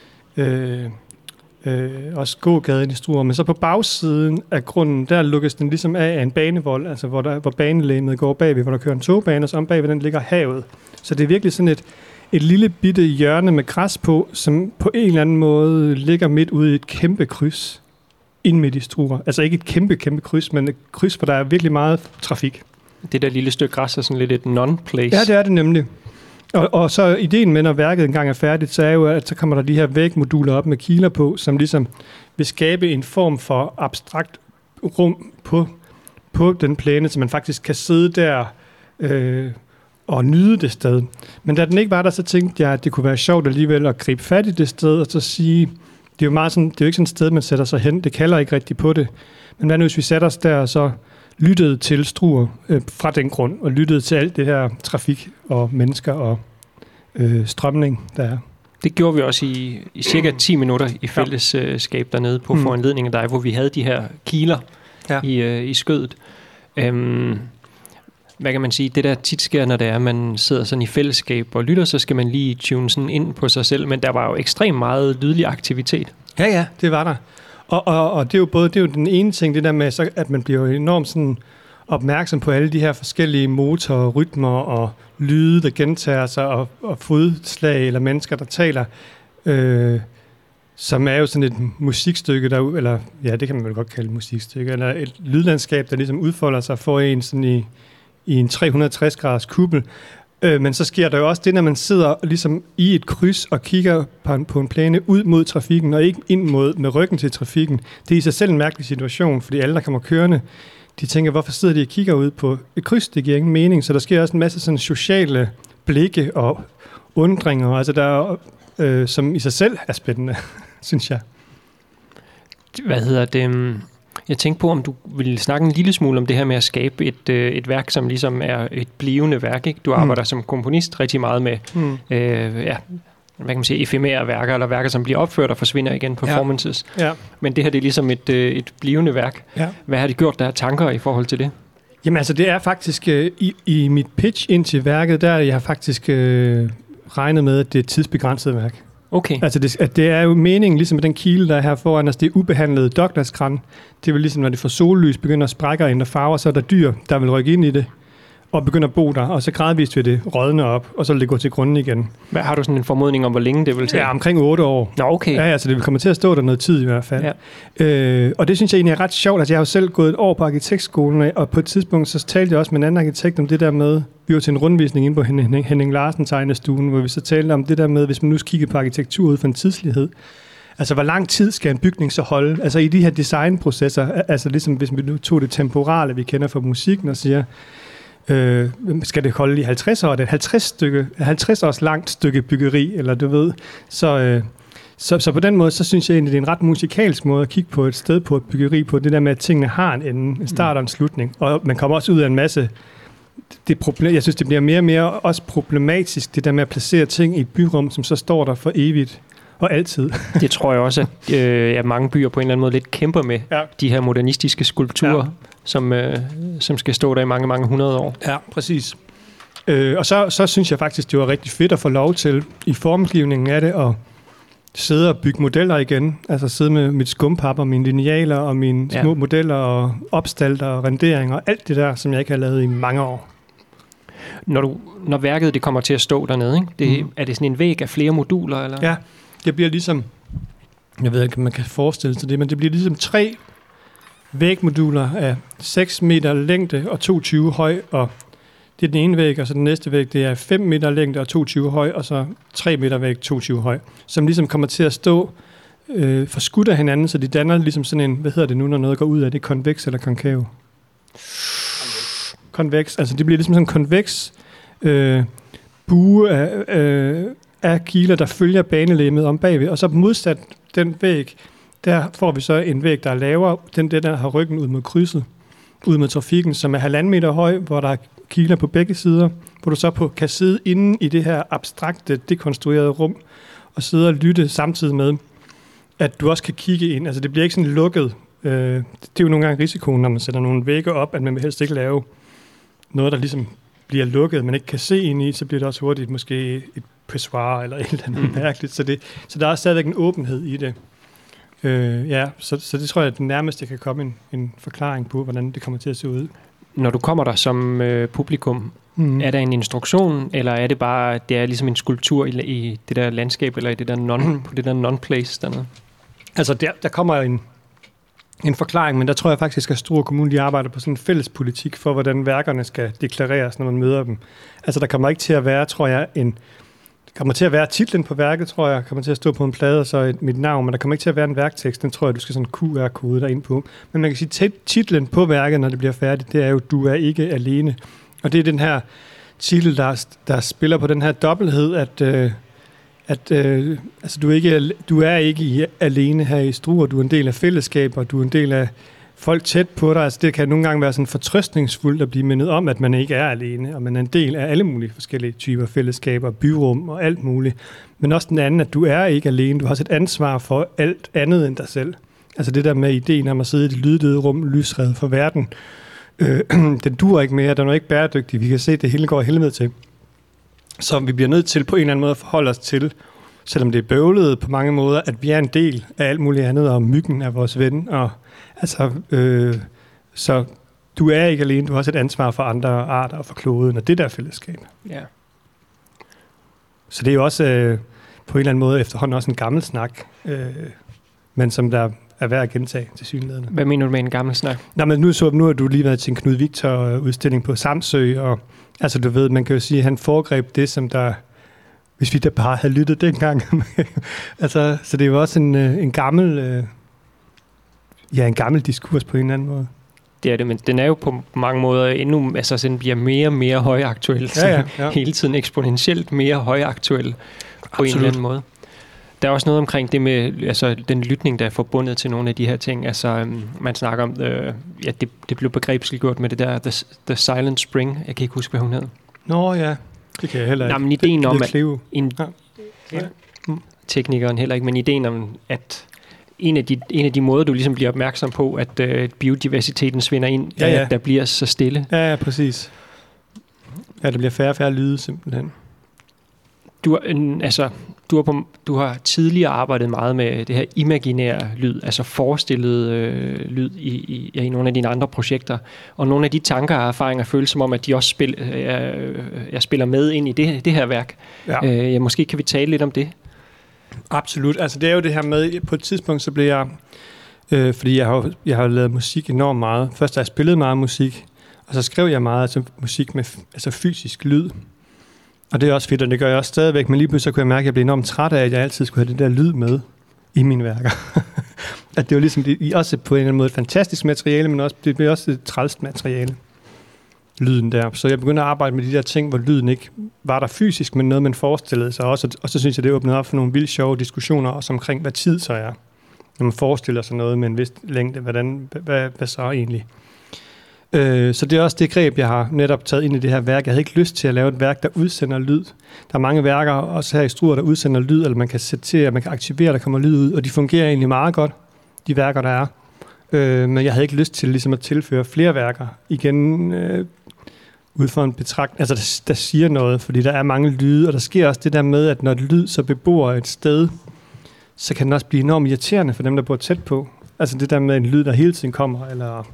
også gågaden i Struer, men så på bagsiden af grunden, der lukkes den ligesom af en banevold, altså hvor banelægemet går bagved, hvor der kører en togbane, og så om bagved den ligger havet. Så det er virkelig sådan et lille bitte hjørne med græs på, som på en eller anden måde ligger midt ude i et kæmpe kryds ind midt i Struer. Altså ikke et kæmpe kryds, men et kryds, hvor der er virkelig meget trafik. Det der lille stykke græs er sådan lidt et non-place. Ja, det er det nemlig. Og så ideen med, når værket engang er færdigt, så er jo, at så kommer der de her vægmoduler op med kiler på, som ligesom vil skabe en form for abstrakt rum på den plæne, så man faktisk kan sidde der og nyde det sted. Men da den ikke var der, så tænkte jeg, at det kunne være sjovt alligevel at gribe fat i det sted, og så sige, det er jo meget sådan, det er jo ikke sådan et sted, man sætter sig hen, det kalder ikke rigtig på det. Men hvad nu, hvis vi sætter os der, og så lyttede til Struer fra den grund, og lyttede til alt det her trafik og mennesker og strømning, der er. Det gjorde vi også i cirka 10 minutter i fællesskab dernede på foranledning af dig, hvor vi havde de her kiler i skødet. hvad kan man sige, det der tit sker, når det er, at man sidder sådan i fællesskab og lytter, så skal man lige tune sådan ind på sig selv, men der var jo ekstremt meget lydlig aktivitet. Ja, det var der. Og det er jo den ene ting, det der med, så, at man bliver jo enormt sådan opmærksom på alle de her forskellige motorer, rytmer og lyde, der gentager sig, og fodslag eller mennesker, der taler, som er jo sådan et musikstykke, eller ja, det kan man vel godt kalde musikstykke, eller et lydlandskab, der ligesom udfolder sig for en sådan i en 360-graders kuppel. Men så sker der jo også det, når man sidder ligesom i et kryds og kigger på en plæne ud mod trafikken, og ikke ind med ryggen til trafikken. Det er i sig selv en mærkelig situation, fordi alle, der kommer kørende, de tænker, hvorfor sidder de og kigger ud på et kryds? Det giver ingen mening. Så der sker også en masse sådan sociale blikke og undringer, altså der som i sig selv er spændende, synes jeg. Hvad hedder det? Jeg tænkte på, om du ville snakke en lille smule om det her med at skabe et værk, som ligesom er et blivende værk, ikke? Du arbejder som komponist rigtig meget med, hvad kan man sige, efemære værker, eller værker, som bliver opført og forsvinder igen, performances. Ja. Men det her, det er ligesom et blivende værk. Ja. Hvad har de gjort, der er tanker i forhold til det? Jamen altså, det er faktisk, i mit pitch ind til værket, der jeg har faktisk regnet med, at det er et tidsbegrænset værk. Okay. Altså, det er jo meningen, ligesom med den kile, der er her foran os, det er ubehandlede Douglas-gran. Det er vel ligesom, når det får sollys, begynder at sprække og ændre farver, så er der dyr, der vil rykke ind i det, og begynder at bo der, og så gradvist vil det rådne op, og så vil det gå til grunden igen. Hvad, har du sådan en formodning om, hvor længe det vil tage? Ja, omkring 8 år. Nå, okay. Ja, altså det vil komme til at stå der noget tid i hvert fald. Ja. Og det synes jeg egentlig er ret sjovt. Altså jeg har jo selv gået et år på arkitektskolen, og på et tidspunkt så talte jeg også med en anden arkitekt om det der med, vi var til en rundvisning inde på Henning Larsen tegnestuen, hvor vi så talte om det der med, hvis man nu kigger på arkitektur ud fra en tidslighed. Altså, hvor lang tid skal en bygning så holde? Altså, i de her designprocesser, altså ligesom hvis vi nu tog det temporale, vi kender fra musikken, og siger, skal det holde i 50 år? Det er et 50 års langt stykke byggeri, eller du ved. Så på den måde, så synes jeg egentlig, det er en ret musikalsk måde at kigge på et sted på et byggeri på, det der med, at tingene har en ende, en start og en slutning. Og man kommer også ud af en masse... jeg synes, det bliver mere og mere også problematisk, det der med at placere ting i et byrum, som så står der for evigt og altid. Det tror jeg også, at mange byer på en eller anden måde lidt kæmper med, de her modernistiske skulpturer, som skal stå der i mange, mange 100 år. Ja, præcis. Og så synes jeg faktisk, det var rigtig fedt at få lov til, i formgivningen af det, at sidde og bygge modeller igen. Altså sidde med mit skumpap og mine linealer og mine små modeller og opstalter og renderinger og alt det der, som jeg ikke har lavet i mange år. Når værket det kommer til at stå dernede, ikke? Er det sådan en væg af flere moduler? Eller? Ja, det bliver ligesom, jeg ved ikke, om man kan forestille sig det, men det bliver ligesom 3 vægmoduler af 6 meter længde og 22 høj, og det er den ene væg, og så den næste væg, det er 5 meter længde og 22 høj, og så 3 meter væg, 22 høj, som ligesom kommer til at stå forskudt af hinanden, så de danner ligesom sådan en, hvad hedder det nu, når noget går ud af det, konveks eller konkav? Konveks, altså det bliver ligesom sådan en konveks bue af kiler, der følger banelemmet om bagved, og så modsat den væg, der får vi så en væg, der er lavere, den der har ryggen ud mod krydset, ud mod trafikken, som er 1,5 meter høj, hvor der er kiler på begge sider, hvor du så kan sidde inde i det her abstrakte, dekonstruerede rum, og sidde og lytte samtidig med, at du også kan kigge ind. Altså det bliver ikke sådan lukket. Det er jo nogle gange risikoen, når man sætter nogle vægge op, at man vil helst ikke lave noget, der ligesom bliver lukket, man ikke kan se ind i, så bliver det også hurtigt måske et pissoir eller et eller andet mærkeligt. Så der er stadigvæk en åbenhed i det. Så det tror jeg, at den nærmeste kan komme en forklaring på, hvordan det kommer til at se ud. Når du kommer der som publikum, er der en instruktion, eller er det bare, det er ligesom en skulptur i det der landskab, eller i det der på det der non-place dernede? Altså, der kommer en forklaring, men der tror jeg faktisk, at Struer Kommune, de arbejder på sådan en fælles politik for, hvordan værkerne skal deklareres, når man møder dem. Altså, der kommer ikke til at være, tror jeg, kommer til at være titlen på værket, tror jeg, kommer til at stå på en plade, og så mit navn, men der kommer ikke til at være en værktekst, den tror jeg, du skal sådan en QR-kode derind på. Men man kan sige, titlen på værket, når det bliver færdigt, det er jo, du er ikke alene. Og det er den her titel, der spiller på den her dobbelthed, at altså du er ikke alene her i Struer, du er en del af fællesskaber, du er en del af folk tæt på dig. Altså det kan nogle gange være sådan fortrøstningsfuldt at blive mindet om, at man ikke er alene, og man er en del af alle mulige forskellige typer fællesskaber, byrum og alt muligt. Men også den anden, at du er ikke alene, du har også et ansvar for alt andet end dig selv. Altså det der med ideen om at sidde i det lyddøde rum, lysred for verden, Den duer ikke mere, den er ikke bæredygtig. Vi kan se, at det hele går helvede til. Så vi bliver nødt til på en eller anden måde at forholde os til, selvom det er bøvlet på mange måder, at vi er en del af alt muligt andet, og myggen er vores ven. Og, altså, så du er ikke alene, du har også et ansvar for andre arter og for kloden, og det der fællesskab. Ja. Så det er jo også på en eller anden måde efterhånden også en gammel snak, men som der er værd at gentage til synligheden. Hvad mener du med en gammel snak? Nej, men nu har du lige været til en Knud Victor-udstilling på Samsø, og altså du ved, man kan jo sige, at han foregreb det, som der, hvis vi da bare havde lyttet dengang. Altså, så det er jo også en gammel, en gammel diskurs på en eller anden måde. Det er det, men den er jo på mange måder endnu, altså den bliver mere og mere højaktuel, ja. Hele tiden eksponentielt mere højaktuel på en eller anden måde. Der er også noget omkring det med altså, den lytning, der er forbundet til nogle af de her ting. Altså, man snakker om, det blev begrebsliggjort med det der The Silent Spring. Jeg kan ikke huske, hvad hun hed. Nå ja, det kan jeg heller ikke. Nej, men ideen om, at teknikeren heller ikke, men ideen om, at en af de måder, du ligesom bliver opmærksom på, at biodiversiteten svinder ind, at der bliver så stille. Ja, præcis. Ja, der bliver færre og færre lyde, simpelthen. Du har tidligere arbejdet meget med det her imaginære lyd, altså forestillet lyd i nogle af dine andre projekter. Og nogle af de tanker og erfaringer føles som om, at de også spiller med ind i det her værk. Ja. Måske kan vi tale lidt om det. Absolut. Altså det er jo det her med, på et tidspunkt så blev jeg, fordi jeg har lavet musik enormt meget. Først har jeg spillet meget musik, og så skrev jeg meget musik med fysisk lyd. Og det er også fedt, og det gør jeg også stadigvæk, men lige pludselig kunne jeg mærke, at jeg blev enormt træt af, at jeg altid skulle have det der lyd med i mine værker. At det var ligesom, også på en eller anden måde et fantastisk materiale, men også, det blev også et trælst materiale, lyden der. Så jeg begyndte at arbejde med de der ting, hvor lyden ikke var der fysisk, men noget, man forestillede sig også. Og så synes jeg, det åbnede op for nogle vildt sjove diskussioner, også omkring, hvad tid så er. Når man forestiller sig noget med en vis længde, hvad så egentlig? Så det er også det greb, jeg har netop taget ind i det her værk. Jeg havde ikke lyst til at lave et værk, der udsender lyd. Der er mange værker, også her i Struer, der udsender lyd, eller man kan sætte til, at man kan aktivere, der kommer lyd ud, og de fungerer egentlig meget godt, de værker, der er. Men jeg havde ikke lyst til ligesom at tilføre flere værker igen ud for en betragtning, altså der siger noget, fordi der er mange lyde, og der sker også det der med, at når et lyd så bebor et sted, så kan den også blive enormt irriterende for dem, der bor tæt på. Altså det der med en lyd, der hele tiden kommer, eller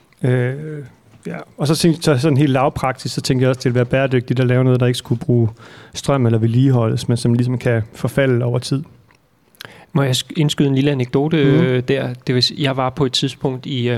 og så sådan helt lavpraktisk, så tænkte jeg også, at det ville være bæredygtigt at lave noget, der ikke skulle bruge strøm eller vedligeholdes, men som ligesom kan forfalde over tid. Må jeg indskyde en lille anekdote der? Det vil sige, jeg var på et tidspunkt i,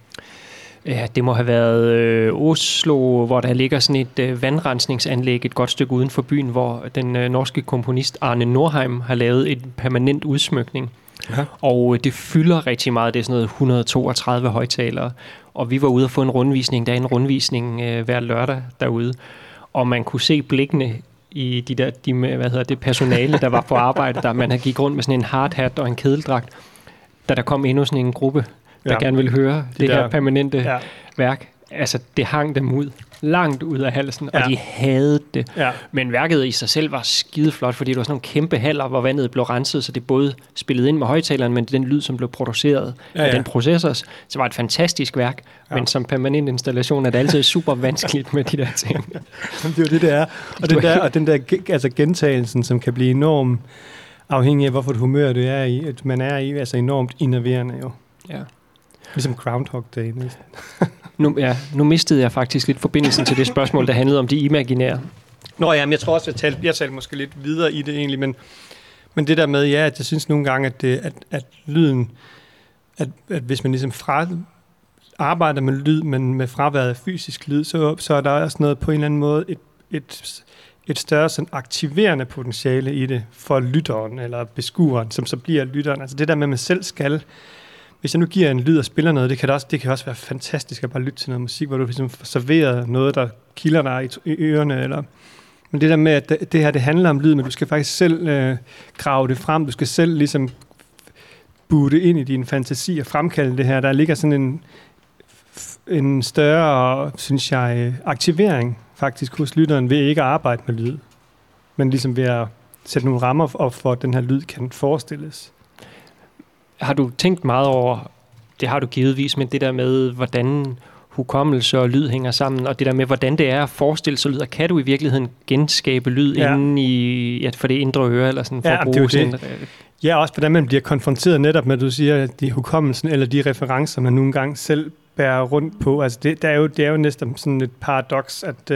det må have været Oslo, hvor der ligger sådan et vandrensningsanlæg et godt stykke uden for byen, hvor den norske komponist Arne Nordheim har lavet en permanent udsmykning. Ja. Og det fylder rigtig meget. Det er sådan noget 132 højtalere. Og vi var ude og få en rundvisning. Der er en rundvisning hver lørdag derude. Og man kunne se blikkene i det personale, der var på arbejde. Der man havde gik rundt med sådan en hardhat og en kedeldragt. Da der kom endnu sådan en gruppe, der gerne ville høre det her permanente værk. Altså, det hang dem ud. Langt ud af halsen, og de havde det. Ja. Men værket i sig selv var skideflot, fordi det var sådan nogle kæmpe haller, hvor vandet blev renset, så det både spillede ind med højtaleren, men den lyd, som blev produceret af den processor, så var det et fantastisk værk. Men som permanent installation er det altid super vanskeligt med de der ting. Det er jo det er. Og den der altså gentagelsen, som kan blive enormt afhængig af, hvorfor et humør du er i, at man er i, altså enormt innerverende jo. Ja. Ligesom Groundhog Day næsten. Nu mistede jeg faktisk lidt forbindelsen til det spørgsmål, der handlede om de imaginære. Nå ja, men jeg tror også, jeg talte måske lidt videre i det egentlig, men det der med, at jeg synes nogle gange, at lyden, at hvis man ligesom arbejder med lyd, men med fraværet af fysisk lyd, så er der også noget på en eller anden måde, et større sådan aktiverende potentiale i det for lytteren eller beskueren, som så bliver lytteren. Altså det der med, at man selv skal. Hvis jeg nu giver en lyd og spiller noget, det kan også være fantastisk at bare lytte til noget musik, hvor du ligesom får serveret noget, der kilder dig i ørerne. Men det der med, at det her det handler om lyd, men du skal faktisk selv grave det frem. Du skal selv ligesom boote ind i din fantasi og fremkalde det her. Der ligger sådan en større, synes jeg, aktivering faktisk hos lytteren ved ikke at arbejde med lyd. Men ligesom ved at sætte nogle rammer op for, at den her lyd kan forestilles. Har du tænkt meget over, det har du givetvis, men det der med, hvordan hukommelse og lyd hænger sammen, og det der med, hvordan det er at forestille sig lyd, og kan du i virkeligheden genskabe lyd inde i, for det indre øre, eller sådan, for at bruge sådan det. Ja, også hvordan man bliver konfronteret netop med, at du siger, at de hukommelsen, eller de referencer, man nogle gange selv bærer rundt på. Altså det er jo næsten sådan et paradoks, at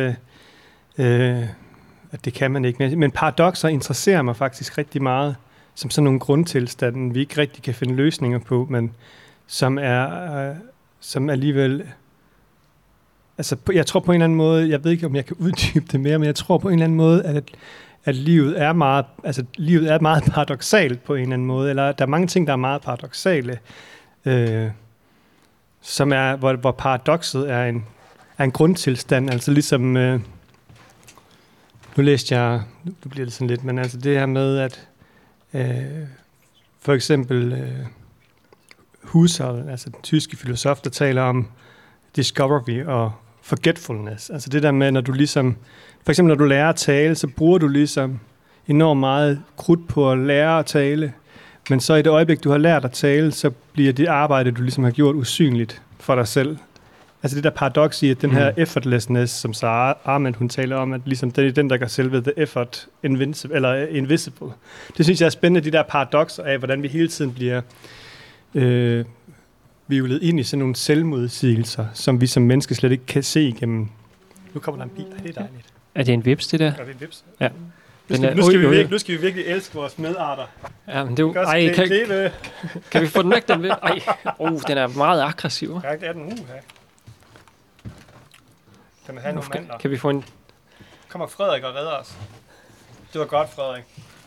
det kan man ikke. Men paradokser interesserer mig faktisk rigtig meget, som sådan nogle grundtilstande, vi ikke rigtig kan finde løsninger på, men som alligevel... Altså, jeg tror på en eller anden måde, jeg ved ikke, om jeg kan uddybe det mere, men jeg tror på en eller anden måde, at livet er meget paradoksalt på en eller anden måde, eller der er mange ting, der er meget paradoksale, som er, hvor paradokset er en grundtilstand, altså ligesom, nu læste jeg, nu bliver det sådan lidt, men altså det her med, at for eksempel Husserl, altså den tyske filosof, der taler om discovery og forgetfulness, altså det der med, når du ligesom, for eksempel når du lærer at tale, så bruger du ligesom enormt meget krudt på at lære at tale, men så i det øjeblik, du har lært at tale, så bliver det arbejde, du ligesom har gjort, usynligt for dig selv. Altså det der paradoks i, at den her effortlessness, som Sarah Arment, hun taler om, at ligesom det er den, der gør selve the effort invisible. Det synes jeg er spændende, de der paradokser af, hvordan vi hele tiden bliver vivlet ind i sådan nogle selvmodsigelser, som vi som mennesker slet ikke kan se igennem. Nu kommer der en bil. Det er dejligt. Er det en vips, det der? Ja, det er en vips. Ja. Nu skal vi virkelig elske vores medarter. Ja, men det er jo... Kan vi få den væk, den ved? Den er meget aggressiv. Ja, det er den her. Kan man have nogle mandler? Kan vi få en... Kommer Frederik og redder os. Det var godt, Frederik.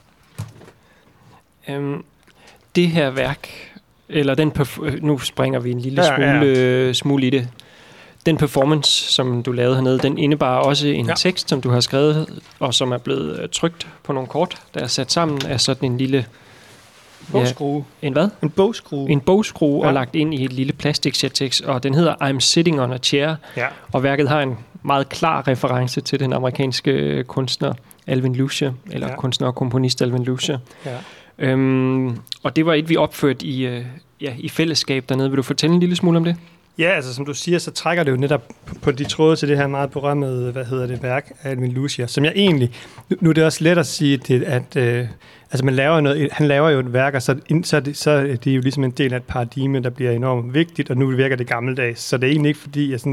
Det her værk, eller nu springer vi en lille smule i det. Den performance, som du lavede hernede, den indebar også en tekst, som du har skrevet, og som er blevet trykt på nogle kort, der er sat sammen af sådan en lille... Bogskrue. En hvad? En bogskrue. En bogskrue, og lagt ind i et lille plastiksektekst, og den hedder I'm Sitting on a Chair, og værket har en meget klar reference til den amerikanske kunstner Alvin Lucia, eller kunstner og komponist Alvin Lucia. Ja. Og det var et, vi opførte i fællesskab dernede. Vil du fortælle en lille smule om det? Ja, altså som du siger, så trækker det jo netop på de tråde til det her meget berømmede, værk af Alvin Lucia, som jeg egentlig... Nu er det også let at sige, at altså man laver noget, han laver jo et værk, og så er det jo ligesom en del af et paradigme, der bliver enormt vigtigt, og nu virker det gammeldags. Så det er egentlig ikke, fordi jeg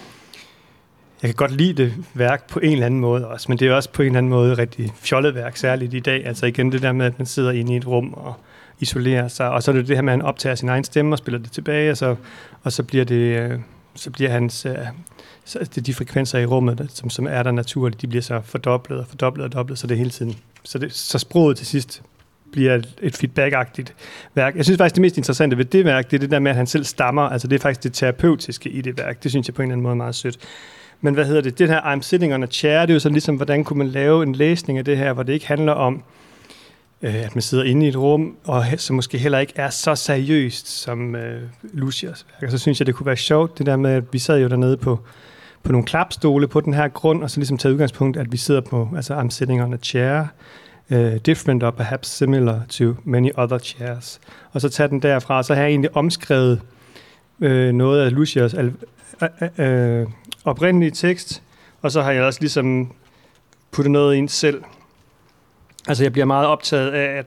kan godt lide det værk på en eller anden måde også, men det er også på en eller anden måde rigtig fjollet værk, særligt i dag. Altså igen det der med, at man sidder inde i et rum og isolerer sig, og så er det det her med, at han optager sin egen stemme og spiller det tilbage, og så bliver hans... de frekvenser i rummet, som er der naturligt, de bliver så fordoblet, så det hele tiden. Så sproget til sidst bliver et feedback-agtigt værk. Jeg synes faktisk, det mest interessante ved det værk, det er det der med, at han selv stammer. Altså det er faktisk det terapeutiske i det værk. Det synes jeg på en eller anden måde er meget sødt. Men det her I'm Sitting on a Chair, det er jo sådan ligesom, hvordan kunne man lave en læsning af det her, hvor det ikke handler om, at man sidder inde i et rum, og så måske heller ikke er så seriøst som Lucias værk. Og så synes jeg, det kunne være sjovt, det der med, at vi sad jo dernede på nogle klapstole på den her grund, og så ligesom tage udgangspunkt, at vi sidder på, altså I'm sitting on a chair, different or perhaps similar to many other chairs. Og så tage den derfra, og så har jeg egentlig omskrevet noget af Lucias oprindelige tekst, og så har jeg også ligesom puttet noget ind selv. Altså jeg bliver meget optaget af,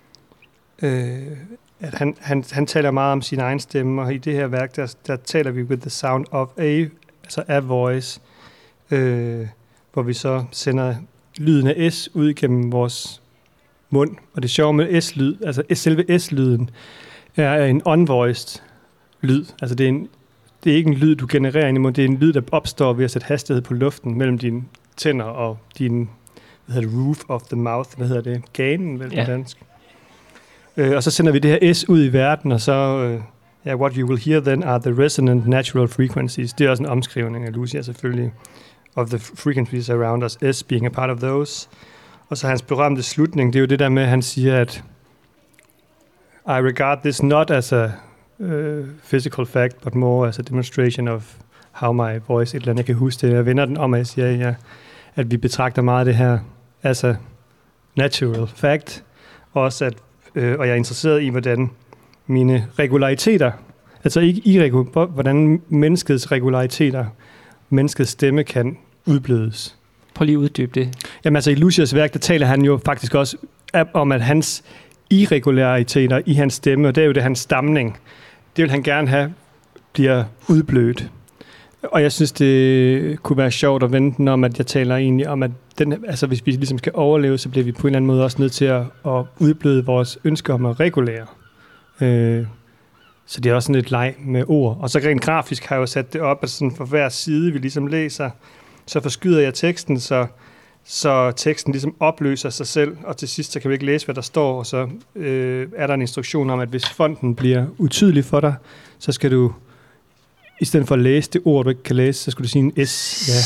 at han taler meget om sin egen stemme, og i det her værk, der taler vi with the sound of a voice, hvor vi så sender lyden af S ud gennem vores mund. Og det sjove med S-lyd, altså selve S-lyden, er en unvoiced lyd. Altså det er ikke en lyd, du genererer ind i munden, det er en lyd, der opstår ved at sætte hastighed på luften mellem dine tænder og din roof of the mouth, ganen vel på dansk. Og så sender vi det her S ud i verden, og så... what you will hear then are the resonant natural frequencies. Det er også en omskrivning af Lucia selvfølgelig. Of the frequencies around us, S being a part of those. Og så hans berømte slutning, det er jo det der med, at han siger, at I regard this not as a physical fact, but more as a demonstration of how my voice, et eller andet, jeg kan huske det. Jeg vender den om, og jeg siger, at vi betragter meget det her as a natural fact. Også at, og jeg er interesseret i, hvordan mine regulariteter, Altså ikke hvordan menneskets regulariteter, menneskets stemme kan udblødes. Prøv lige at uddybe det. Jamen altså i Lucias værk, der taler han jo faktisk også om, at hans irregulariteter i hans stemme, og det er jo det hans stamning, det vil han gerne have, bliver udblødt. Og jeg synes, det kunne være sjovt at vente den om, at jeg taler egentlig om, at hvis vi ligesom skal overleve, så bliver vi på en eller anden måde også nødt til at udbløde vores ønsker om at regulere. Så det er også sådan et leg med ord. Og så rent grafisk har jeg jo sat det op, at sådan for hver side, vi ligesom læser, så forskyder jeg teksten, så teksten ligesom opløser sig selv, og til sidst så kan vi ikke læse, hvad der står, og så er der en instruktion om, at hvis fonten bliver utydelig for dig, så skal du, i stedet for at læse det ord, du ikke kan læse, så skal du sige en S. Ja.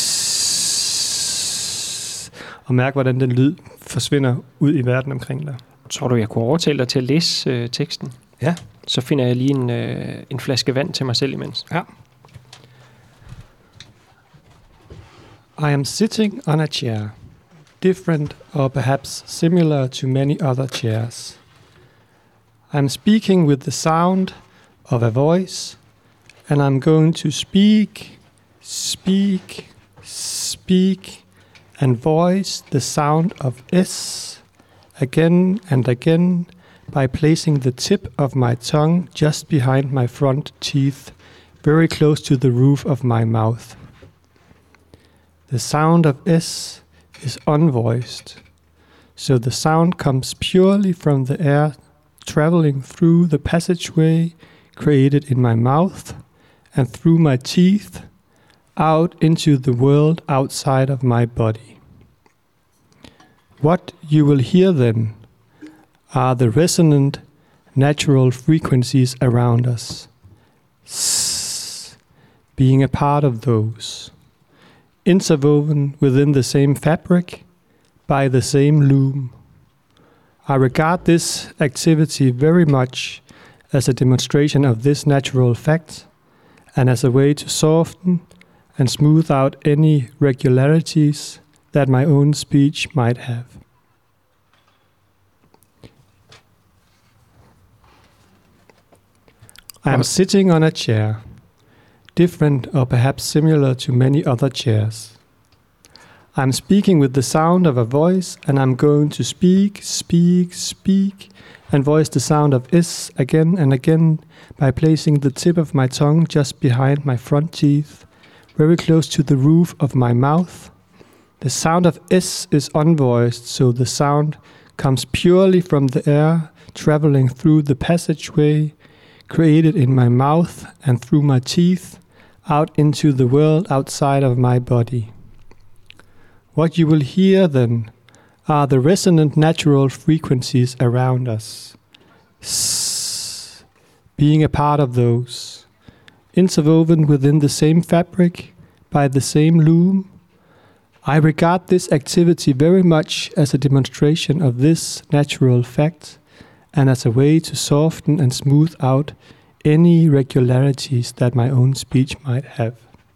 Og mærke, hvordan den lyd forsvinder ud i verden omkring dig. Tror du, jeg kunne overtale dig til at læse teksten? Ja. Så finder jeg lige en flaske vand til mig selv imens. Ja. I am sitting on a chair, different or perhaps similar to many other chairs. I am speaking with the sound of a voice, and I'm going to speak, and voice the sound of S again and again by placing the tip of my tongue just behind my front teeth, very close to the roof of my mouth. The sound of S is unvoiced, so the sound comes purely from the air traveling through the passageway created in my mouth and through my teeth out into the world outside of my body. What you will hear then are the resonant natural frequencies around us, being a part of those, interwoven within the same fabric, by the same loom. I regard this activity very much as a demonstration of this natural fact, and as a way to soften and smooth out any regularities that my own speech might have. I am sitting on a chair, different or perhaps similar to many other chairs. I'm speaking with the sound of a voice, and I'm going to speak, and voice the sound of S again and again by placing the tip of my tongue just behind my front teeth, very close to the roof of my mouth. The sound of S is unvoiced, so the sound comes purely from the air traveling through the passageway created in my mouth and through my teeth out into the world outside of my body. What you will hear then are the resonant natural frequencies around us, being a part of those, interwoven within the same fabric, by the same loom. I regard this activity very much as a demonstration of this natural fact, and as a way to soften and smooth out any irregularities that my own speech might have.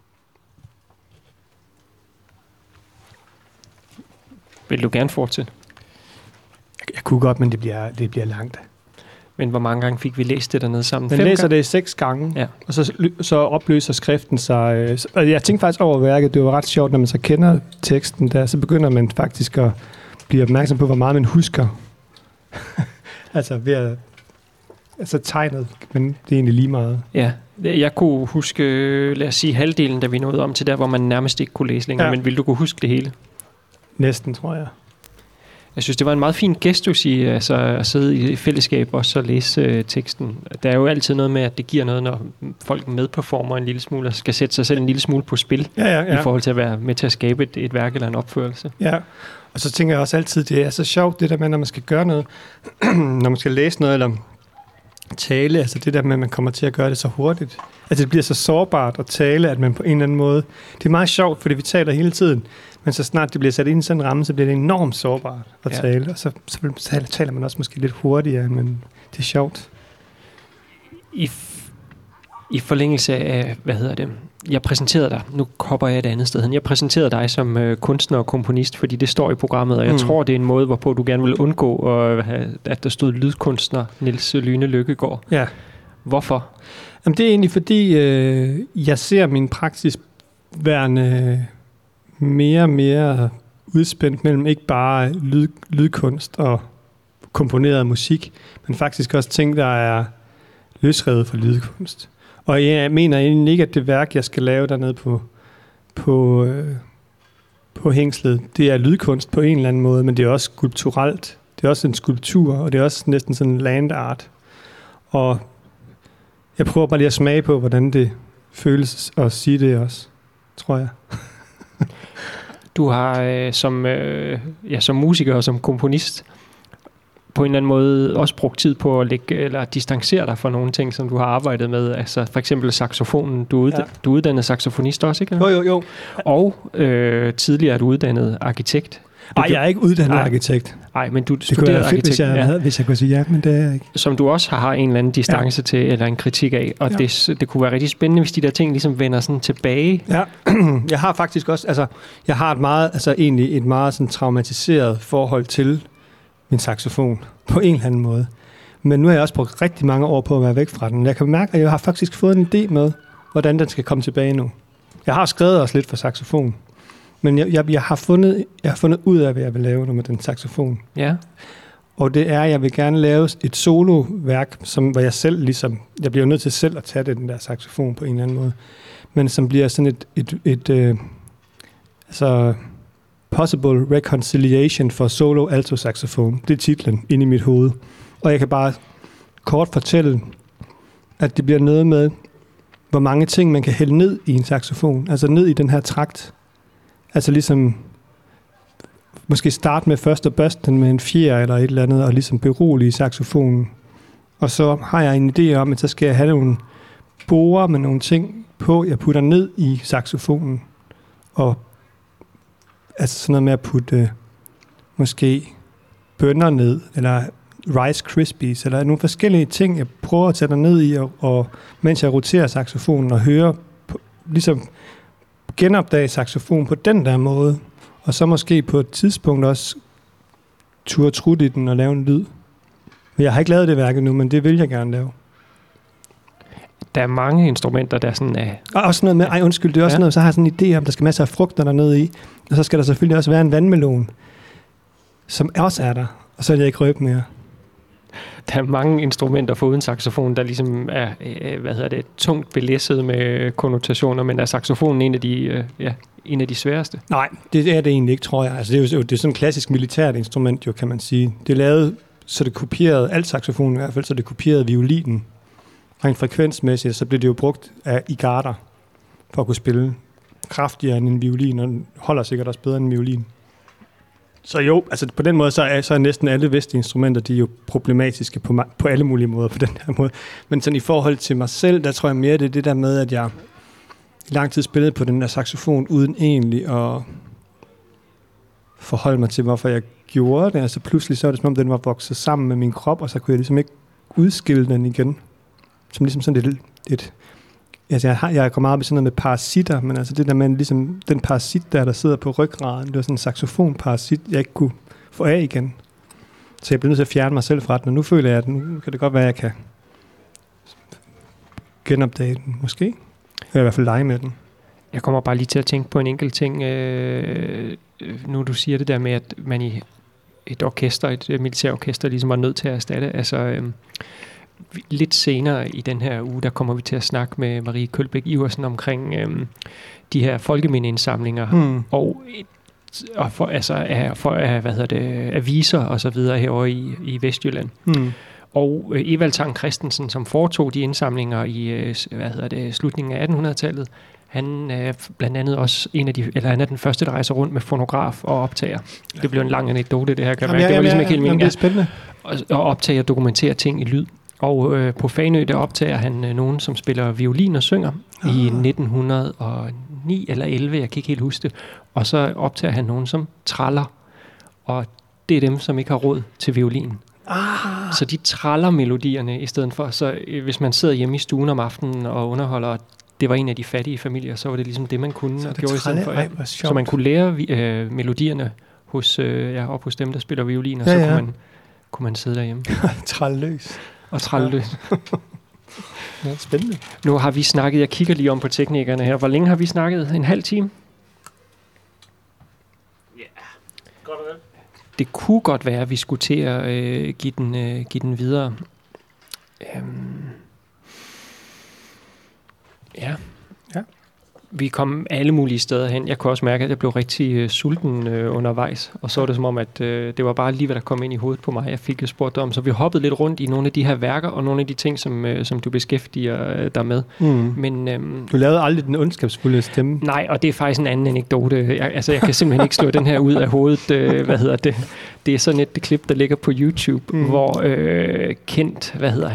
Vil du gerne fortsætte? Jeg kunne godt, men det bliver langt. Men hvor mange gange fik vi læst det dernede sammen? Man læser det 6 gange, ja. Og så opløser skriften sig. Og jeg tænkte faktisk over værket, det var ret sjovt, når man så kender teksten der, så begynder man faktisk at blive opmærksom på, hvor meget man husker. Altså tegnet, men det er egentlig lige meget. Ja, jeg kunne huske, lad os sige, halvdelen, da vi nåede om til der, hvor man nærmest ikke kunne læse længere, men ville du kunne huske det hele? Næsten, tror jeg. Jeg synes, det var en meget fin gestus i at sidde i fællesskab og så læse teksten. Der er jo altid noget med, at det giver noget, når folk medperformer en lille smule og skal sætte sig selv en lille smule på spil i forhold til at være med til at skabe et værk eller en opførelse. Ja, og så tænker jeg også altid, det er så sjovt det der med, når man skal gøre noget, når man skal læse noget eller tale, altså det der med, at man kommer til at gøre det så hurtigt. Altså det bliver så sårbart at tale, at man på en eller anden måde... Det er meget sjovt, fordi vi taler hele tiden, men så snart det bliver sat ind i sådan en ramme, så bliver det enormt sårbart at tale, og så taler man også måske lidt hurtigere, men det er sjovt. I forlængelse af, jeg præsenterede dig, nu hopper jeg et andet sted hen, jeg præsenterede dig som kunstner og komponist, fordi det står i programmet, og jeg tror, det er en måde, hvorpå du gerne vil undgå, at der stod lydkunstner Niels Lyne Lykkegaard. Ja. Hvorfor? Jamen, det er egentlig fordi, jeg ser min praksis værende mere og mere udspændt mellem ikke bare lydkunst og komponeret musik, men faktisk også ting, der er løsrevet fra lydkunst. Og jeg mener egentlig ikke, at det værk, jeg skal lave dernede på hængslet, det er lydkunst på en eller anden måde, men det er også skulpturelt. Det er også en skulptur, og det er også næsten sådan en land art. Og jeg prøver bare lige at smage på, hvordan det føles at sige det også, tror jeg. Du har som musiker og som komponist på en eller anden måde også brugt tid på at lægge eller distancere dig fra nogle ting, som du har arbejdet med. Altså for eksempel saxofonen. Du er uddannet saxofonist også, ikke? Jo. Og tidligere er du uddannet arkitekt. Nej, jeg er ikke uddannet arkitekt. Nej, men du det studerede kunne arkitekt. Hvis jeg kunne sige ja, men det er jeg ikke. Som du også har en eller anden distance til, eller en kritik af. Og det kunne være rigtig spændende, hvis de der ting ligesom vender sådan tilbage. Ja, jeg har faktisk også, jeg har et meget sådan traumatiseret forhold til min saxofon, på en eller anden måde. Men nu har jeg også brugt rigtig mange år på at være væk fra den. Jeg kan mærke, at jeg har faktisk fået en idé med, hvordan den skal komme tilbage nu. Jeg har skrevet også lidt for saxofon, men jeg har fundet ud af, hvad jeg vil lave nu med den saxofon. Ja. Og det er, at jeg vil gerne lave et soloværk, hvor jeg selv ligesom, jeg bliver nødt til selv at tage den der saxofon på en eller anden måde, men som bliver sådan et Possible Reconciliation for Solo Alto Saxophone. Det er titlen inde i mit hoved. Og jeg kan bare kort fortælle, at det bliver noget med, hvor mange ting man kan hælde ned i en saxofon. Altså ned i den her trakt. Altså ligesom måske starte med først at børste den med en fjer eller et eller andet, og ligesom berolige saxofonen. Og så har jeg en idé om, at så skal jeg have nogle borer med nogle ting på, jeg putter ned i saxofonen. Og altså sådan noget med at putte måske bønner ned, eller Rice Krispies, eller nogle forskellige ting, jeg prøver at tage der ned i, og mens jeg roterer saxofonen og hører, ligesom genopdage saxofonen på den der måde, og så måske på et tidspunkt også turde trutte i den og lave en lyd. Men jeg har ikke lavet det værk nu, men det vil jeg gerne lave. Der er mange instrumenter, der sådan er... Og også noget med, det er også noget, så har jeg sådan en idé om, der skal masser af frugter dernede i, og så skal der selvfølgelig også være en vandmelon, som også er der, og så er jeg ikke røbe mere. Der er mange instrumenter foruden saxofon, der ligesom er, tungt belæsset med konnotationer, men er saxofonen en af de sværeste? Nej, det er det egentlig ikke, tror jeg. Altså, det er sådan et klassisk militært instrument, jo, kan man sige. Det er lavet, så det kopierede, alt saxofonen i hvert fald, så det kopierede violinen. Rent frekvensmæssigt, så blev det jo brugt i garter for at kunne spille kraftigere end en violin, og den holder sikkert også bedre end en violin. Så jo, altså på den måde, så er næsten alle vestlige instrumenter, de er jo problematiske på alle mulige måder på den her måde. Men sådan i forhold til mig selv, der tror jeg mere, det er det der med, at jeg i lang tid spillede på den der saxofon, uden egentlig at forholde mig til, hvorfor jeg gjorde det. Altså pludselig så er det som om, den var vokset sammen med min krop, og så kunne jeg ligesom ikke udskille den igen. Som ligesom sådan et altså jeg går meget op i sådan noget med parasitter, men altså det der med ligesom den parasit der sidder på ryggraden, det var sådan en saxofonparasit, jeg ikke kunne få af igen. Så jeg blev nødt til at fjerne mig selv fra den, og nu føler jeg, at nu kan det godt være, at jeg kan genopdage den, måske. Eller i hvert fald lege med den. Jeg kommer bare lige til at tænke på en enkelt ting. Nu du siger det der med, at man i et orkester, et militærorkester, ligesom var nødt til at erstatte. Altså lidt senere i den her uge, der kommer vi til at snakke med Marie Kølbæk Iversen omkring de her folkemindeindsamlinger og aviser og så videre herovre i Vestjylland. Og Evald Tang Christensen, som foretog de indsamlinger i slutningen af 1800-tallet, han er blandt andet også han er den første, der rejser rundt med fonograf og optager. Det blev en lang anekdote, det her kan være. Det var ligesom ikke helt meningen. Det er spændende. Og optage og dokumentere ting i lyd. Og på Fanø, der optager han nogen, som spiller violin og synger i 1909 eller 11, jeg kan ikke helt huske det. Og så optager han nogen, som traller. Og det er dem, som ikke har råd til violin. Så de traller melodierne i stedet for. Så hvis man sidder hjemme i stuen om aftenen og underholder, det var en af de fattige familier, så var det ligesom det, man kunne. Og gjorde i stedet for, så man kunne lære melodierne op hos dem, der spiller violin, og så kunne man sidde derhjemme. Trælløs. Og trælløs. Ja, spændende. Nu har vi snakket, jeg kigger lige om på teknikerne her. Hvor længe har vi snakket? En halv time? Ja, godt og vel. Det kunne godt være, at vi skulle til at give den videre. Ja. Vi kom alle mulige steder hen. Jeg kunne også mærke, at jeg blev rigtig sulten undervejs. Og så var det som om, at det var bare lige, hvad der kom ind i hovedet på mig. Jeg fik spurgt om. Så vi hoppede lidt rundt i nogle af de her værker, og nogle af de ting, som du beskæftiger dig med. Men, du lavede aldrig den ondskabsfulde stemme. Nej, og det er faktisk en anden anekdote. Jeg kan simpelthen ikke slå den her ud af hovedet. Det er sådan et klip, der ligger på YouTube, hvor Kent,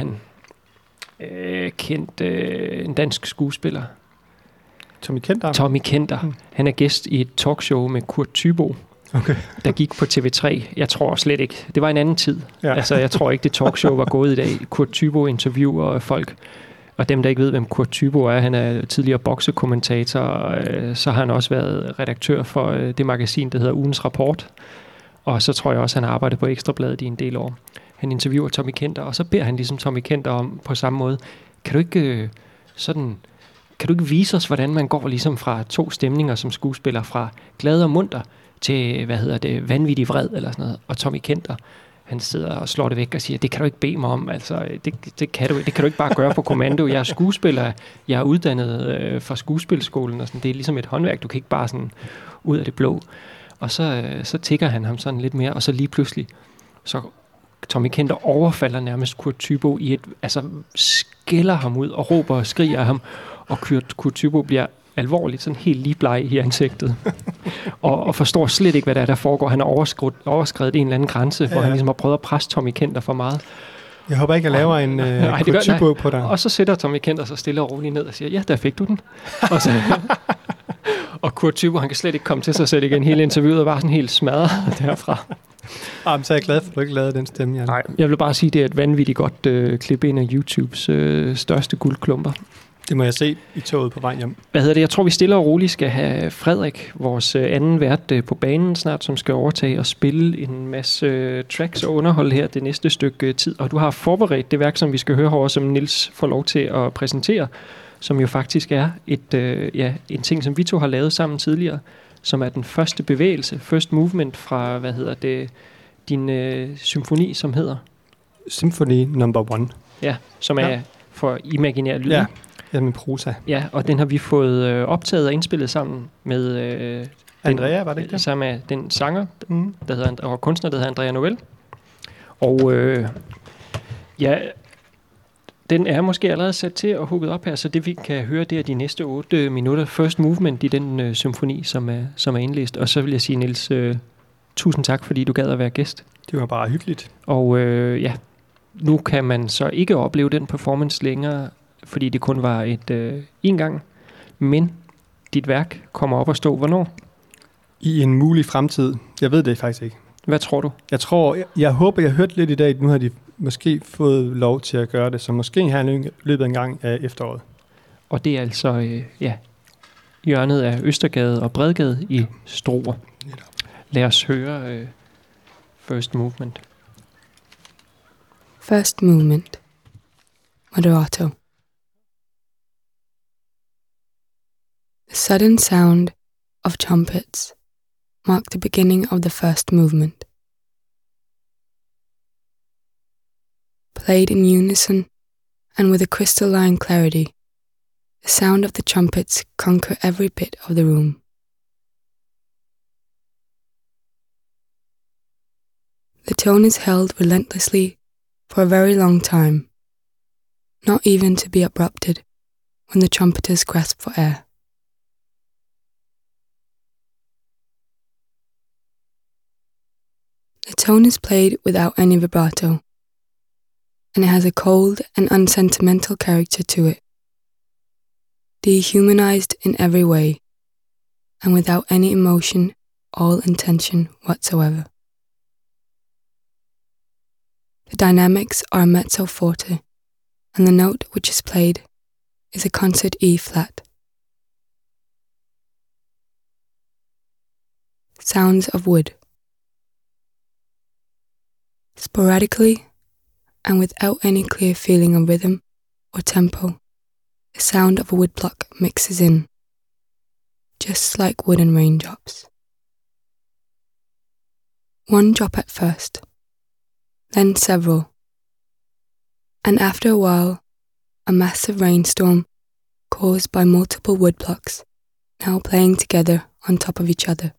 en dansk skuespiller, Tommy Kenter. Han er gæst i et talkshow med Kurt Thyboe, der gik på TV3. Jeg tror slet ikke. Det var en anden tid. Ja. Altså, jeg tror ikke, det talkshow var gået i dag. Kurt Thyboe interviewer folk. Og dem, der ikke ved, hvem Kurt Thyboe er, han er tidligere boksekommentator, og så har han også været redaktør for det magasin, der hedder Ugens Rapport. Og så tror jeg også, han har arbejdet på Ekstrabladet i en del år. Han interviewer Tommy Kenter, og så beder han ligesom Tommy Kenter om på samme måde, kan du ikke vise os, hvordan man går ligesom fra to stemninger som skuespiller, fra glad og munter til, vanvittig vred eller sådan noget. Og Tommy Kenter, han sidder og slår det væk og siger, det kan du ikke bede mig om, altså, det kan du ikke bare gøre på kommando. Jeg er skuespiller, jeg er uddannet fra skuespilskolen, og sådan, det er ligesom et håndværk, du kan ikke bare sådan ud af det blå. Og så tigger han ham sådan lidt mere, og så lige pludselig, så Tommy Kenter overfalder nærmest Kurt Thyboe skælder ham ud og råber og skriger af ham, og Kurt Thyboe bliver alvorligt sådan helt lige bleg i ansigtet og forstår slet ikke, hvad der foregår. Han har overskredet en eller anden grænse, hvor han ligesom har prøvet at presse Tommy Kenter for meget. Jeg håber ikke, jeg laver en Kurt Thyboe på dig. Og så sætter Tommy Kenter sig stille og roligt ned og siger, ja, der fik du den. Og Kurt Thyboe, han kan slet ikke komme til sig selv igen. Hele interviewet var sådan helt smadret derfra. Så er jeg glad for, at du ikke lavede den stemme, Jan. Nej, jeg vil bare sige, at det er et vanvittigt godt klip, en af YouTubes største guldklumper. Det må jeg se i toget på vej hjem. Jeg tror, vi stille og roligt skal have Frederik, vores anden vært på banen snart, som skal overtage og spille en masse tracks og underholde her det næste stykke tid. Og du har forberedt det værk, som vi skal høre herovre, som Niels får lov til at præsentere, som jo faktisk er en ting, som vi to har lavet sammen tidligere, som er den første bevægelse, first movement fra, din symfoni, som hedder? Symphony number 1. Ja, som er for imaginær lyd. Ja, med prosa. Ja, og den har vi fået optaget og indspillet sammen med Andrea, var det ikke det? Sammen med den sanger, og kunstner, der hedder Andrea Novell. Og den er måske allerede sat til at hugget op her, så det vi kan høre, det er de næste 8 minutter first movement i den symfoni, som er indlæst. Og så vil jeg sige, Niels, tusind tak, fordi du gad at være gæst. Det var bare hyggeligt. Og nu kan man så ikke opleve den performance længere, fordi det kun var en gang. Men dit værk kommer op at stå hvornår? I en mulig fremtid. Jeg ved det faktisk ikke. Hvad tror du? Jeg håber, jeg hørte lidt i dag, nu har de måske fået lov til at gøre det, så måske her i løbet af en gang af efteråret. Og det er altså hjørnet af Østergade og Bredgade i Struer. Lad os høre First Movement. First Movement. Moderato. The sudden sound of trumpets marked the beginning of the first movement. Played in unison and with a crystalline clarity, the sound of the trumpets conquer every bit of the room. The tone is held relentlessly for a very long time, not even to be abrupted when the trumpeters grasp for air. The tone is played without any vibrato, and it has a cold and unsentimental character to it, dehumanized in every way, and without any emotion or intention whatsoever. The dynamics are a mezzo forte, and the note which is played is a concert E flat. Sounds of wood. Sporadically, and without any clear feeling of rhythm or tempo, the sound of a woodblock mixes in, just like wooden raindrops. One drop at first, then several, and after a while, a massive rainstorm caused by multiple woodblocks now playing together on top of each other.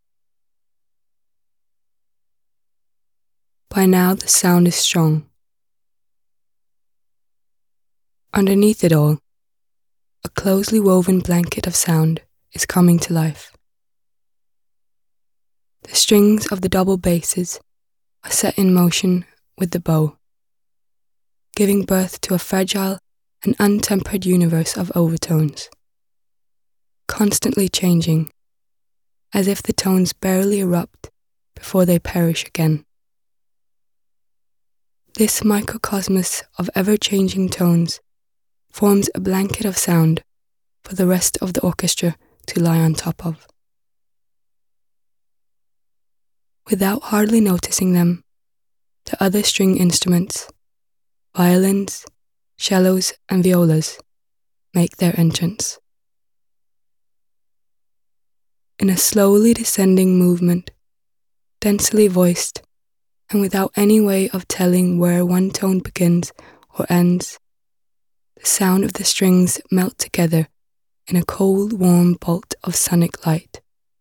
By now the sound is strong. Underneath it all, a closely woven blanket of sound is coming to life. The strings of the double basses are set in motion with the bow, giving birth to a fragile and untempered universe of overtones, constantly changing, as if the tones barely erupt before they perish again. This microcosmos of ever-changing tones forms a blanket of sound for the rest of the orchestra to lie on top of. Without hardly noticing them, the other string instruments, violins, cellos, and violas, make their entrance. In a slowly descending movement, densely voiced, and without any way of telling where one tone begins or ends, the sound of the strings melt together in a cold, warm bolt of sonic light.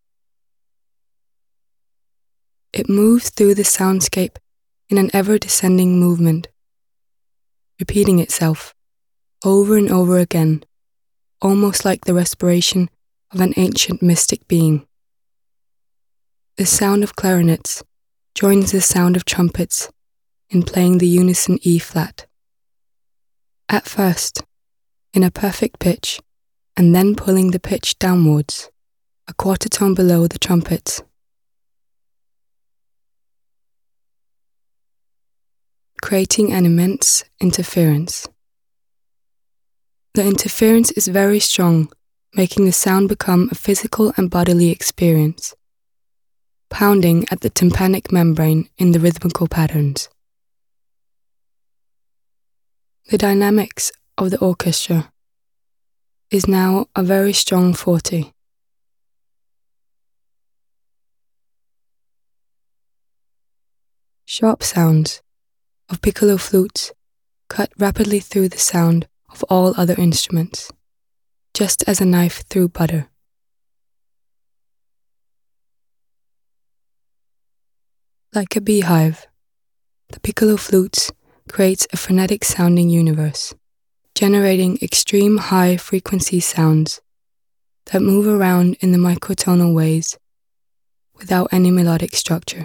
It moves through the soundscape in an ever-descending movement, repeating itself over and over again, almost like the respiration of an ancient mystic being. The sound of clarinets joins the sound of trumpets in playing the unison E-flat. At first, in a perfect pitch, and then pulling the pitch downwards, a quarter tone below the trumpets. Creating an immense interference. The interference is very strong, making the sound become a physical and bodily experience, pounding at the tympanic membrane in the rhythmical patterns. The dynamics of the orchestra is now a very strong forte. Sharp sounds of piccolo flutes cut rapidly through the sound of all other instruments, just as a knife through butter. Like a beehive, the piccolo flutes creates a frenetic sounding universe, generating extreme high frequency sounds that move around in the microtonal ways without any melodic structure.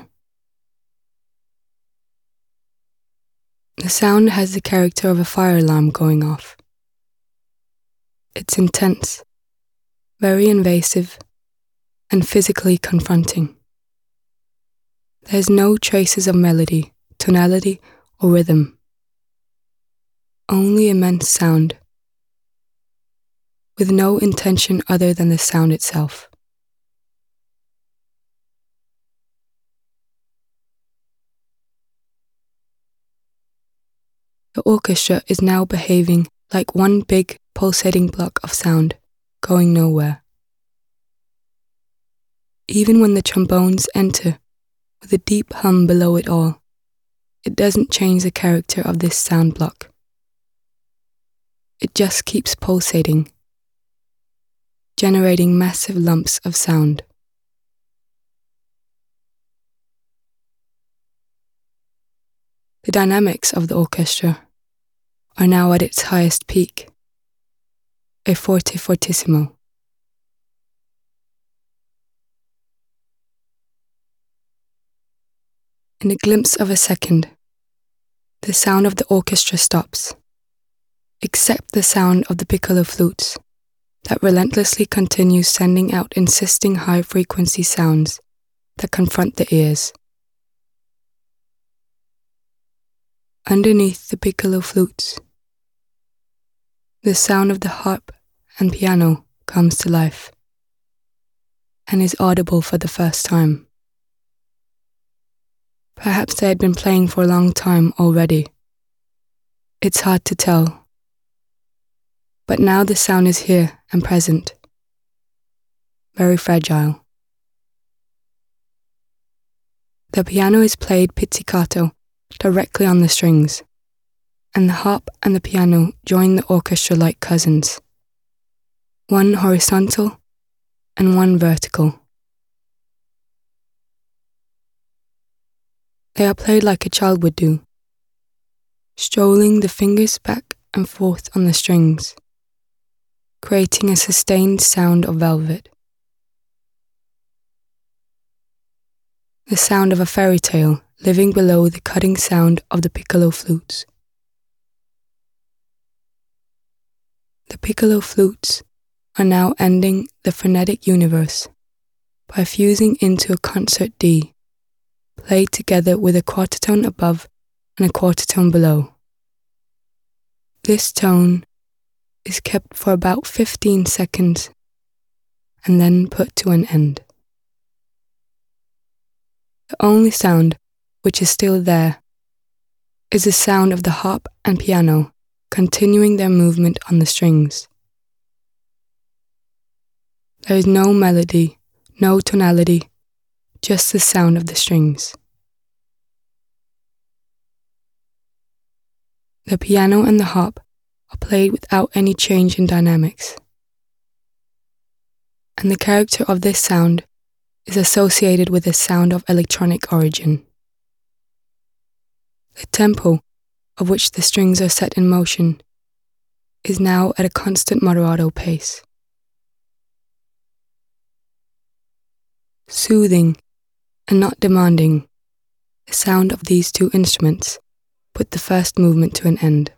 The sound has the character of a fire alarm going off. It's intense, very invasive, and physically confronting. There's no traces of melody, tonality, or rhythm. Only immense sound, with no intention other than the sound itself. The orchestra is now behaving like one big pulsating block of sound, going nowhere. Even when the trombones enter, with a deep hum below it all, it doesn't change the character of this sound block. It just keeps pulsating, generating massive lumps of sound. The dynamics of the orchestra are now at its highest peak, a forte fortissimo. In a glimpse of a second, the sound of the orchestra stops, except the sound of the piccolo flutes that relentlessly continues sending out insisting high-frequency sounds that confront the ears. Underneath the piccolo flutes, the sound of the harp and piano comes to life and is audible for the first time. Perhaps they had been playing for a long time already. It's hard to tell, But now the sound is here and present, very fragile. The piano is played pizzicato directly on the strings, and the harp and the piano join the orchestra like cousins, one horizontal and one vertical. They are played like a child would do, strolling the fingers back and forth on the strings, creating a sustained sound of velvet. The sound of a fairy tale living below the cutting sound of the piccolo flutes. The piccolo flutes are now ending the frenetic universe by fusing into a concert D, played together with a quarter-tone above and a quarter-tone below. This tone is kept for about 15 seconds and then put to an end. The only sound which is still there is the sound of the harp and piano continuing their movement on the strings. There is no melody, no tonality, just the sound of the strings. The piano and the harp are played without any change in dynamics. And the character of this sound is associated with a sound of electronic origin. The tempo, of which the strings are set in motion, is now at a constant moderato pace. Soothing and not demanding, the sound of these two instruments put the first movement to an end.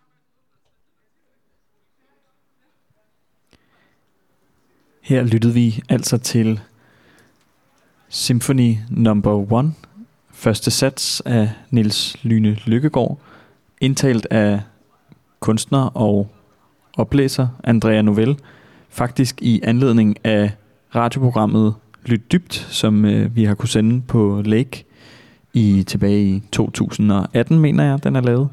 Her lyttede vi altså til Symphony No. 1, første sats af Niels Lyhne Lykkegaard, indtalt af kunstner og oplæser Andrea Novell, faktisk i anledning af radioprogrammet Lyt Dybt, som vi har kunne sende på Lake tilbage i 2018, mener jeg, den er lavet.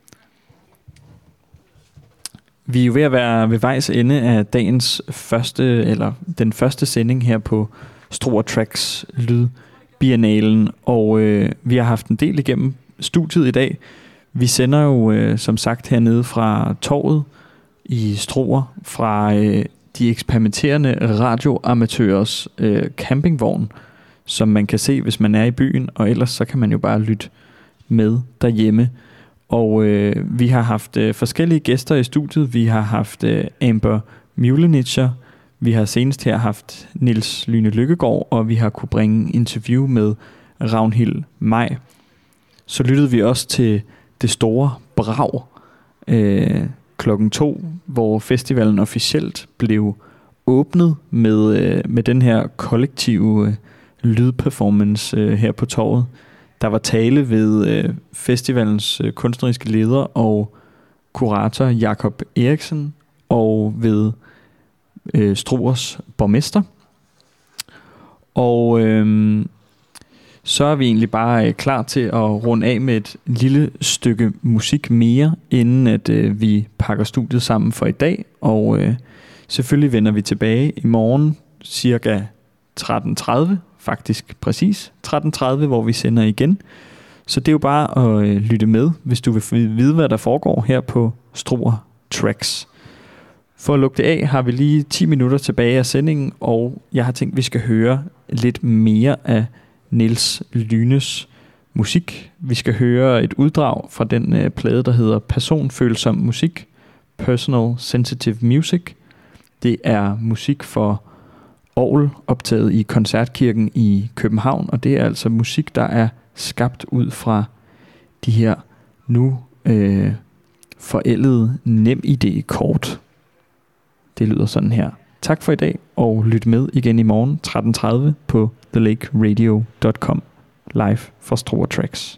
Vi er jo ved at være ved vejs ende af dagens den første sending her på Struer Tracks Lydbiennalen, og vi har haft en del igennem studiet i dag. Vi sender jo som sagt hernede fra torvet i Struer, fra de eksperimenterende radioamatørers campingvogn, som man kan se, hvis man er i byen, og ellers så kan man jo bare lytte med derhjemme. Og vi har haft forskellige gæster i studiet. Vi har haft Amber Mulenitscher, vi har senest her haft Niels Lyhne Lykkegaard, og vi har kunne bringe interview med Ragnhild Maj. Så lyttede vi også til det store brag klokken 2, hvor festivalen officielt blev åbnet med den her kollektive lydperformance her på torvet. Der var tale ved festivalens kunstneriske leder og kurator Jakob Eriksen, og ved Struers borgmester. Og så er vi egentlig bare klar til at runde af med et lille stykke musik mere, inden at vi pakker studiet sammen for i dag. Og selvfølgelig vender vi tilbage i morgen cirka 13.30, faktisk præcis 13.30, hvor vi sender igen. Så det er jo bare at lytte med, hvis du vil vide, hvad der foregår her på Struer Tracks. For at lukke det af, har vi lige 10 minutter tilbage af sendingen, og jeg har tænkt, at vi skal høre lidt mere af Niels Lyhnes musik. Vi skal høre et uddrag fra den plade, der hedder Personfølsom musik, Personal Sensitive Music. Det er musik for orgel optaget i Koncertkirken i København, og det er altså musik, der er skabt ud fra de her nu forældede NemID-kort. Det lyder sådan her. Tak for i dag, og lyt med igen i morgen 13.30 på thelakeradio.com live for Struer Tracks.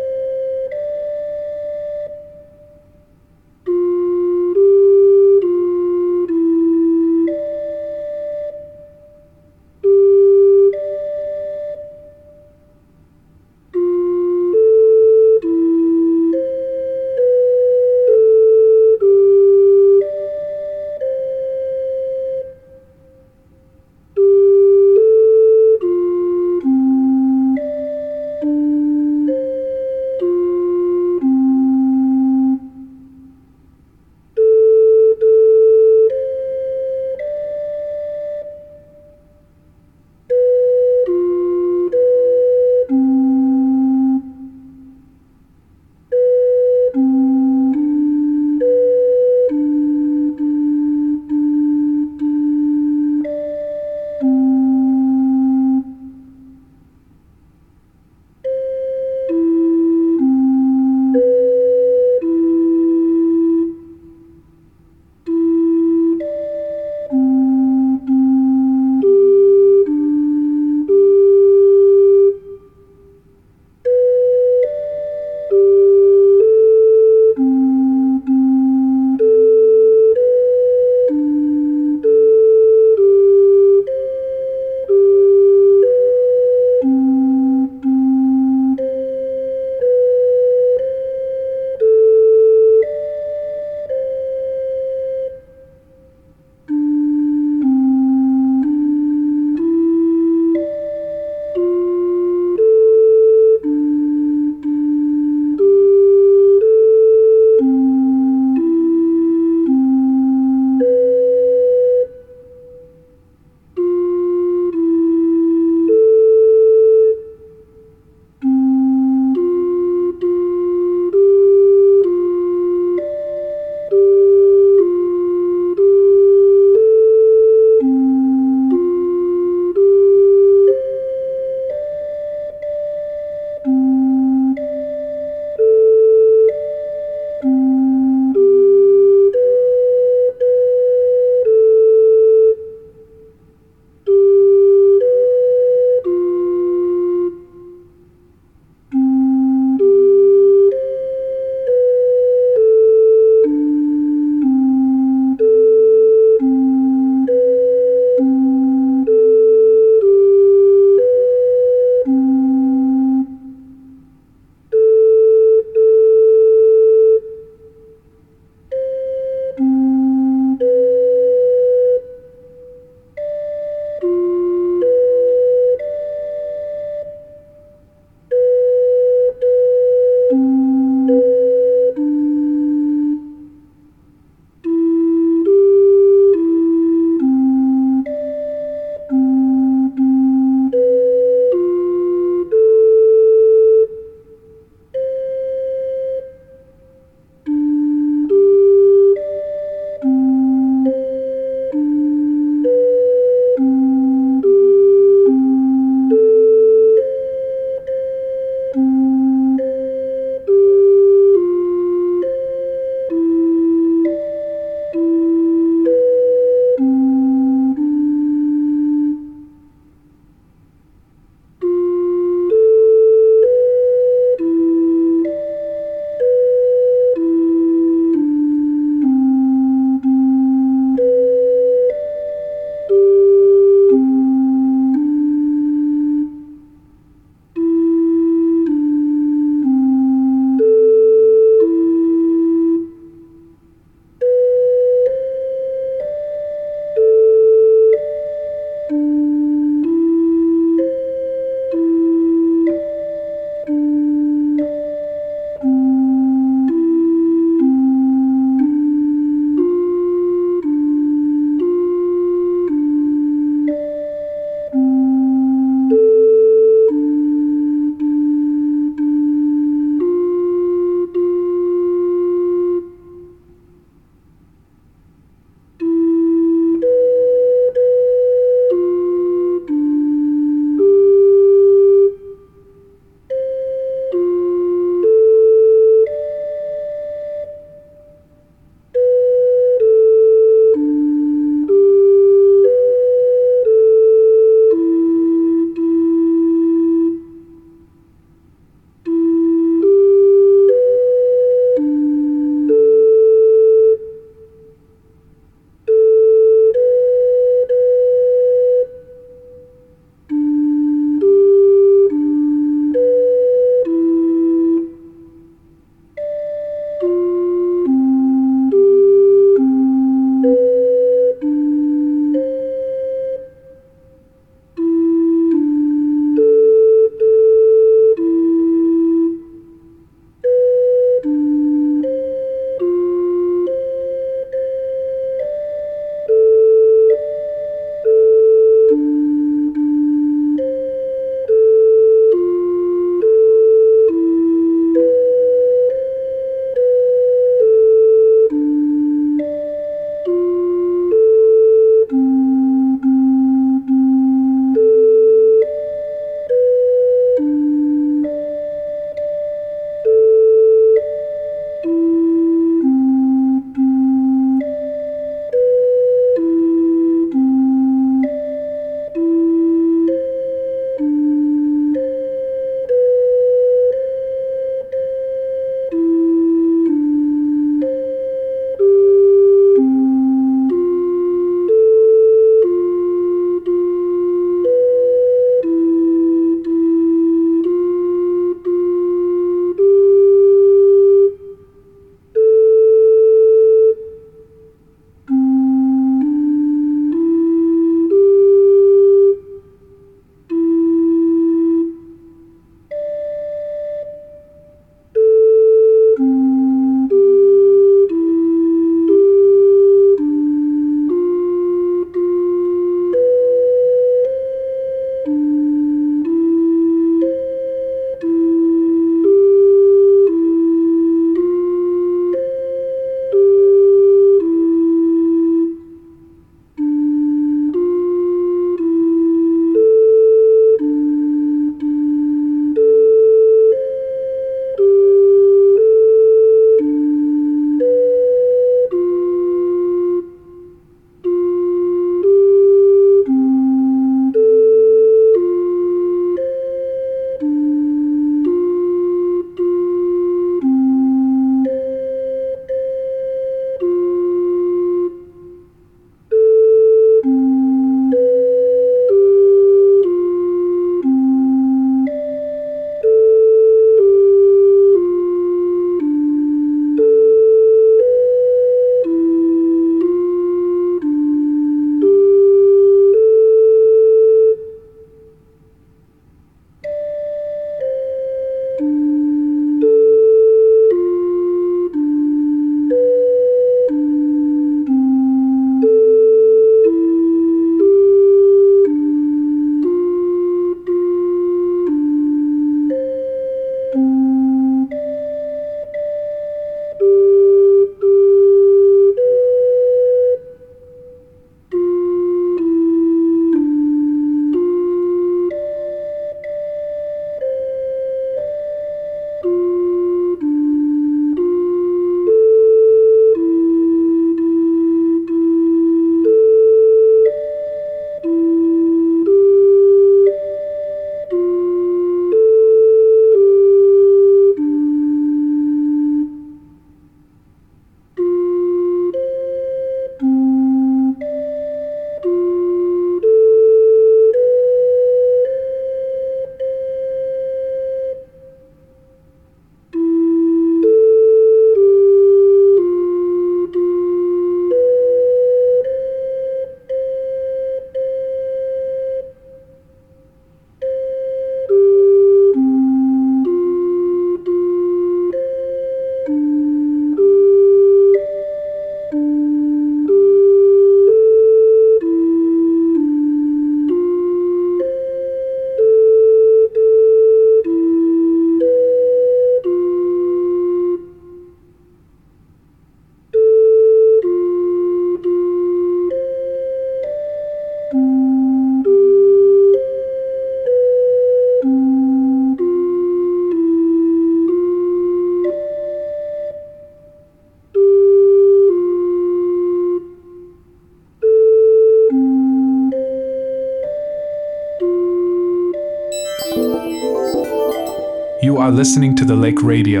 are listening to the Lake Radio.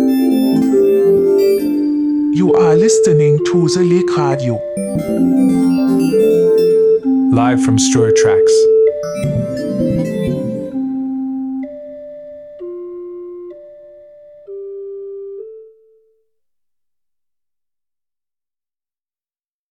You are listening to the Lake Radio. Live from Struer Tracks.